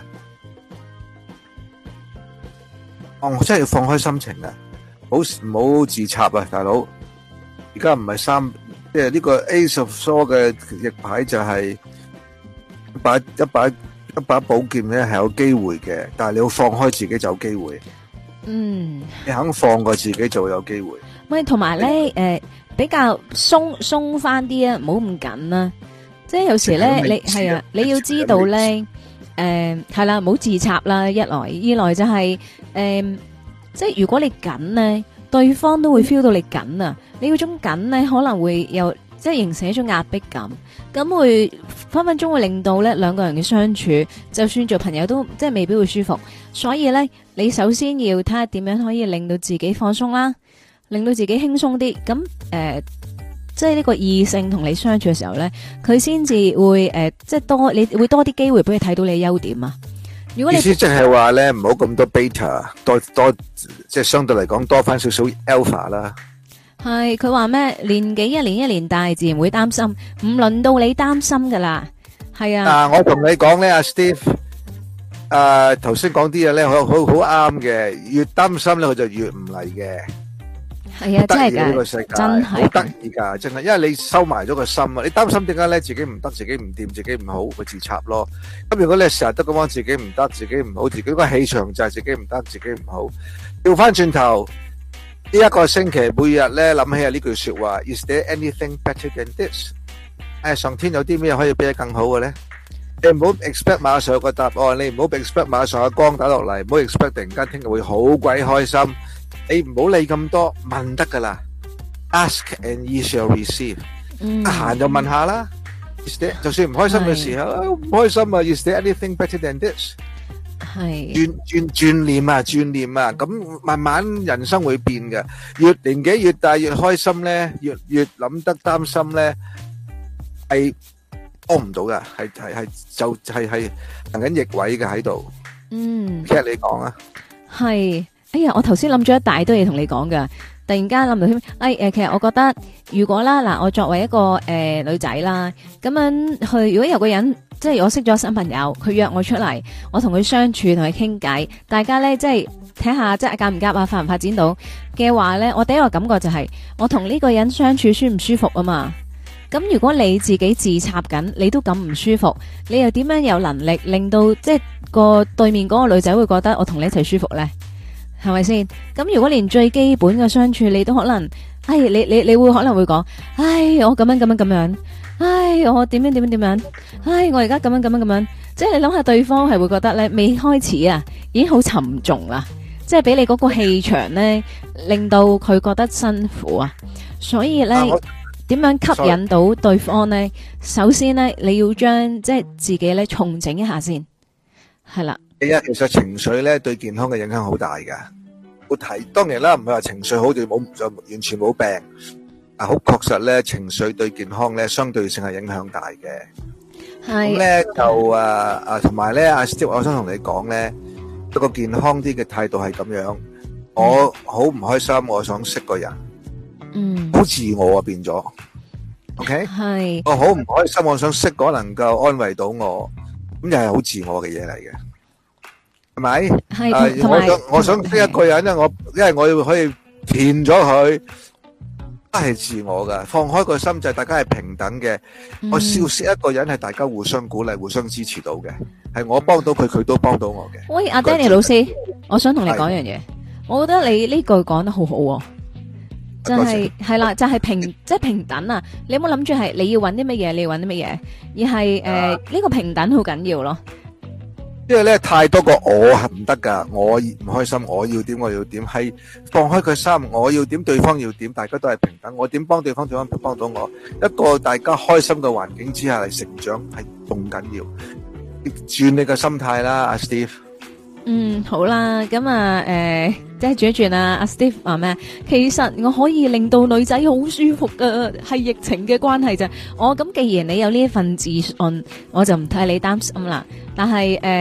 哦，我真係要放開心情啊，唔好唔好自插啊，大佬。而家唔係三，即係呢個 Ace of Swords 嘅逆牌就係一把一把一把寶劍咧，係有機會嘅，但係你要放開自己就有機會。 嗯， 你肯放過自己就會有機會。 喂，同埋咧，誒，比較鬆鬆翻啲啊，唔好咁緊啦。即係有時咧，你係啊，你要知道咧。誒，係啦，唔好自插啦。一來，二來就係誒，即係如果你緊咧，對方都會 feel 到你緊啊。你嗰種緊咧，可能會又即係形成一種壓迫感，咁會分分鐘會令到咧兩個人嘅相處，就算做朋友都即係未必會舒服。所以咧，你首先要睇下點樣可以令到自己放鬆啦，令到自己輕鬆啲。咁誒。即係呢個異性同你相處嘅時候咧，佢先至會誒、呃，即係多你會多啲機會俾佢睇到你嘅優點啊。如果你意思即係話咧，唔好咁多 beta，多多即係相對嚟講多翻少少 alpha 啦。 係佢話咩？年紀一年一年大，自然會擔心，唔輪到你擔心噶啦。係啊。嗱， 我同你講咧，阿 Steve，誒頭先講啲嘢咧，好好好啱嘅。越擔心咧，佢就越唔嚟嘅。 係啊，真係噶， 呢個世界真係好得意噶，真係，因為你收埋咗個心啊，你擔心點解咧？自己唔得，自己唔掂，自己唔好，會自插咯。咁如果你成日都咁講自己唔得，自己唔好，自己個氣場就係自己唔得，自己唔好。調翻轉頭呢一個星期，每日咧諗起啊呢句說話 ：Is there anything better than this？ 誒，上天有啲咩可以比得更好嘅咧？你唔好 expect 馬上有個答案，你唔好 expect 馬上有光打落嚟，唔好 expect 突然間聽日會好鬼開心。你唔好理咁多，問得噶啦。Ask and ye shall receive。得閒就問下啦。就算唔開心嘅時候，唔開心啊 ，Is there anything better than this？ 係轉轉轉念啊，轉念啊，咁慢慢人生會變嘅。越年紀越大越開心咧，越越諗得擔心咧，係幫唔到噶，係係係就係係行緊逆位嘅喺度。 嗯， 其實你講啊， 係。哎呀，我頭先諗咗一大堆嘢同你講噶，突然間諗到添。哎誒，其實我覺得如果啦，嗱，我作為一個誒、呃、女仔啦，咁樣去，如果有個人即係我識咗新朋友，佢約我出嚟，我同佢相處，同佢傾偈，大家咧即係睇下即係夾唔夾啊，發唔發展到嘅話咧，我第一個感覺就係、是、我同呢個人相處舒唔舒服啊嘛。咁如果你自己自插緊，你都咁唔舒服，你又點樣有能力令到即係個對面嗰個女仔會覺得我同你一齊舒服咧？係咪先？咁如果連最基本嘅相處你都可能，唉，你你你會可能會講，唉，我咁樣咁樣咁樣，唉，我點樣點樣點樣，唉，我而家咁樣咁樣咁樣，即係你諗下對方係會覺得咧，未開始啊，已經好沉重啦，即係俾你嗰個氣場咧，令到佢覺得辛苦啊，所以咧，點樣吸引到對方咧？首先咧，你要將即係自己咧重整一下先，係啦。 第一，其實情緒咧對健康嘅影響好大噶。我睇當然啦，唔係話情緒好就冇就完全冇病。啊，好確實咧，情緒對健康咧相對性係影響大嘅。係咁咧就啊啊，同埋咧阿 Steve，我想同你講咧，一個健康啲嘅態度係咁樣。我好唔開心，我想識個人，嗯，好自我啊變咗。OK，係。我好唔開心，我想識個能夠安慰到我，咁又係好自我嘅嘢嚟嘅。係咪？係，我想我想識一個人咧，我因為我要可以填咗佢，都係自我噶。放開個心就係大家係平等嘅。我笑識一個人係大家互相鼓勵、互相支持到嘅，係我幫到佢，佢都幫到我嘅。 喂，阿 Danny 老師，我想同你講一樣嘢，我覺得你呢句講得好好，就係係啦，就係平即係平等啊！你有冇諗住係你要揾啲乜嘢，你要揾啲乜嘢，而係誒呢個平等好緊要咯。 因為咧太多個我係唔得噶，我唔開心，我要點我要點，係放開個心，我要點對方要點，大家都係平等，我點幫對方，對方幫到我，一個大家開心嘅環境之下嚟成長係仲緊要，轉你個心態啦，阿 Steve。 嗯，好啦，咁啊，誒，即係轉一轉啊，阿 Steve 話咩？其實我可以令到女仔好舒服噶，係疫情嘅關係啫。我咁既然你有呢一份自信，我就唔替你擔心啦。但係誒，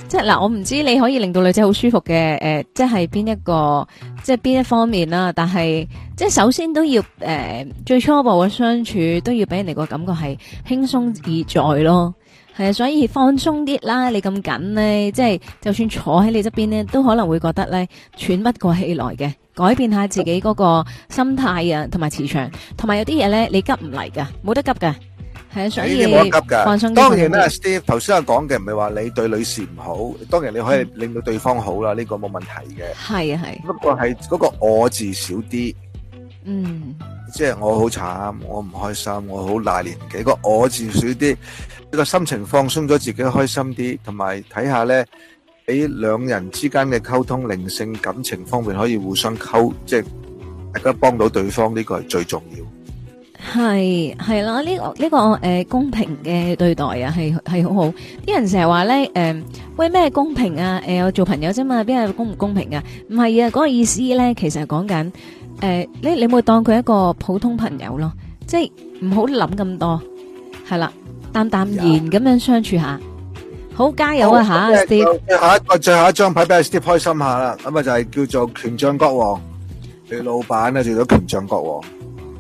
即係嗱，我唔知你可以令到女仔好舒服嘅，誒、呃，即係邊一個，即係邊一方面啦。但係即係首先都要誒、呃，最初步嘅相處都要俾人哋個感覺係輕鬆自在咯。係啊，所以放鬆啲啦。你咁緊咧，即係就算坐喺你側邊咧，都可能會覺得咧喘不過氣來嘅。改變下自己嗰個心態啊，同埋磁場，同埋有啲嘢咧，你急唔嚟噶，冇得急噶。係啊，所以冇得急㗎。 放鬆啲。 當然啦，Steve 頭先我講嘅唔係話你對女士唔好，當然你可以令到對方好啦，呢個冇問題嘅。 係啊係。 不過係嗰個我字少啲。 嗯。即係我好慘，我唔開心，我好大年紀，個我字少啲，呢個心情放鬆咗，自己開心啲，同埋睇下咧，喺兩人之間嘅溝通、靈性、感情方面可以互相溝，即係大家幫到對方，呢個係最重要。 係係啦，呢個呢個誒公平嘅對待啊，係係好好。啲人成日話咧，誒喂咩公平啊？誒我做朋友啫嘛，邊係公唔公平啊？唔係啊，嗰個意思咧，其實係講緊誒，你你會當佢一個普通朋友咯，即係唔好諗咁多，係啦，淡淡然咁樣相處下。好，加油啊吓 ，Steve！ 最後一個最後一張牌俾阿 Steve 開心下啦，咁啊就係叫做權杖國王，你老闆咧做咗權杖國王。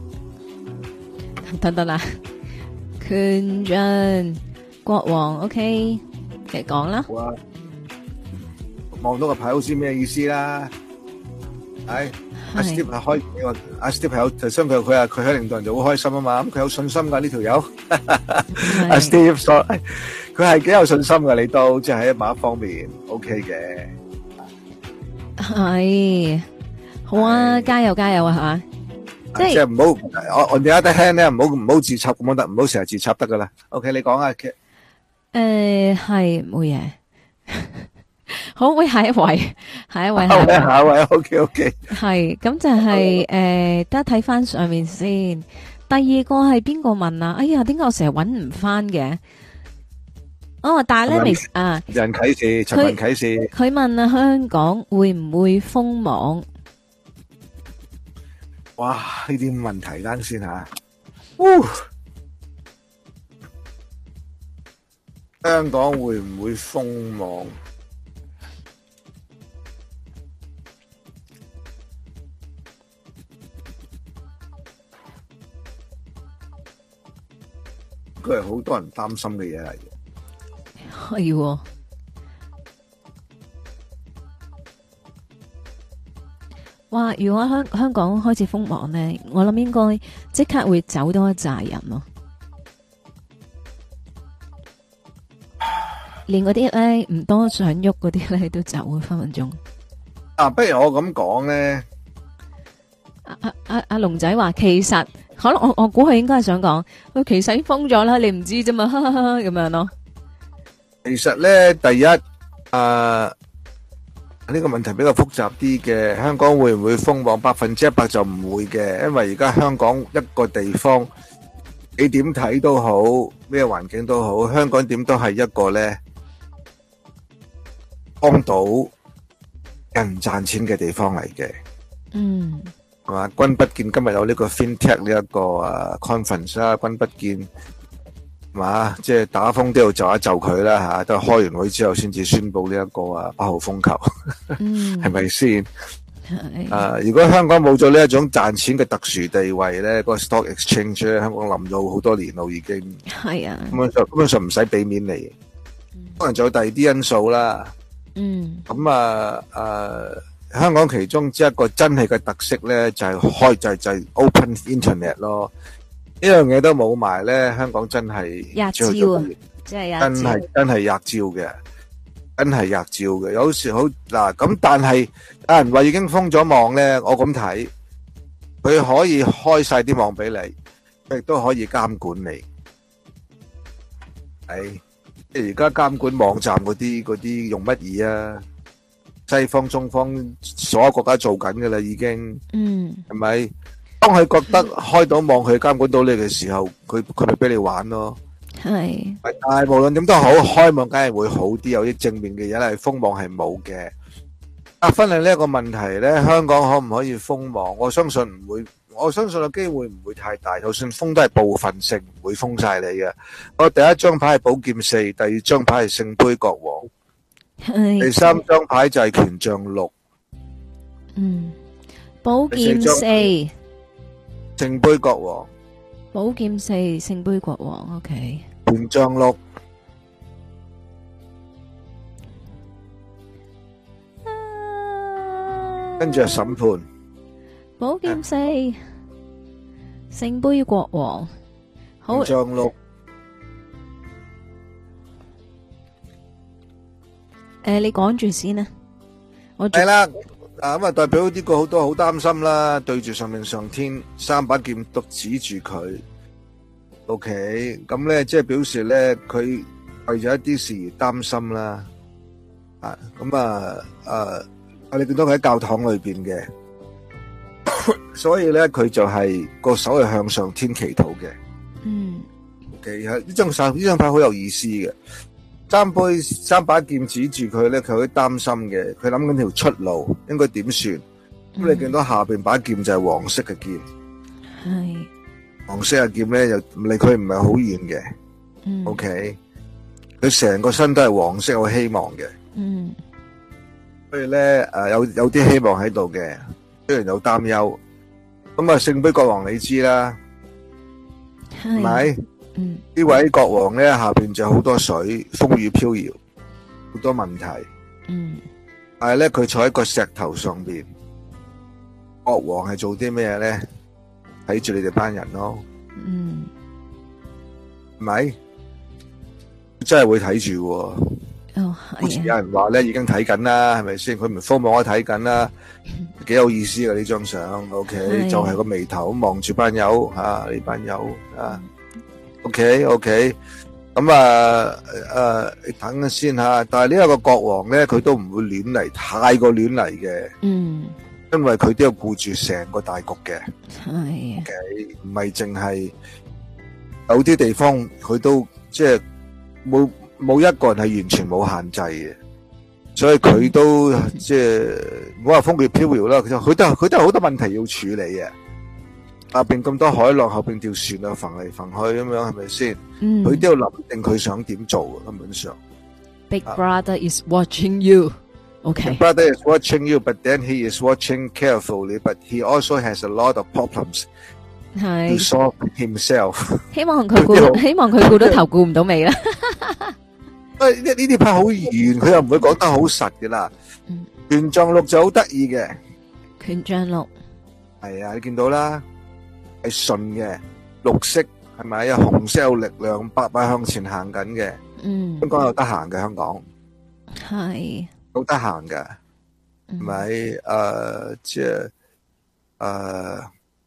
等等啦，權杖國王 ，OK， 嚟講啦。 好啊，望到個牌好似咩意思啦？係阿 Steve 係開個阿 Steve 係有，就相佢佢啊佢喺領導人就好開心啊嘛，咁佢有信心噶呢條友。阿 Steve 所佢係幾有信心噶，你都即係喺某一方面 OK 嘅。 係，好啊，加油加油啊吓！ 即係唔好，我我哋一得輕咧，唔好唔好自插咁樣得，唔好成日自插得噶啦。OK，你講啊，誒係冇嘢，好，喂下一位，下一位， 下一位，下一位，OK OK， 係咁就係誒，得睇翻上面先。第二個係邊個問啊？哎呀，點解我成日搵唔翻嘅？哦，但係咧未啊， 人啟示，陳文啟示， 佢問啊，香港會唔會封網？ 哇！呢啲問題單先吓，香港會唔會封網？佢係好多人擔心嘅嘢嚟嘅， 係喎。哇！如果香香港開始封網咧，我諗應該即刻會走多一紮人咯。連嗰啲咧唔多想喐嗰啲咧都走啊，分分鐘。 啊，不如我咁講咧。 阿阿阿阿龍仔話，其實可能我我估佢應該係想講，佢其實已經封咗啦，你唔知啫嘛，咁樣咯。 其實咧，第一，誒。呢個問題比較複雜啲嘅，香港會唔會封網？百分之一百就唔會嘅，因為而家香港一個地方，你點睇都好，咩環境都好，香港點都係一個咧幫到人賺錢嘅地方嚟嘅。 嗯， 係嘛？君不見今日有呢個 FinTech 呢一個誒 conference 啦，君不見。嘛，即係打風都要就一就佢啦吓，都係開完會之後先至宣布呢一個啊八號風球，係咪先？啊，如果香港冇咗呢一種賺錢嘅特殊地位咧，個 stock exchange 咧，香港冧咗好多年咯，已經係啊， 根本上根本上唔使俾面你，可能仲有第二啲因素啦。 嗯， 咁啊誒，香港其中之一個真係嘅特色咧，就係開就係就係 open internet 咯。呢樣嘢都冇埋咧，香港真係吔招啊！真係真係真係吔招嘅，真係吔招嘅。有時好嗱咁，但係有人話已經封咗網咧，我咁睇，佢可以開晒啲網俾你，佢亦都可以監管你。係即係而家監管網站嗰啲嗰啲用乜嘢啊？西方、中方所有國家做緊噶啦，已經，嗯，係咪？當佢覺得開到網去監管到你嘅時候，佢佢咪俾你玩咯。係，但係無論點都好，開網梗係會好啲，有啲正面嘅嘢係封網係冇嘅。啊，分享呢一個問題咧，香港可唔可以封網？我相信唔會，我相信個機會唔會太大。就算封都係部分性，唔會封晒你嘅。我第一張牌係寶劍四，第二張牌係聖杯國王。 係第三張牌就係權杖六， 嗯，寶劍第四四， 聖杯國王， 寶劍四，聖杯國王，OK， 權杖六，跟住係審判， 寶劍四，聖杯國王，好權，杖六， 誒，你講住先啦，我係啦，啊咁啊代表呢個好多好擔心啦，對住上面上天三把劍都指住佢，OK，咁咧即係表示咧佢為咗一啲事而擔心啦，啊咁啊誒。我哋見到佢喺教堂裏邊嘅，所以咧佢就係個手係向上天祈禱嘅。 嗯 ，OK，呢張手呢張牌好有意思嘅，三杯三把劍指住佢咧，佢好擔心嘅，佢諗緊條出路應該點算。咁、嗯、你見到下邊把劍就係黃色嘅劍， 係黃色嘅劍咧又離佢唔係好遠嘅。 嗯 OK，佢成個身都係黃色，有希望嘅。 嗯。 所以咧，誒有有啲希望喺度嘅，雖然有擔憂。咁啊，聖杯國王你知啦，係咪？ 嗯。 呢位國王咧下邊就好多水，風雨飄搖，好多問題。 嗯。 但係咧，佢坐喺個石頭上邊，國王係做啲咩咧？睇住你哋班人咯。 嗯。 係咪？真係會睇住喎。 哦， 好似有人話咧，已經睇緊啦，係咪先？佢唔科網都睇緊啦，幾有意思噶呢張相。OK，就係個眉頭望住班友吓，呢班友啊。OK，OK，咁啊誒，你等下先吓。但係呢一個國王咧，佢都唔會亂嚟，太過亂嚟嘅。 嗯， 因為佢都要顧住成個大局嘅。 係。 OK，唔係淨係有啲地方佢都即係冇。冇一個人係完全冇限制嘅，所以佢都即係唔好話風雨飄搖啦。佢都佢都佢都有好多問題要處理嘅。下邊咁多海浪，後邊條船啊，浮嚟浮去咁樣，係咪先？ 嗯， 佢都要諗定佢想點做嘅，根本上。 Big Brother is watching you. Okay. Big Brother is watching you, but then he is watching carefully, but he also has a lot of problems to 係 solve himself。 希望佢顧，希望佢顧到頭顧唔到尾啦。 誒，呢呢啲牌好圓，佢又唔會講得好實嘅啦。權杖六就好得意嘅， 權杖六係啊，你見到啦，係順嘅，綠色係咪啊？紅色有力量，白白向前行緊嘅。 嗯， 香港有得行嘅，香港係好得行嘅，係咪？誒，即係誒。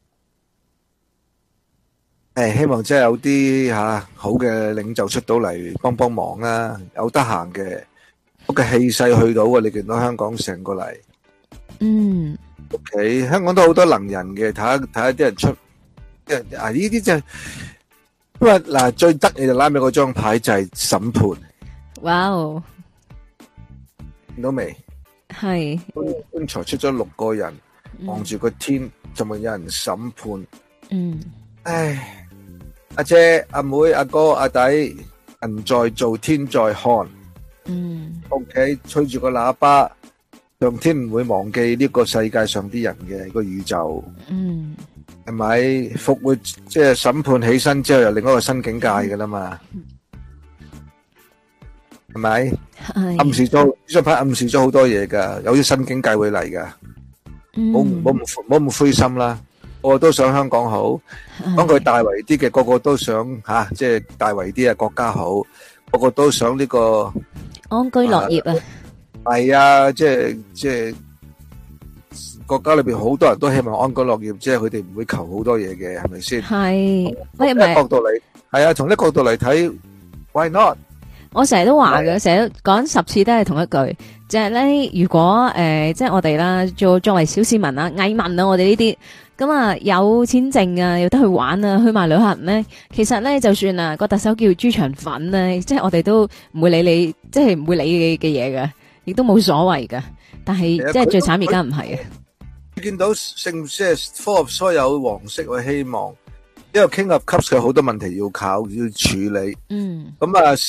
誒，希望真係有啲吓好嘅領袖出到嚟幫幫忙啦，有得閒嘅，嗰個氣勢去到啊！你見到香港成個嚟， 嗯 ，OK，香港都好多能人嘅，睇下睇下啲人出，啊呢啲就係，因為嗱最得意就拉尾嗰張牌就係審判， 哇哦， 見到未？ 係， 剛才出咗六個人望住個天，就咪有人審判， 嗯， 唉。阿姐、阿妹、阿哥、阿弟，人在做天在看。 嗯 ，OK， 吹住個喇叭，上天唔會忘記呢個世界上啲人嘅個宇宙。 嗯， 係咪復活？即係審判起身之後，又另一個新境界噶啦嘛？係咪？ 係暗示咗呢張牌，暗示咗好多嘢噶，有啲新境界會嚟噶。冇冇唔冇咁灰心啦。個個都想香港好，講佢大圍啲嘅，個個都想吓，即係大圍啲啊國家好，個個都想呢個安居樂業啊。 係啊，即係即係國家裏邊好多人都希望安居樂業，即係佢哋唔會求好多嘢嘅，係咪先？ 係，喂，唔係角度嚟，係啊，從呢個角度嚟睇 ，why not？ 我成日都話嘅，成日講十次都係同一句，就係咧，如果誒，即係我哋啦，做作為小市民啊、蟻民啊，我哋呢啲。咁啊，有錢剩啊，有得去玩啊，去埋旅行咧。其實咧，就算啊個特首叫豬腸粉咧，即係我哋都唔會理你，即係唔會理你嘅嘢嘅，亦都冇所謂嘅。但係即係最慘而家唔係啊！ 見到聖即係 Four of Swords有黃色嘅希望，因為 King of Cups 佢好多問題要靠要處理。 嗯。 咁啊，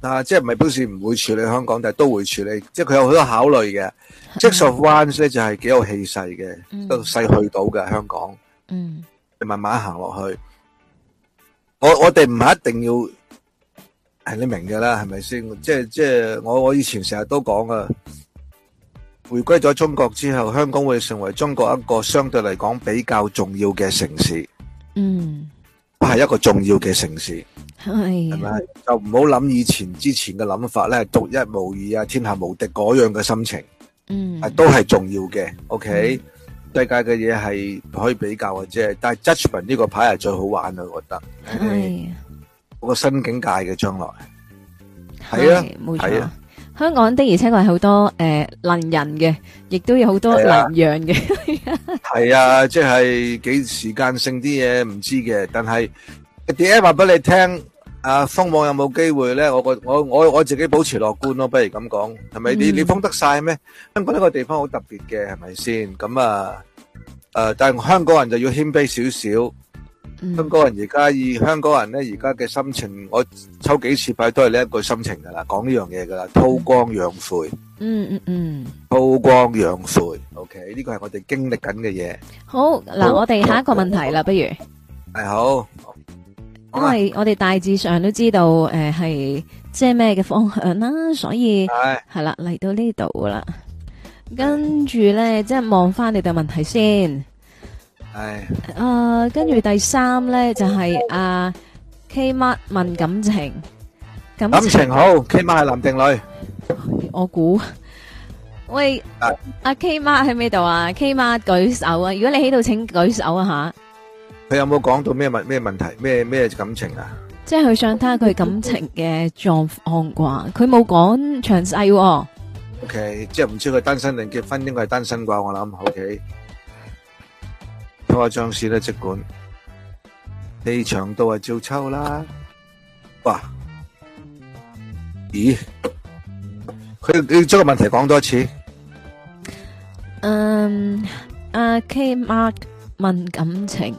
啊，即係唔係表示唔會處理香港，但係都會處理，即係佢有好多考慮嘅。Six of Wands 咧就係幾有氣勢嘅，都勢去到嘅香港。 嗯， 你慢慢行落去。我我哋唔係一定要係你明嘅啦，係咪先？即係即係我我以前成日都講啊，回歸咗中國之後，香港會成為中國一個相對嚟講比較重要嘅城市。 嗯， 係一個重要嘅城市， 係係咪？就唔好諗以前之前嘅諗法咧，獨一無二啊，天下無敵嗰樣嘅心情。 嗯， 係都係重要嘅。OK，世界嘅嘢係可以比較嘅啫，但係 Judgment 呢個牌係最好玩啊，我覺得。 係嗰個新境界嘅將來。係啊， 冇係啊。 香港的而且確係好多誒能人嘅，亦都有好多能讓嘅。 係啊，即係幾時間性啲嘢唔知嘅，但係點解話俾你聽？啊，封網有冇機會咧？我個我我我自己保持樂觀咯，不如咁講，係咪？你你封得晒咩？香港呢個地方好特別嘅，係咪先？咁啊，誒，但係香港人就要謙卑少少。香港人而家以香港人咧，而家嘅心情，我抽幾次牌都係呢一句心情噶啦，講呢樣嘢噶啦，韜光養晦。 嗯嗯嗯， 韜光養晦。OK，呢個係我哋經歷緊嘅嘢。 好，嗱，我哋下一個問題啦，不如係好。 因為我哋大致上都知道誒係即係咩嘅方向啦，所以係啦嚟到呢度啦，跟住咧即係望翻你哋問題先。 係。 誒，跟住第三咧就係阿 K Mark 問感情， 感情好。K Mark 係男定女？ 我估。喂，阿 K Mark 喺邊度啊 ？K Mark 舉手啊！如果你喺度，請舉手啊吓。 佢有冇講到咩問咩問題咩咩感情啊？ 即係佢想睇下佢感情嘅狀況啩，佢冇講詳細。O K， 即係唔知佢單身定結婚，應該係單身啩，我諗。O K， 拖下張紙啦，即管氣場到啊，照抽啦。哇！咦？佢你將個問題講多一次。 嗯，阿 K Mark 問感情。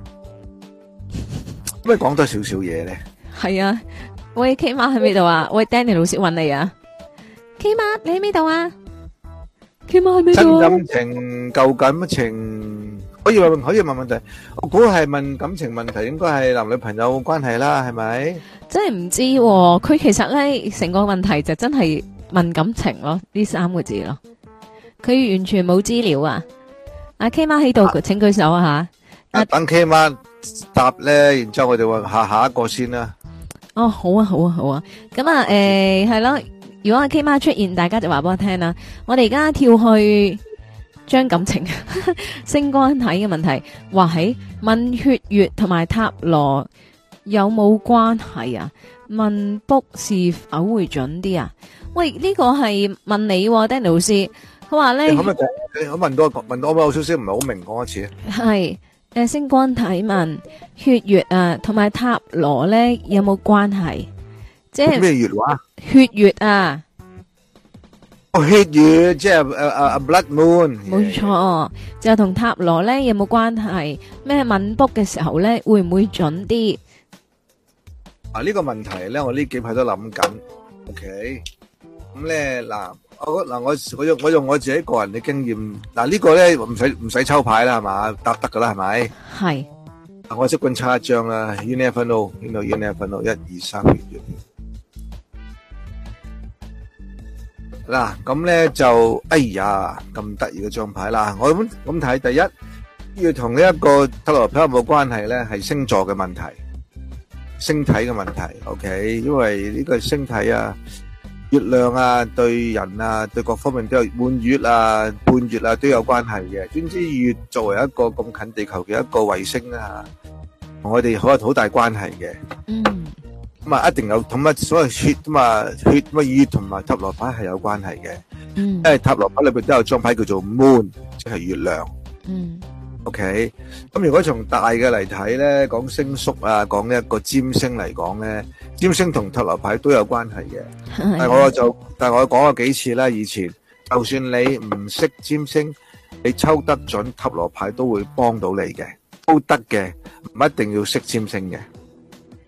可唔可以講多少少嘢咧？ 係啊，喂 K Mark 喺邊度啊？喂 Danny 老師揾你啊 ！K Mark 你喺邊度啊 ？K Mark 喺邊度啊？ 新感情、舊感情，可以問可以問問題。我估係問感情問題，應該係男女朋友關係啦，係咪？ 真係唔知喎，佢其實咧成個問題就真係問感情咯，呢三個字咯。佢完全冇資料啊！阿 K Mark 喺度，請舉手啊吓！ 等 K Mark答咧，然之後我哋話下下一個先啦。 哦，好啊，好啊，好啊。咁啊，誒，係咯。如果阿 K 媽出現，大家就話俾我聽啦。我哋而家跳去將感情、星光體嘅問題，話喺問血月同埋塔羅有冇關係啊？問卜是否會準啲啊？喂，呢個係問你，Danny老師，佢話咧， 可唔可以講？你可問多問多我有少少唔係好明，講一次。 係。誒，星光體問血月啊，同埋塔羅咧有冇關係？即係咩月話？ 血月啊！ 哦，血月即係誒誒 blood moon。 冇錯，就同塔羅咧有冇關係？咩問卜嘅時候咧會唔會準啲？ 啊，呢個問題咧，我呢幾排都諗緊。OK，咁咧嗱。我嗱我我用我用我自己個人嘅經驗，嗱呢個咧唔使唔使抽牌啦，係嘛，答得噶啦，係咪？係。我即管抽一張啦 ，You never know，呢度 You never know，一二三月月。嗱咁咧就，哎呀咁得意嘅張牌啦，我咁咁睇，第一要同呢一個塔羅牌有冇關係咧？係星座嘅問題，星體嘅問題 ，OK， 因為呢個星體啊。月亮啊，對人啊，對各方面都有滿月啊、半月啊都有關係嘅。總之月作為一個咁近地球嘅一個衛星啊，同我哋好有好大關係嘅。嗯。咁啊，一定有同乜所謂血咁啊，血乜月同埋塔羅牌係有關係嘅。嗯。因為塔羅牌裏邊都有張牌叫做 Moon，即係月亮。嗯。OK，咁如果從大嘅嚟睇咧，講星宿啊，講一個占星嚟講咧，占星同塔羅牌都有關係嘅。但係我就，但係我講過幾次啦，以前就算你唔識占星，你抽得準塔羅牌都會幫到你嘅，都得嘅，唔一定要識占星嘅。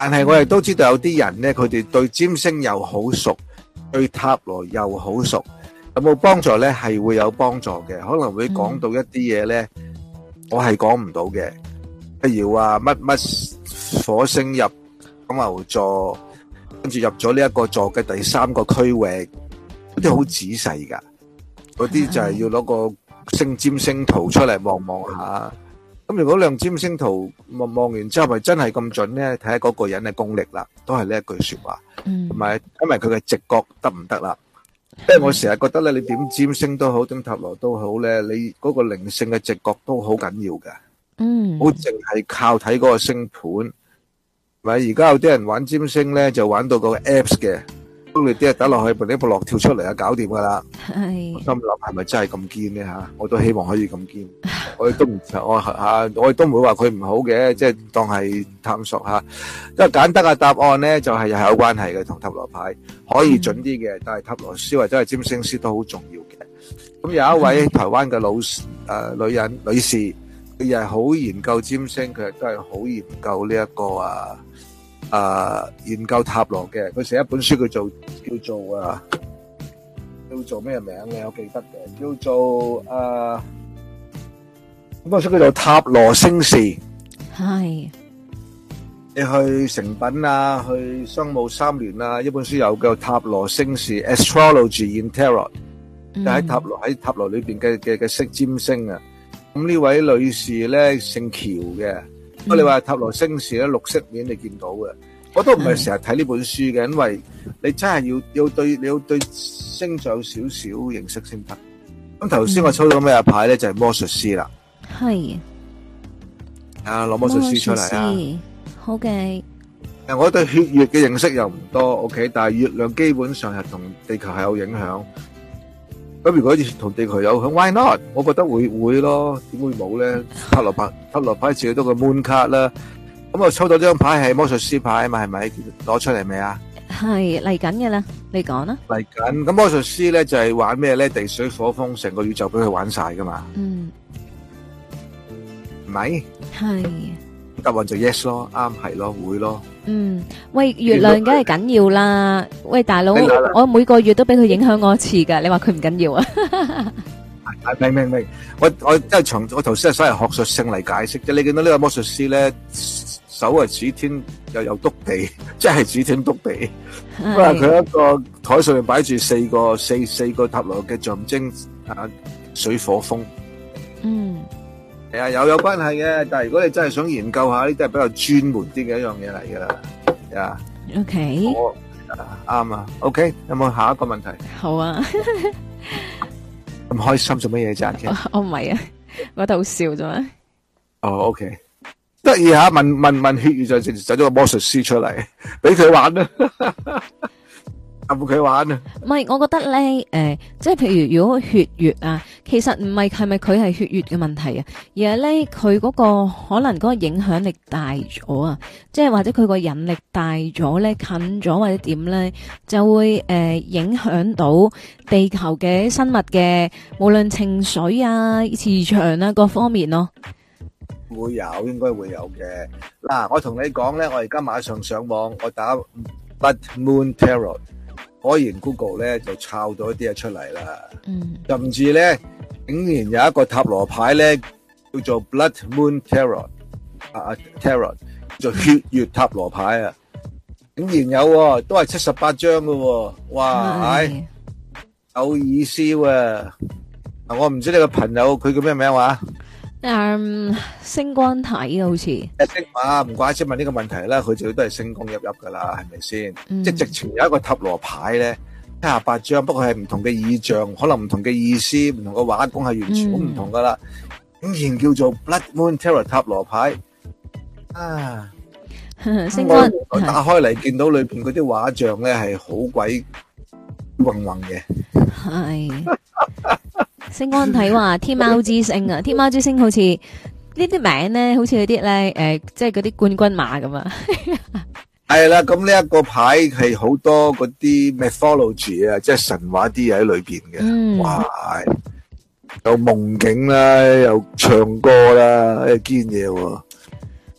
但係我亦都知道有啲人咧，佢哋對占星又好熟，對塔羅又好熟，有冇幫助咧？係會有幫助嘅，可能會講到一啲嘢咧，我係講唔到嘅。譬如話乜乜火星入金牛座，跟住入咗呢一個座嘅第三個區域，嗰啲好仔細噶，嗰啲就係要攞個星占星圖出嚟望望下。咁如果亮占星圖望望完之後，咪真係咁準咧？睇下嗰個人嘅功力啦，都係呢一句說話，同埋因為佢嘅直覺得唔得啦？因為我成日覺得咧，你點占星都好，點塔羅都好咧，你嗰個靈性嘅直覺都好緊要噶。嗯，好淨係靠睇嗰個星盤，咪而家有啲人玩占星咧，就玩到個 apps 嘅。咁你啲啊打落去，呢部落跳出嚟啊，搞掂噶啦。係，我心諗係咪真係咁堅咧吓？我都希望可以咁堅。我亦都唔我吓，我亦都唔會話佢唔好嘅，即係當係探索下。因為簡單嘅答案咧，就係係有關係嘅，同塔羅牌可以準啲嘅，但係塔羅師或者係占星師都好重要嘅。咁有一位台灣嘅老誒女人女士，佢又係好研究占星，佢亦都係好研究呢一個啊。誒、uh, 研究塔羅嘅，佢寫一本書叫做叫做啊叫做咩名咧？我記得嘅叫做誒，咁本書叫做《塔羅星事》。係你去誠品啊，去商務三聯啊，一本書有叫《塔羅星事》（Astrology in Tarot），就喺塔羅喺塔羅裏邊嘅嘅嘅識占星啊。咁呢位女士咧姓喬嘅。我哋話塔羅星事咧，綠色面你見到嘅，我都唔係成日睇呢本書嘅，因為你真係要要對你要對星座有少少認識先得。咁頭先我抽到咩牌咧，就係魔術師啦。係啊，攞魔術師出嚟啊！好嘅。誒，我對血月嘅認識又唔多 ，OK， 但係月亮基本上係同地球係有影響。咁如果同地球有響 ，why not？ 我覺得會會咯，點會冇咧？塔羅牌塔羅牌自己都個 moon card 啦。咁我抽到呢張牌係魔術師牌啊嘛，係咪？攞出嚟未啊？係嚟緊嘅啦，你講啦。嚟緊，咁魔術師咧就係玩咩咧？地水火風，成個宇宙俾佢玩晒噶嘛。嗯。唔係。係。答案就 yes 咯，啱係咯，會咯。嗯，喂，月亮梗係緊要啦。喂，大佬，我每個月都俾佢影響我一次噶，你話佢唔緊要啊？明明明，我我即係從我頭先係所謂學術性嚟解釋啫。你見到呢個魔術師咧，手係指天，又又篤地，即係指天篤地。咁啊，佢一個台上面擺住四個四四個塔羅嘅象徵啊，水火風。嗯。係啊，有有關係嘅，但係如果你真係想研究下，呢啲係比較專門啲嘅一樣嘢嚟噶啦。呀，OK，我啱啊。OK，有冇下一個問題？好啊。咁開心做乜嘢啫？我唔係啊，我度笑啫嘛。哦，OK，得意下，問問問血月就就咗個魔術師出嚟，俾佢玩啦。有冇佢玩啊？唔係，我覺得咧，誒，即係譬如如果血月啊，其實唔係係咪佢係血月嘅問題啊，而係咧佢嗰個可能嗰個影響力大咗啊，即係或者佢個引力大咗咧，近咗或者點咧，就會誒影響到地球嘅生物嘅，無論情緒啊、磁場啊各方面咯。會有，應該會有嘅。嗱，我同你講咧，我而家馬上上網，我打 Blood Moon Tarot。果然 Google 咧就抄到一啲嘢出嚟啦，嗯，甚至咧竟然有一個塔羅牌咧叫做 Blood Moon Tarot 啊 Tarot 叫做血月塔羅牌啊，竟然有、哦，都係七十八張噶，哇，係有意思喎、啊。嗱，我唔知你個朋友佢叫咩名話？嗯，星光體好似。誒，星啊，唔怪之問呢個問題啦，佢就都係星光熠熠噶啦，係咪先？嗯、即係直情有一個塔羅牌咧，七十八張，不過係唔同嘅意象，可能唔同嘅意思，唔同嘅畫工係完全好唔同噶啦。竟、嗯、然叫做 Blood Moon Tarot 塔羅牌啊！星光我打開嚟見到裏邊嗰啲畫像咧係好鬼混混嘅。係。星光體話天貓之星啊，天貓之星好似呢啲名咧，好似嗰啲咧，誒，即係嗰啲冠軍馬咁啊。係啦，咁呢一個牌係好多嗰啲 mythology 啊，即係神話啲嘢喺裏邊嘅。嗯，哇，有夢境啦，又唱歌啦，誒，堅嘢喎。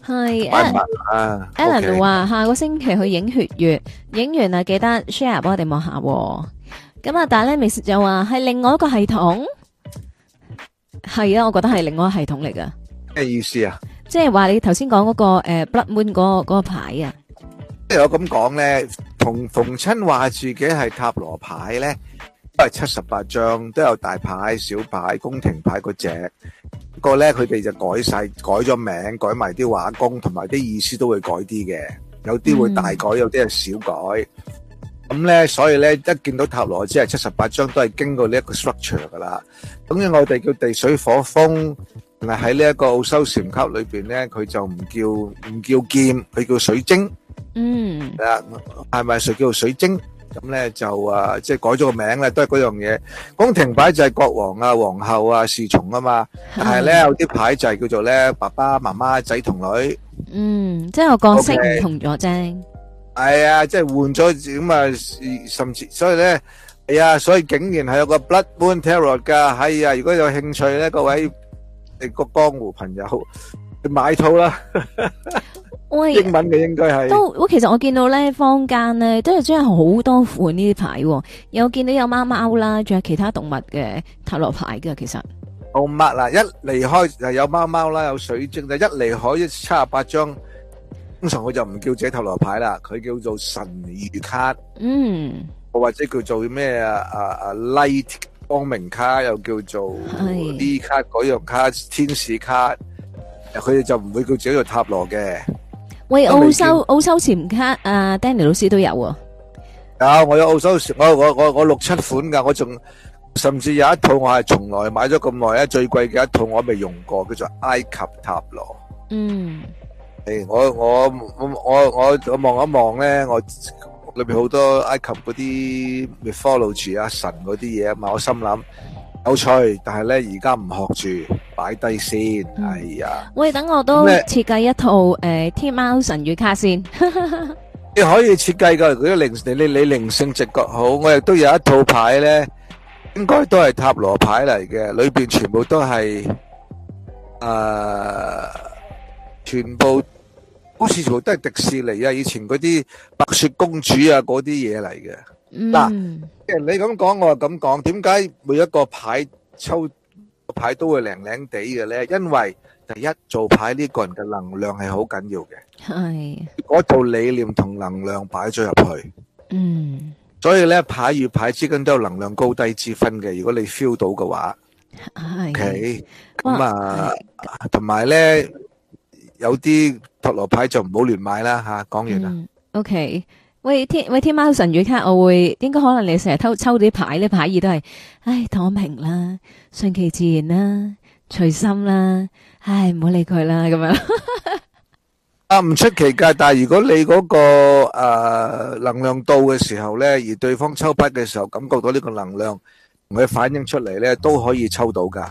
係買唔買啊 Alan ？OK 話下個星期去影血月，影完啊記得 share 幫我哋望下喎。咁啊，但係咧 Miss 就話係另外一個系統，係啊，我覺得係另外一個系統嚟噶。 咩意思啊？ 即係話你頭先講嗰個誒 Blood Moon 嗰個嗰個牌啊， 即係我咁講咧，逢逢親話自己係塔羅牌咧，都係七十八張，都有大牌、小牌、宮廷牌嗰隻。不過咧，佢哋就改晒，改咗名，改埋啲畫工，同埋啲意思都會改啲嘅。有啲會大改，有啲係小改。咁咧，所以咧，一見到塔羅只係七十八張，都係經過呢一個 structure 噶啦。咁樣我哋叫地水火風，但係喺呢一個奧修禪級裏邊咧，佢就唔叫唔叫劍，佢叫水晶。 嗯， 係啊，係咪誰叫做水晶？咁咧就啊，即係改咗個名咧，都係嗰樣嘢。宮廷牌就係國王啊、皇后啊、侍從啊嘛。但係咧有啲牌就係叫做咧爸爸媽媽、仔同女。 嗯，即係個角色唔同咗啫。 係啊，即係換咗咁啊，甚至所以咧，係啊，所以竟然係有個 Blood Moon Tarot 噶。係啊，如果有興趣咧，各位你個江湖朋友去買套啦。 喂， 英文嘅應該係都，我其實我見到咧坊間咧都係真係好多款呢啲牌，有見到有貓貓啦，仲有其他動物嘅塔羅牌嘅，其實。 動物啦，一離開就有貓貓啦，有水晶，就一離開一七十八張，通常佢就唔叫自己塔羅牌啦，佢叫做神諭卡， 嗯， 或者叫做咩啊啊啊 Light 光明卡，又叫做呢卡嗰樣卡天使卡，佢哋就唔會叫自己做塔羅嘅。 喂，澳洲澳洲潛卡啊 ，Danny 老師都有喎。 有，我有澳洲，我我我我六七款噶，我仲甚至有一套我係從來買咗咁耐咧，最貴嘅一套我未用過，叫做埃及塔羅。 嗯， 誒，我我我我我我望一望咧，我裏邊好多埃及嗰啲 mythology 啊神嗰啲嘢啊嘛，我心諗有趣，但係咧而家唔學住，擺低先。係啊， 喂，等我都設計一套誒天貓神諭卡先。 你可以設計噶，如果靈你你你靈性直覺好，我亦都有一套牌咧，應該都係塔羅牌嚟嘅，裏邊全部都係誒，全部好似全部都係迪士尼啊，以前嗰啲白雪公主啊嗰啲嘢嚟嘅。嗱，即係你咁講，我就咁講，點解每一個牌抽個牌都會靚靚地嘅咧？因為第一做牌呢個人嘅能量係好緊要嘅， 係嗰套理念同能量擺咗入去， 嗯， 所以咧牌與牌之間都有能量高低之分嘅。如果你 feel 到嘅話， 係 ，OK，咁啊，同埋咧有啲塔羅牌就唔好亂買啦吓。講完啦 ，OK。喂天喂天貓神諭卡，我會應該可能你成日偷抽啲牌咧，牌意都係，唉躺平啦，順其自然啦，隨心啦，唉唔好理佢啦咁樣。 啊唔出奇噶，但係如果你嗰個誒能量到嘅時候咧，而對方抽筆嘅時候感覺到呢個能量同佢反映出嚟咧，都可以抽到噶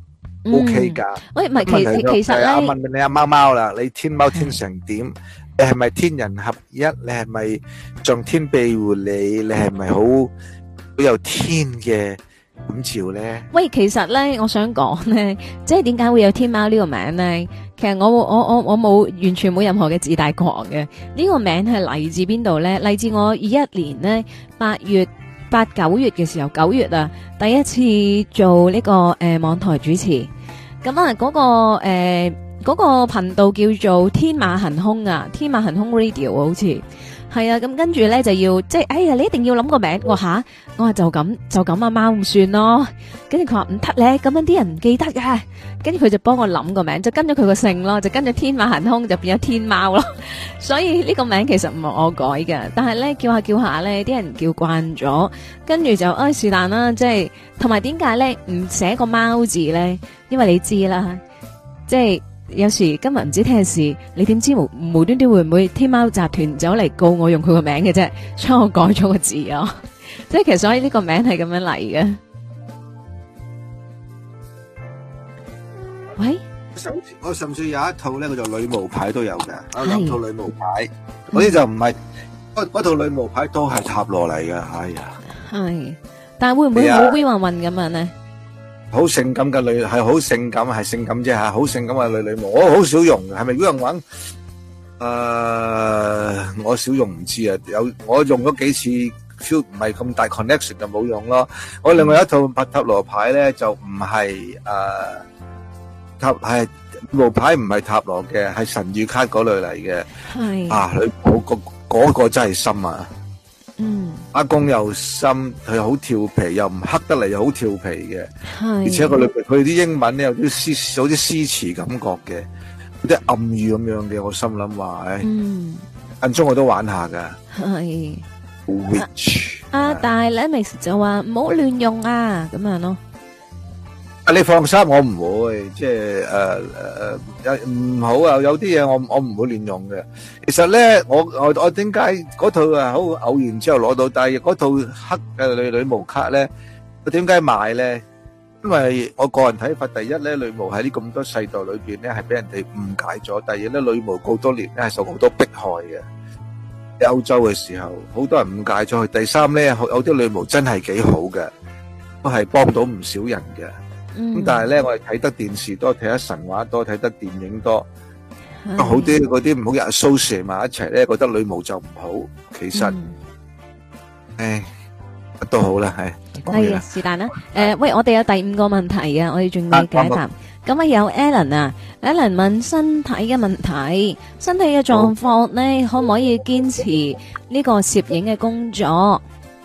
，OK 噶。 喂唔係其其實咧， 我問你阿貓貓啦，你天貓天成點？你係咪天人合一？你係咪上天庇護你？你係咪好好有天嘅感召咧？ 喂，其實咧，我想講咧，即係點解會有天貓呢個名咧？其實我我我我冇完全冇任何嘅自大狂嘅。呢個名係嚟自邊度咧？嚟自我二一年咧八月八九月嘅時候，九月啊，第一次做呢個誒網台主持。咁啊，嗰個誒。嗰個頻道叫做天馬行空啊，天馬行空 Radio 好似係啊，咁跟住咧就要即係，哎呀，你一定要諗個名，我吓，我話就咁就咁啊貓唔算咯，跟住佢話唔得咧，咁樣啲人唔記得噶，跟住佢就幫我諗個名，就跟咗佢個姓咯，就跟咗天馬行空就變咗天貓咯，所以呢個名其實唔係我改嘅，但係咧叫下叫下咧，啲人叫慣咗，跟住就哎是但啦，即係同埋點解咧唔寫個貓字咧？因為你知啦，即係。有時今日唔知聽事，你點知無無端端會唔會天貓集團走嚟告我用佢個名嘅啫？所以我改咗個字啊，即係其實所以呢個名係咁樣嚟嘅。喂， 我甚至有一套咧，叫做女巫牌都有嘅，有兩套女巫牌，嗰啲就唔係嗰嗰套女巫牌都係塔羅嚟嘅，哎呀， 係，但係會唔會好 V 混混咁樣咧？ 好性感嘅女係好性感係性感啫吓，好性感嘅女女模，我好少用嘅，係咪嗰樣玩？誒，我少用唔知啊，有我用咗幾次 feel 唔係咁大 connection 就冇用咯。我另外一套塔塔羅牌咧就唔係誒塔係路牌唔係塔羅嘅，係神諭卡嗰類嚟嘅。 係啊，佢嗰個嗰個真係深啊！ 嗯， 阿公又深，佢好調皮，又唔黑得嚟，又好調皮嘅。 係， 而且佢裏邊佢啲英文咧有啲詩，有啲詩詞感覺嘅，有啲暗語咁樣嘅。我心諗話，誒， 嗯， 間中我都玩下噶。 係。 Which 啊，但係 Lemix 就話唔好亂用啊，咁樣咯。 啊，你放心，我唔會，即係誒誒誒，唔好啊！有啲嘢我我唔會亂用嘅。其實咧，我我我點解嗰套啊好偶然之後攞到，但係嗰套黑嘅女女巫卡咧，我點解買咧？因為我個人睇法，第一咧，女巫喺呢咁多世代裏邊咧，係俾人哋誤解咗；第二咧，女巫好多年咧係受好多迫害嘅。喺歐洲嘅時候，好多人誤解咗佢。第三咧，有啲女巫真係幾好嘅，都係幫到唔少人嘅。咁但係咧，我哋睇得電視多，睇得神話多，睇得電影多，好啲嗰啲唔好人 associate 埋一齊咧，覺得女巫就唔好。其實，誒，乜都好啦，係。 係啊，是但啦。誒，喂，我哋有第五個問題啊，我哋仲未解答。咁啊，有 Alan 啊 ，Alan 問身體嘅問題，身體嘅狀況咧，可唔可以堅持呢個攝影嘅工作？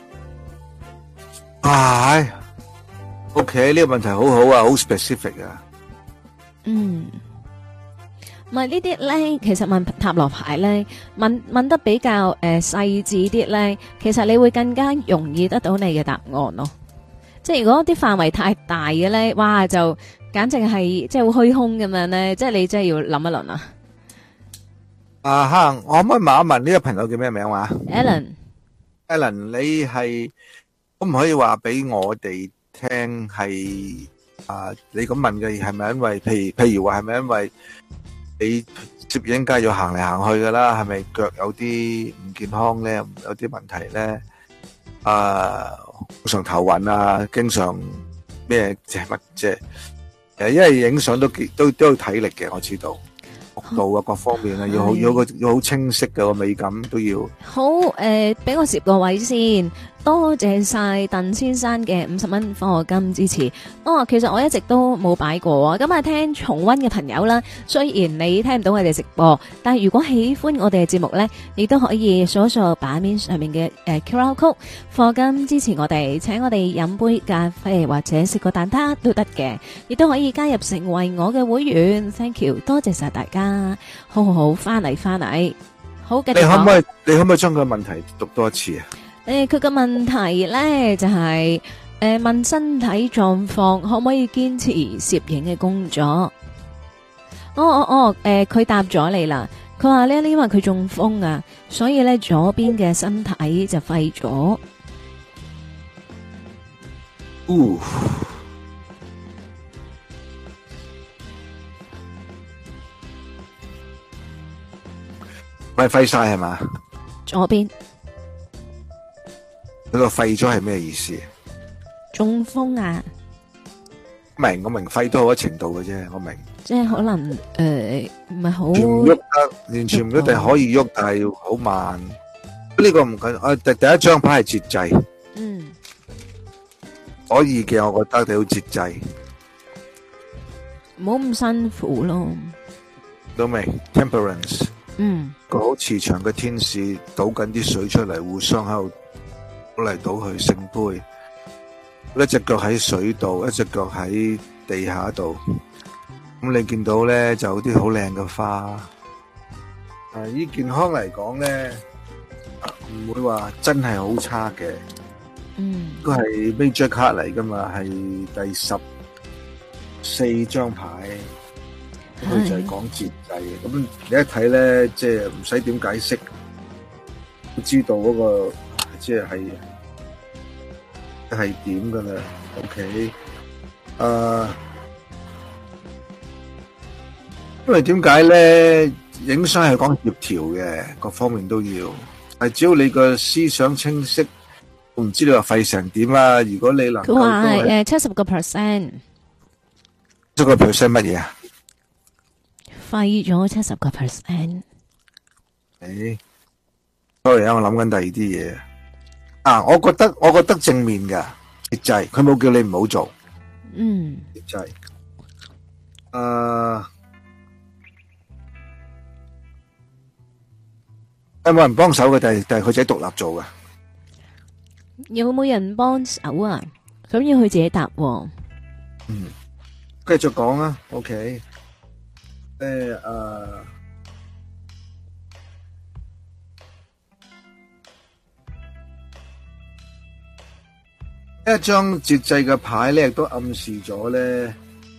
係。OK，呢個問題好好啊，好 specific 啊。 嗯，唔係呢啲咧，其實問塔羅牌咧，問問得比較誒細緻啲咧，其實你會更加容易得到你嘅答案咯。即係如果啲範圍太大嘅咧，哇，就簡直係即係好虛空咁樣咧，即係你真係要諗一輪啊。 啊哈，我可唔可以問一問呢個朋友叫咩名話 ？Alan，Alan， 你係可唔可以話俾我哋聽係啊？你咁問嘅係咪因為，譬如譬如話係咪因為你攝影梗係要行嚟行去噶啦？係咪腳有啲唔健康咧？有啲問題咧？啊，常頭暈啊，經常咩即係乜即係誒？因為影相都都都要體力嘅，我知道角度啊，各方面啊，要好要個要好清晰嘅個美感都要。 好誒，俾我攝個位先。多謝晒鄧先生嘅五十蚊課金支持。哦，其實我一直都冇擺過啊。咁啊，聽重溫嘅朋友啦，雖然你聽唔到我哋直播，但係如果喜歡我哋嘅節目呢，亦都可以掃一掃版面上面嘅誒 Q R code 課金支持我哋，請我哋飲杯咖啡或者食個蛋撻都得嘅，亦都可以加入成為我嘅會員。Thank you，多謝晒大家。好好好，翻嚟翻嚟，好繼續講。 你可唔可以你可唔可以將個問題讀多一次啊？ 誒，佢個問題咧就係誒問身體狀況可唔可以堅持攝影嘅工作？哦哦哦，誒，佢答咗你啦。佢話咧，因為佢中風啊，所以咧左邊嘅身體就廢咗。 哦，咪廢晒係嘛？ 左邊。 佢個廢咗係咩意思？ 中風啊！ 明我明廢都好一程度嘅啫，我明。 即係可能誒唔係好。 完全唔喐得，完全唔一定可以喐，但係要好慢。呢個唔緊，我第第一張牌係節制。 嗯。 可以嘅，我覺得你要節制。 唔好咁辛苦咯。 都明 temperance。 嗯。 個好慈祥嘅天使倒緊啲水出嚟，互相喺度。倒嚟倒去聖杯，一隻腳喺水度，一隻腳喺地下度。咁你見到咧就有啲好靚嘅花。啊，以健康嚟講咧，唔會話真係好差嘅。 嗯， 都係 major card 嚟噶嘛，係第十四張牌。佢就係講節制嘅。咁你一睇咧，即係唔使點解釋，都知道嗰個。即係係點噶啦 ？OK，誒，因為點解咧？影相係講協調嘅，各方面都要。係只要你個思想清晰，我唔知你話廢成點啦。如果你能夠， 佢話係誒七十個 percent。 七個 percent 乜嘢啊？ 廢咗七十個 percent。 誒，sorry 啊，我諗緊第二啲嘢啊。我覺得我覺得正面噶節制，佢冇叫你唔好做。 嗯， 節制。誒，有冇人幫手嘅？定係定係佢自己獨立做嘅？ 有冇人幫手啊？咁要佢自己答喎。 嗯，繼續講啊。OK。誒誒。一張節制嘅牌咧，亦都暗示咗咧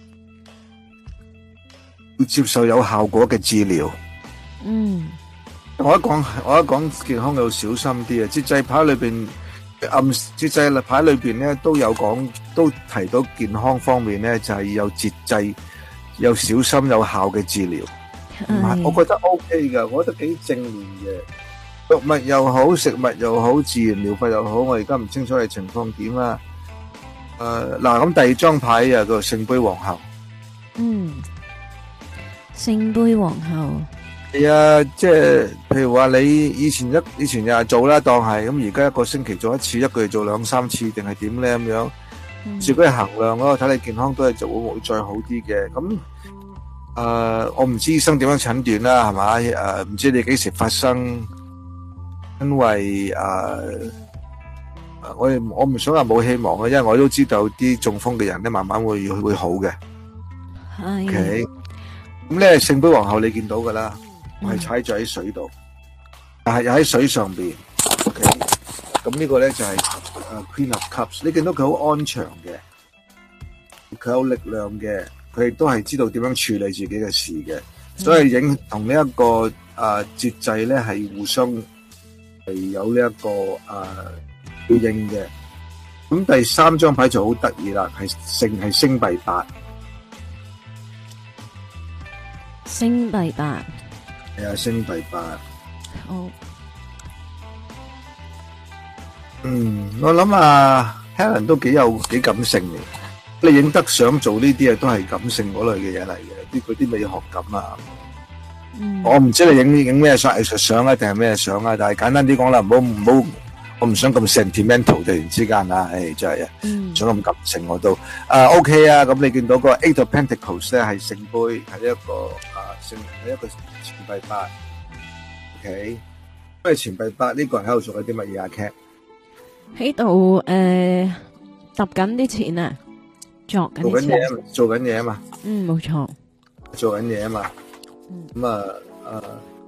要接受有效果嘅治療。 嗯， 我一講我一講健康要小心啲啊！節制牌裏邊暗節制牌裏邊咧都有講，都提到健康方面咧就係有節制、有小心、有效嘅治療。唔係，我覺得 OK 噶，我覺得幾正面嘅。藥物又好，食物又好，自然療法又好，我而家唔清楚嘅情況點啦。誒，嗱，咁第二張牌啊，個聖杯皇后。 嗯，聖杯皇后。 係啊，即係譬如話你以前一以前日日做啦，當係咁，而家一個星期做一次，一個月做兩三次，定係點咧咁樣？自己去衡量咯，睇你健康都係就會會再好啲嘅。咁誒，我唔知醫生點樣診斷啦，係嘛？誒，唔知你幾時發生？因為誒、呃，我我唔想話冇希望嘅，因為我都知道啲中風嘅人咧，慢慢會會好嘅。 係。 OK，咁咧聖杯皇后你見到噶啦，我係踩咗喺水度，但係又喺水上邊。OK，咁呢個咧就係誒 Queen of Cups，你見到佢好安詳嘅，佢有力量嘅，佢亦都係知道點樣處理自己嘅事嘅，所以影同呢一個誒節制咧係互相。係有呢、這、一個誒對應嘅，咁第三張牌就好得意啦，係星係星幣八， 星幣八， 係啊，星幣八。 好， 嗯，我諗啊 Helen 都幾有幾感性嘅，你影得相做呢啲啊，都係感性嗰類嘅嘢嚟嘅，啲嗰啲美學感啊。 嗯、 我唔知你影影咩相藝術相啊，定係咩相啊？但係簡單啲講啦，唔好唔好，我唔想咁 sentimental 突然之間啊，誒真係啊，唔想咁感性我都。啊 OK 啊，咁你見到個 Eight of Pentacles 咧係聖杯，係一個啊聖係一個錢幣八。OK，因為錢幣八呢個人喺度做緊啲乜嘢啊 Cat？ 喺度誒揼緊啲錢啊，作緊做緊嘢，做緊嘢啊嘛。 嗯，冇錯。 做緊嘢啊嘛。咁啊，誒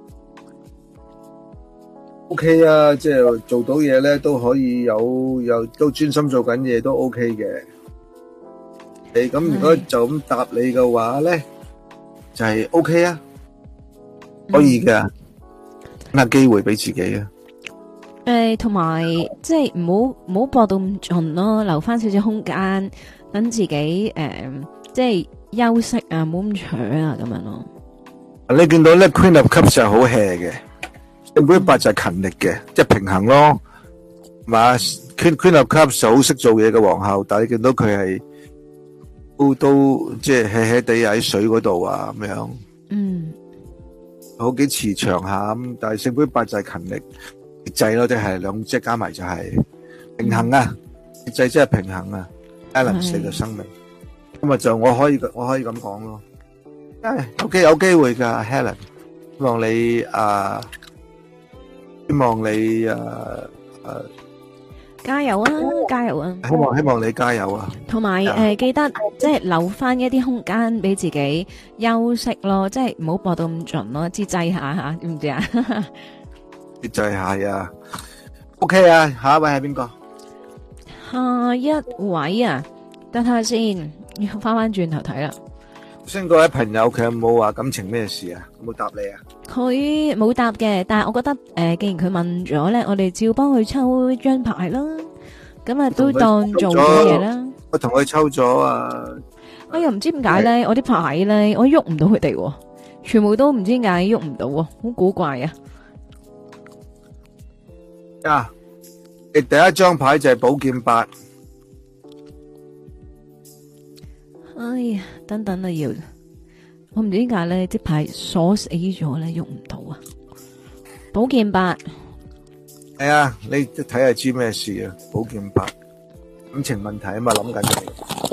，OK 啊，即係做到嘢咧，都可以有有都專心做緊嘢，都 OK 嘅。誒，咁如果就咁答你嘅話咧，就係 OK 啊，可以嘅，等下機會俾自己啊。 誒，同埋即係唔好唔好搏到咁盡咯，留翻少少空間，等自己誒，即係休息啊，唔好咁搶啊，咁樣咯。 你見到咧 Queen of Cups 就係好 hea 嘅，聖杯八就係勤力嘅，即係平衡咯，係嘛 ？Queen Queen of Cups 就好識做嘢嘅皇后，但係你見到佢係都都即係 hea hea 地喺水嗰度啊咁樣， 嗯， 好幾慈祥下咁，但係聖杯八就係勤力節制咯，即係兩隻加埋就係平衡啊，節制即係平衡啊 balance 嘅生命，咁啊就我可以我可以咁講咯。誒，OK 有機會噶 Helen，希望你啊，希望你啊誒， 加油啊，加油啊！ 希望希望你加油啊！ 同埋誒，記得即係留翻一啲空間俾自己休息咯，即係唔好搏到咁盡咯，節制下吓，知唔知啊？ 節制下啊 ，OK 啊，下一位係邊個？ 下一位啊，等下先，要翻翻轉頭睇啦。 先嗰位朋友佢有冇話感情咩事啊？有冇答你啊？ 佢冇答嘅，但係我覺得誒、呃，既然佢問咗咧，我哋照幫佢抽張牌啦。咁啊，都當做咗嘢啦。 我同佢抽咗啊！ 我又唔知點解咧，我啲牌咧，我喐唔到佢哋，全部都唔知點解喐唔到，好古怪啊！ 啊，第一張牌就係寶劍八。 哎呀，等等啊，要我唔知點解咧，啲牌鎖死咗咧，用唔到啊！寶劍八係啊，你睇下知咩事啊？寶劍八感情問題啊嘛，諗緊嘅。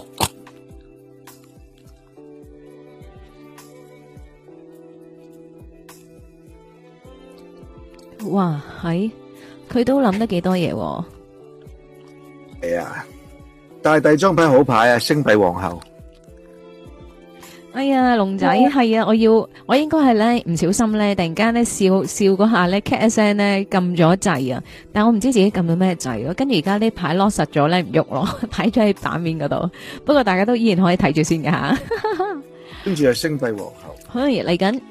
哇，係佢都諗得幾多嘢喎。 係啊，但係第二張牌好牌啊，星幣皇后。 哎呀，龍仔係啊，我要我應該係咧唔小心咧，突然間咧笑笑嗰下咧 cat 一聲咧撳咗掣啊，但我唔知自己撳咗咩掣咯，跟住而家啲牌 lock 實咗咧唔喐咯，擺咗喺版面嗰度。不過大家都依然可以睇住先㗎吓。 跟住係星幣皇后。 可以嚟緊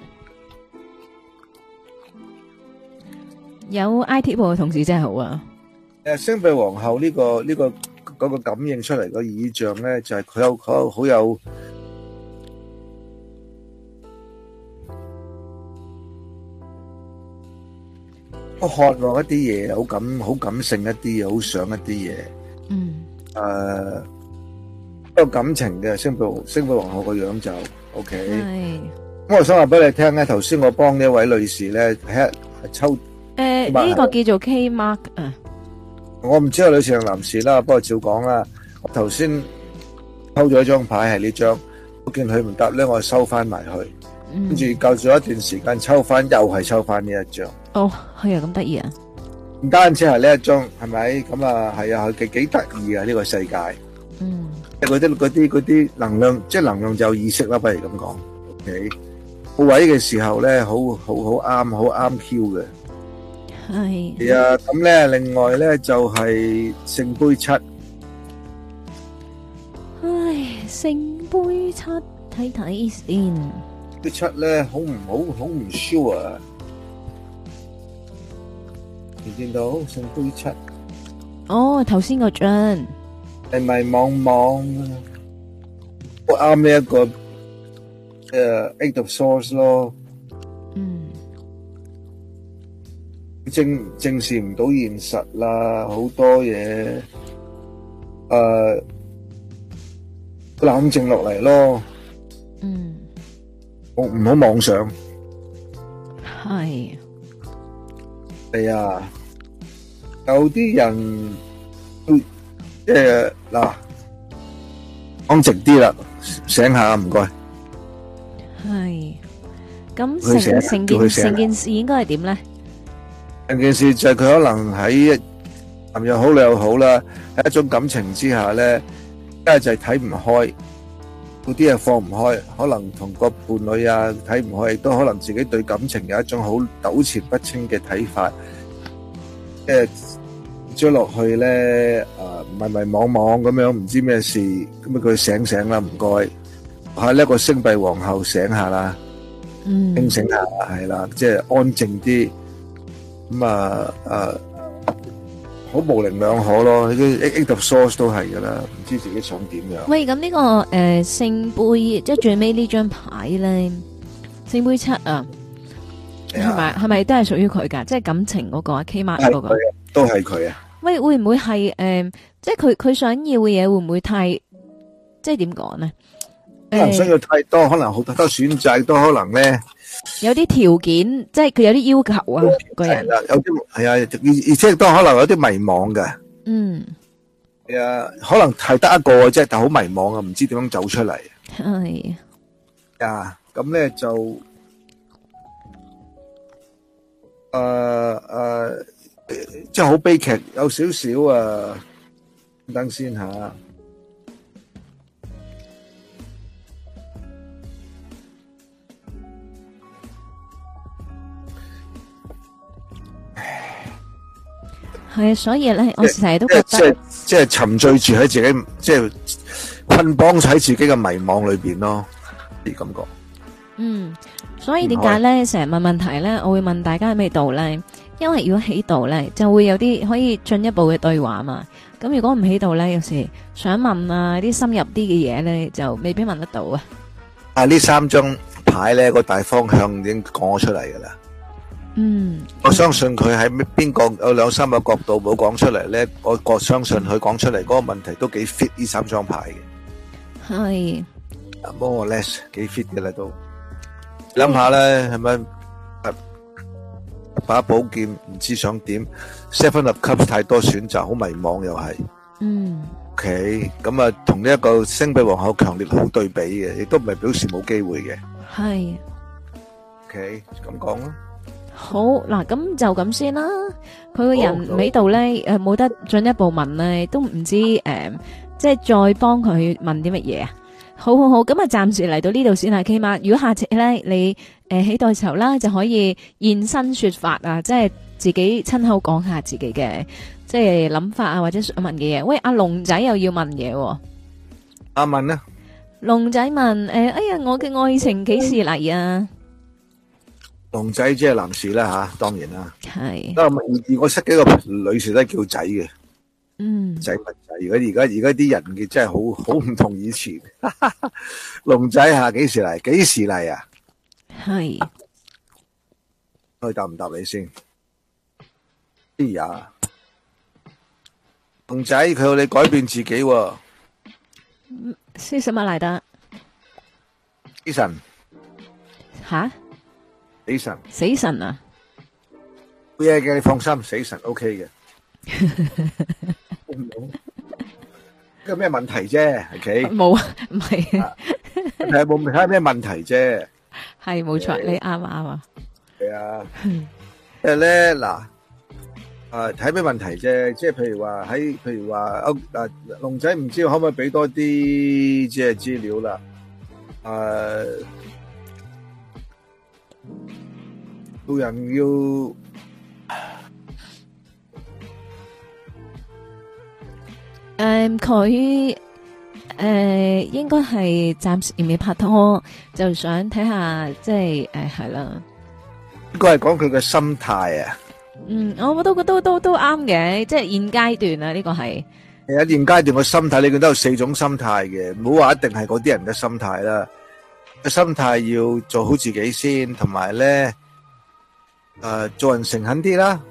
有 I T 部嘅同事真係好啊。 誒，星幣皇后呢個呢個嗰個感應出嚟個意象咧，就係佢有佢有好有。好渴望一啲嘢，好感好感性一啲嘢，好想一啲嘢。 嗯。 誒，有感情嘅星幣星幣皇后個樣就 OK。 係。 咁我想話俾你聽咧，頭先我幫呢一位女士咧，係抽誒呢個叫做 K Mark 啊。 我唔知係女士定男士啦，不過照講啦。我頭先抽咗一張牌係呢張，我見佢唔答咧，我收翻埋去。跟住夠咗一段時間抽翻，又係抽翻呢一張。 哦，係啊，咁得意啊！ 唔單止係呢一張，係咪？咁啊，係啊，佢幾幾得意啊！呢個世界， 嗯， 即係嗰啲嗰啲嗰啲能量，即係能量就有意識啦，不如咁講。OK，好位嘅時候咧，好好好啱，好啱 Q 嘅。 係。 係啊，咁咧，另外咧就係聖杯七。 唉，聖杯七，睇睇先。 杯七咧，好唔好？好唔 sure 啊！你見到聖杯七？ 哦，頭先個張係咪望望？好啱呢一個誒 Eight of Swords 咯。 嗯。 正正視唔到現實啦，好多嘢誒冷靜落嚟咯。 嗯。 唔唔好妄想。 係。 係啊，有啲人即係嗱，講直啲啦，醒下唔該。 係。咁成成件成件事應該係點咧？ 成件事就係佢可能喺男又好女又好啦，喺一種感情之下咧，一係就係睇唔開，嗰啲嘢放唔開，可能同個伴侶啊睇唔開，亦都可能自己對感情有一種好糾纏不清嘅睇法，即係追落去咧，誒迷迷惘惘咁樣，唔知咩事，咁啊佢醒醒啦，唔該，係呢個星幣皇后醒下啦， 嗯， 清醒下係啦，即係安靜啲。咁啊啊，好模棱兩可咯，啲 Eight of Swords都係噶啦，唔知自己想點樣。 喂，咁呢個誒聖杯，即係最尾呢張牌咧，聖杯七啊，係咪係咪都係屬於佢噶？即係感情嗰個啊 K Mark 嗰個， 都係佢啊。喂， 會唔會係誒？即係佢佢想要嘅嘢會唔會太？即係點講咧？ 可能需要太多，可能好多選擇，都可能咧。 有啲條件，即係佢有啲要求啊，個人。 有啲係啊，而而且都可能有啲迷茫嘅。 嗯。 係啊，可能係得一個啫，但係好迷茫啊，唔知點樣走出嚟。 係。啊， 咁咧就誒誒，即係好悲劇，有少少啊。等先吓。 係啊，所以咧，我成日都覺得即係即係沉醉住喺自己，即係捆綁喺自己嘅迷惘裏邊咯，啲感覺。 嗯，所以點解咧成日問問題咧？我會問大家喺咩度咧？因為如果喺度咧，就會有啲可以進一步嘅對話嘛。咁如果唔喺度咧，有時想問啊啲深入啲嘅嘢咧，就未必問得到啊。 啊，呢三張牌咧個大方向已經講咗出嚟噶啦。 嗯， 我相信佢喺邊個有兩三個角度冇講出嚟咧，我我相信佢講出嚟嗰個問題都幾 fit 呢三張牌嘅。 係， more or less 幾 fit 嘅啦都。諗下咧，係咪把寶劍唔知想點 ？Seven of Cups 太多選擇，好迷茫又係。 嗯。 OK，咁啊，同呢一個星幣皇后強烈好對比嘅，亦都唔係表示冇機會嘅。 係。 OK，咁講啦。 好嗱，咁就咁先啦。佢個人喺度咧，誒冇得進一步問咧，都唔知誒，即係再幫佢問啲乜嘢啊？好好好，咁啊暫時嚟到呢度先啦，K 媽。如果下次咧你誒喺度時候啦，就可以現身說法啊，即係自己親口講下自己嘅即係諗法啊，或者想問嘅嘢。喂，阿龍仔又要問嘢喎。 阿問啊， 龍仔問誒，哎呀，我嘅愛情幾時嚟啊？ 龍仔即係男士啦吓，當然啦。 係。 而而我識幾個女士都係叫仔嘅。 嗯。 仔物仔，而家而家而家啲人嘅真係好好唔同以前。龍仔吓幾時嚟？幾時嚟啊？ 係。 可以答唔答你先？哎呀，龍仔佢要你改變自己喎。 是什麼嚟得？ 死神。 吓？ 死神。 死神啊？ 冇嘢嘅，你放心，死神 OK 嘅。有咩問題啫？OK？ 冇啊，唔係。 係冇睇下咩問題啫？ 係冇錯，你啱啊啱啊。 係啊，即係咧嗱，誒睇咩問題啫？即係譬如話喺，譬如話歐誒龍仔唔知可唔可以俾多啲即係資料啦？誒，做人要。 誒，佢誒應該係暫時未拍拖，就想睇下，即係誒係啦。 應該係講佢嘅心態啊。 嗯，我都都都都啱嘅，即係現階段啊，呢個係。 係啊，現階段嘅心態，你見到有四種心態嘅，唔好話一定係嗰啲人嘅心態啦。個心態要做好自己先，同埋咧誒做人誠懇啲啦，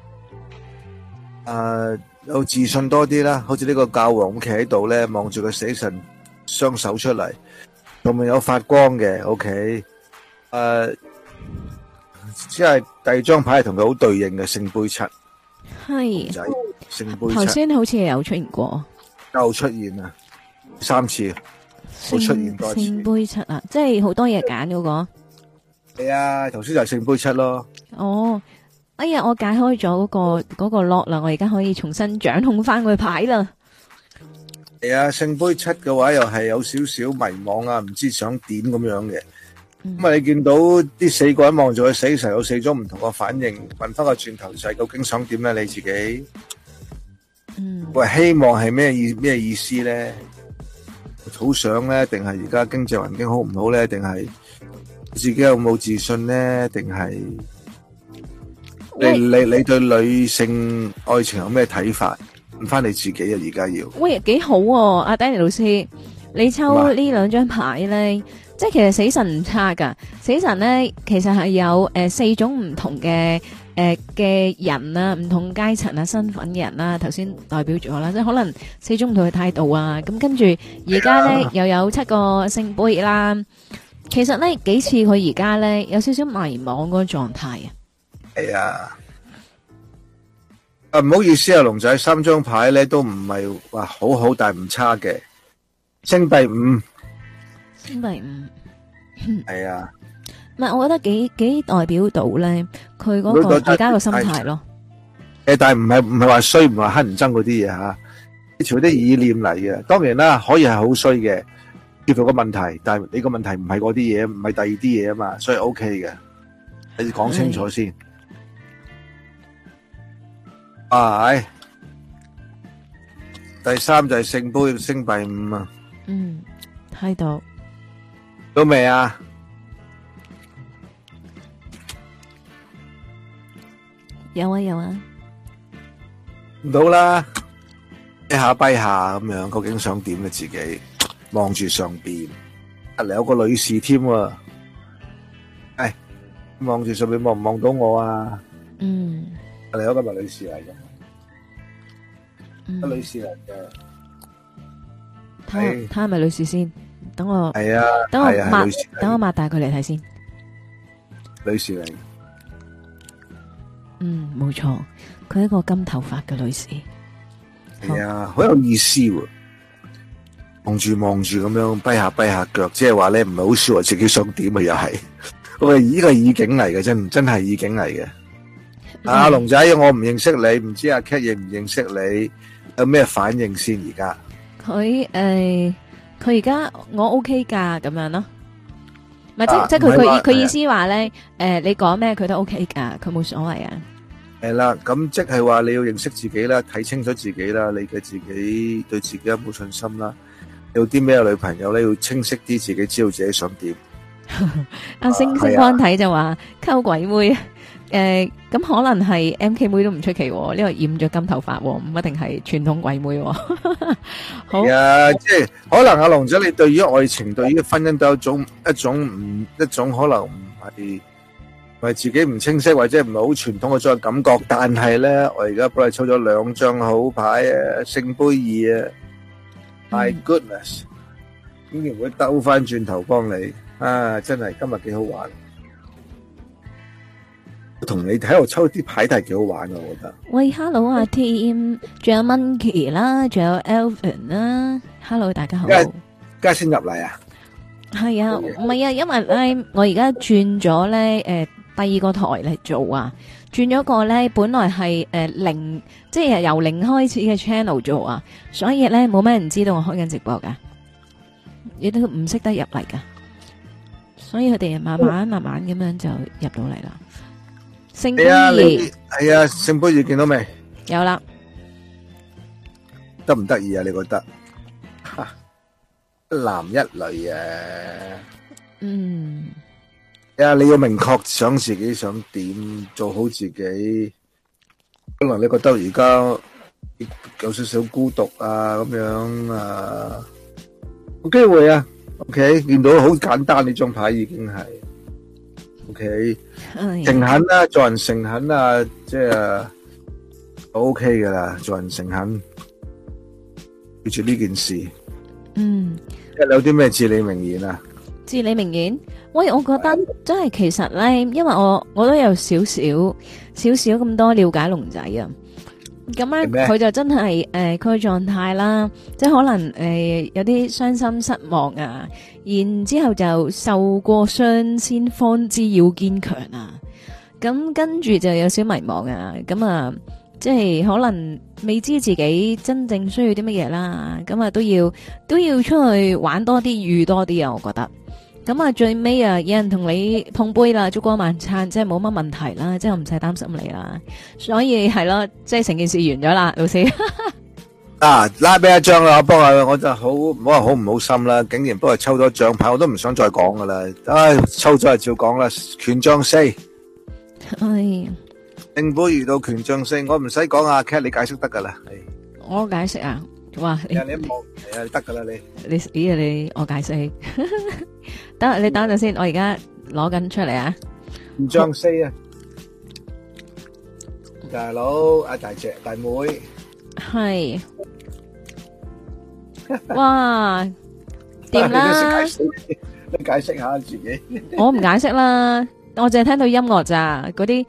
誒。有自信多啲啦，好似呢個教皇咁企喺度咧，望住個死神雙手出嚟，上面有發光嘅。OK，誒，即係第二張牌係同佢好對應嘅聖杯七， 係仔聖杯七。 頭先好似有出現過， 又出現啊，三次，好出現多次。 聖杯七啊，即係好多嘢揀嗰個。 係啊，頭先就係聖杯七咯。 哦。哎呀，我解開咗嗰個嗰個 lock 啦，我而家可以重新掌控翻佢牌啦。 係啊，聖杯七嘅話又係有少少迷惘啊，唔知想點咁樣嘅。咁啊，你見到啲四個人望住佢死神，有四種唔同嘅反應。問翻個轉頭就係究竟想點咧？你自己， 嗯， 喂，希望係咩意咩意思咧？好想咧，定係而家經濟環境好唔好咧？定係自己有冇自信咧？定係？你你你對女性愛情有咩睇法？問翻你自己啊！而家要喂，幾好喎，阿 Danny 老師，你抽呢兩張牌咧，即係其實死神唔差噶。死神咧，其實係有誒四種唔同嘅誒嘅人啊，唔同階層啊、身份嘅人啦。頭先代表咗啦，即係可能四種唔同嘅態度啊。咁跟住而家咧又有七個聖杯啦。其實咧幾次佢而家咧有少少迷茫嗰個狀態啊。 係啊，啊唔好意思啊，龍仔，三張牌咧都唔係話好好，但係唔差嘅。星幣五， 星幣五， 係啊， 唔係，我覺得幾幾代表到咧，佢嗰個而家個心態咯。 誒，但係唔係唔係話衰，唔係話乞人憎嗰啲嘢吓，呢條啲意念嚟嘅。當然啦，可以係好衰嘅，叫做個問題，但係你個問題唔係嗰啲嘢，唔係第二啲嘢啊嘛，所以 OK 嘅，你講清楚先。啊，係第三就係聖杯星幣五啊。 嗯，睇到到未啊？ 有啊有啊， 唔到啦，一下跛下咁樣，究竟想點咧？自己望住上邊，啊，嚟有個女士添喎，哎，望住上邊望唔望到我啊？ 嗯， 嚟有個咪女士嚟嘅， 嗯， 個女士嚟嘅， 睇睇係咪女士先？ 等我係啊， 等我係啊，係女士擘等我擘大佢嚟睇先。 女士嚟， 嗯，冇錯，佢係一個金頭髮嘅女士。 係啊，好有意思喎。望住望住咁樣跛下跛下腳，即係話咧唔係好 sure 自己想點啊，又係。喂，呢個意境嚟嘅，真真係意境嚟嘅。阿龍仔，我唔認識你，唔知阿 Cat 認唔認識你，有咩反應先？而家佢誒，佢而家我 OK 噶咁樣咯。唔係啊即即係佢唔係話佢佢意思話咧，誒，你講咩佢都 OK 噶，佢冇所謂啊。 係啦，咁即係話你要認識自己啦，睇清楚自己啦，你嘅自己對自己有冇信心啦？有啲咩女朋友咧，要清晰啲，自己知道自己想點。 阿星星光睇就話溝鬼妹，誒咁可能係 M K 妹都唔出奇，呢個染咗金頭髮，唔一定係傳統鬼妹。好係啊，即係可能阿龍仔，你對於愛情、對於婚姻都有一種一種唔一種可能唔係唔係自己唔清晰，或者唔係好傳統嘅種感覺。但係咧，我而家幫你抽咗兩張好牌啊，聖杯二啊。My goodness，竟然會兜翻轉頭幫你啊！真係今日幾好玩，同你喺度抽啲牌都係幾好玩嘅，我覺得。 喂，Hello 啊 Team，仲有 Monkey 啦，仲有 Alvin 啦，Hello 大家好。 而家先入嚟啊？ 係啊，唔係啊，因為咧我而家轉咗咧誒第二個台嚟做啊。轉咗個咧，本來係誒、呃、零，即係由零開始嘅 channel 做啊，所以咧冇咩人知道我開緊直播噶，亦都唔識得入嚟噶，所以佢哋慢慢慢慢咁樣就入到嚟啦。聖杯二係啊，聖杯二見到未？ 有啦， 得唔得意啊？你覺得？一男一女啊？ 嗯。 啊！你要明確想自己想點，做好自己。可能你覺得而家有少少孤獨啊，咁樣啊，有機會啊。OK，見到好簡單呢張牌已經係 OK，誠懇啦，做人誠懇啊，即係 OK 噶啦，做人誠懇，記住呢件事。 嗯， 有啲咩至理名言啊？ 至理名言，喂，我覺得真係其實咧，因為我我都有少少少少咁多了解龍仔啊，咁咧佢就真係誒佢嘅狀態啦，即係可能誒、呃、有啲傷心失望啊，然之後就受過傷先方知要堅強啊，咁跟住就有少迷茫啊，咁啊即係可能未知自己真正需要啲乜嘢啦，咁啊都要都要出去玩多啲遇多啲啊，我覺得。咁啊，最尾啊，有人同你碰杯啦，燭光晚餐，即係冇乜問題啦，即係我唔使擔心你啦。所以係咯，即係成件事完咗啦，老師。 啊，拉俾一張啦，我幫下，我就好唔好話好唔好心啦，竟然幫佢抽咗獎牌，我都唔想再講噶啦。唉，抽咗就照講啦，權杖四。 哎， 聖杯遇到權杖四，我唔使講啊 ，Cat 你解釋得噶啦。 我解釋啊，哇！ 你你一望，係啊，得噶啦你。 你咦啊你我解釋。等你等陣先，我而家攞緊出嚟啊！ 權杖四啊，大佬阿大姐大妹， 係，哇，掂啦！ 你解釋下自己。 我唔解釋啦，我淨係聽到音樂咋，嗰啲。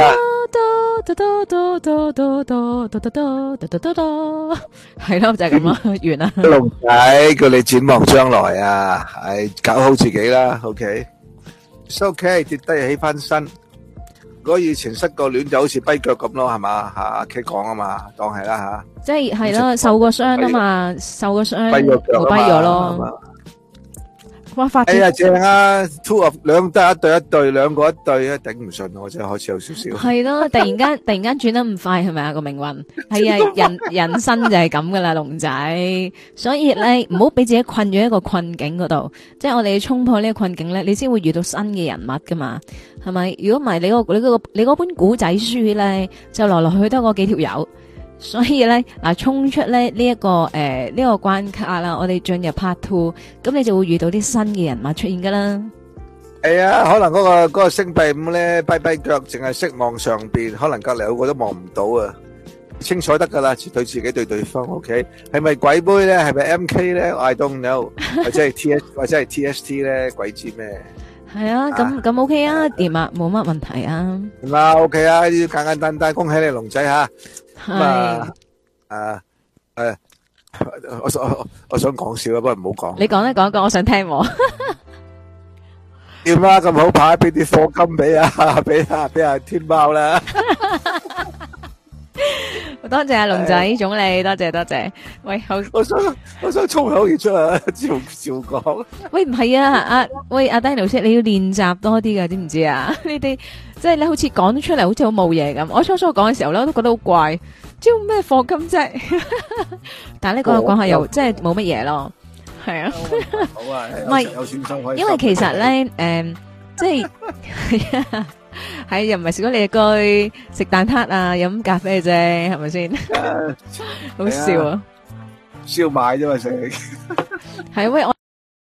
係咯，就係咁咯，完啦。 龍仔叫你展望將來啊，係搞好自己啦。OK，it's OK，跌低起翻身。如果以前失過戀就好似跛腳咁咯，係嘛吓？阿 K 講啊嘛，當係啦吓。 即係係咯，受過傷啊嘛，受過傷， 跛咗腳啊嘛， 跛咗咯。哇！發哎呀正啊 ，two of 兩得一對一對，兩個一對啊，頂唔順我真係開始有少少。 係咯，突然間突然間轉得咁快，係咪啊個命運？係啊，人人生就係咁噶啦，龍仔。所以咧，唔好俾自己困咗一個困境嗰度。即係我哋要衝破呢個困境咧，你先會遇到新嘅人物噶嘛？係咪？如果唔係，你個你嗰個你嗰本古仔書咧，就來來去去都嗰幾條友。所以咧，嗱，衝出咧呢一個誒呢個關卡啦，我哋進入 part two，咁你就會遇到啲新嘅人物出現噶啦。 係啊，可能嗰個嗰個星幣五咧跛跛腳，淨係識望上邊，可能隔籬有個都望唔到啊。 清楚得噶啦，對自己對對方 ，OK， 係咪鬼妹咧？係咪 M K 咧 ？I don't know，或者係 T S 或者係 T S T 咧？鬼知咩？ 係啊，咁咁 OK 啊，掂啊，冇乜問題啊。 咁啊 OK 啊，呢啲簡簡單單，恭喜你龍仔吓。咁係啊，誒誒，我我我想講笑啊，不過唔好講。 你講一講一講，我想聽喎。 點啊？咁好牌，俾啲課金俾啊，俾啊俾啊天貓啦。 多謝阿龍仔總理，多謝多謝。喂，好， 我想我想衝口而出啊，照照講。 喂，唔係啊，阿喂阿 Danny 老師，你要練習多啲噶，知唔知啊？你哋即係你好似講得出嚟，好似好冇嘢咁。我初初講嘅時候咧，我都覺得好怪，招咩課金啫？但係咧講下講下又即係冇乜嘢咯，係啊。 好啊， 唔係有選手可以。 因為其實咧，誒，即係係啊。係又唔係食咗你嘅居食蛋撻啊，飲咖啡啫，係咪先？好笑啊！ 燒賣啫嘛食。 係喂，我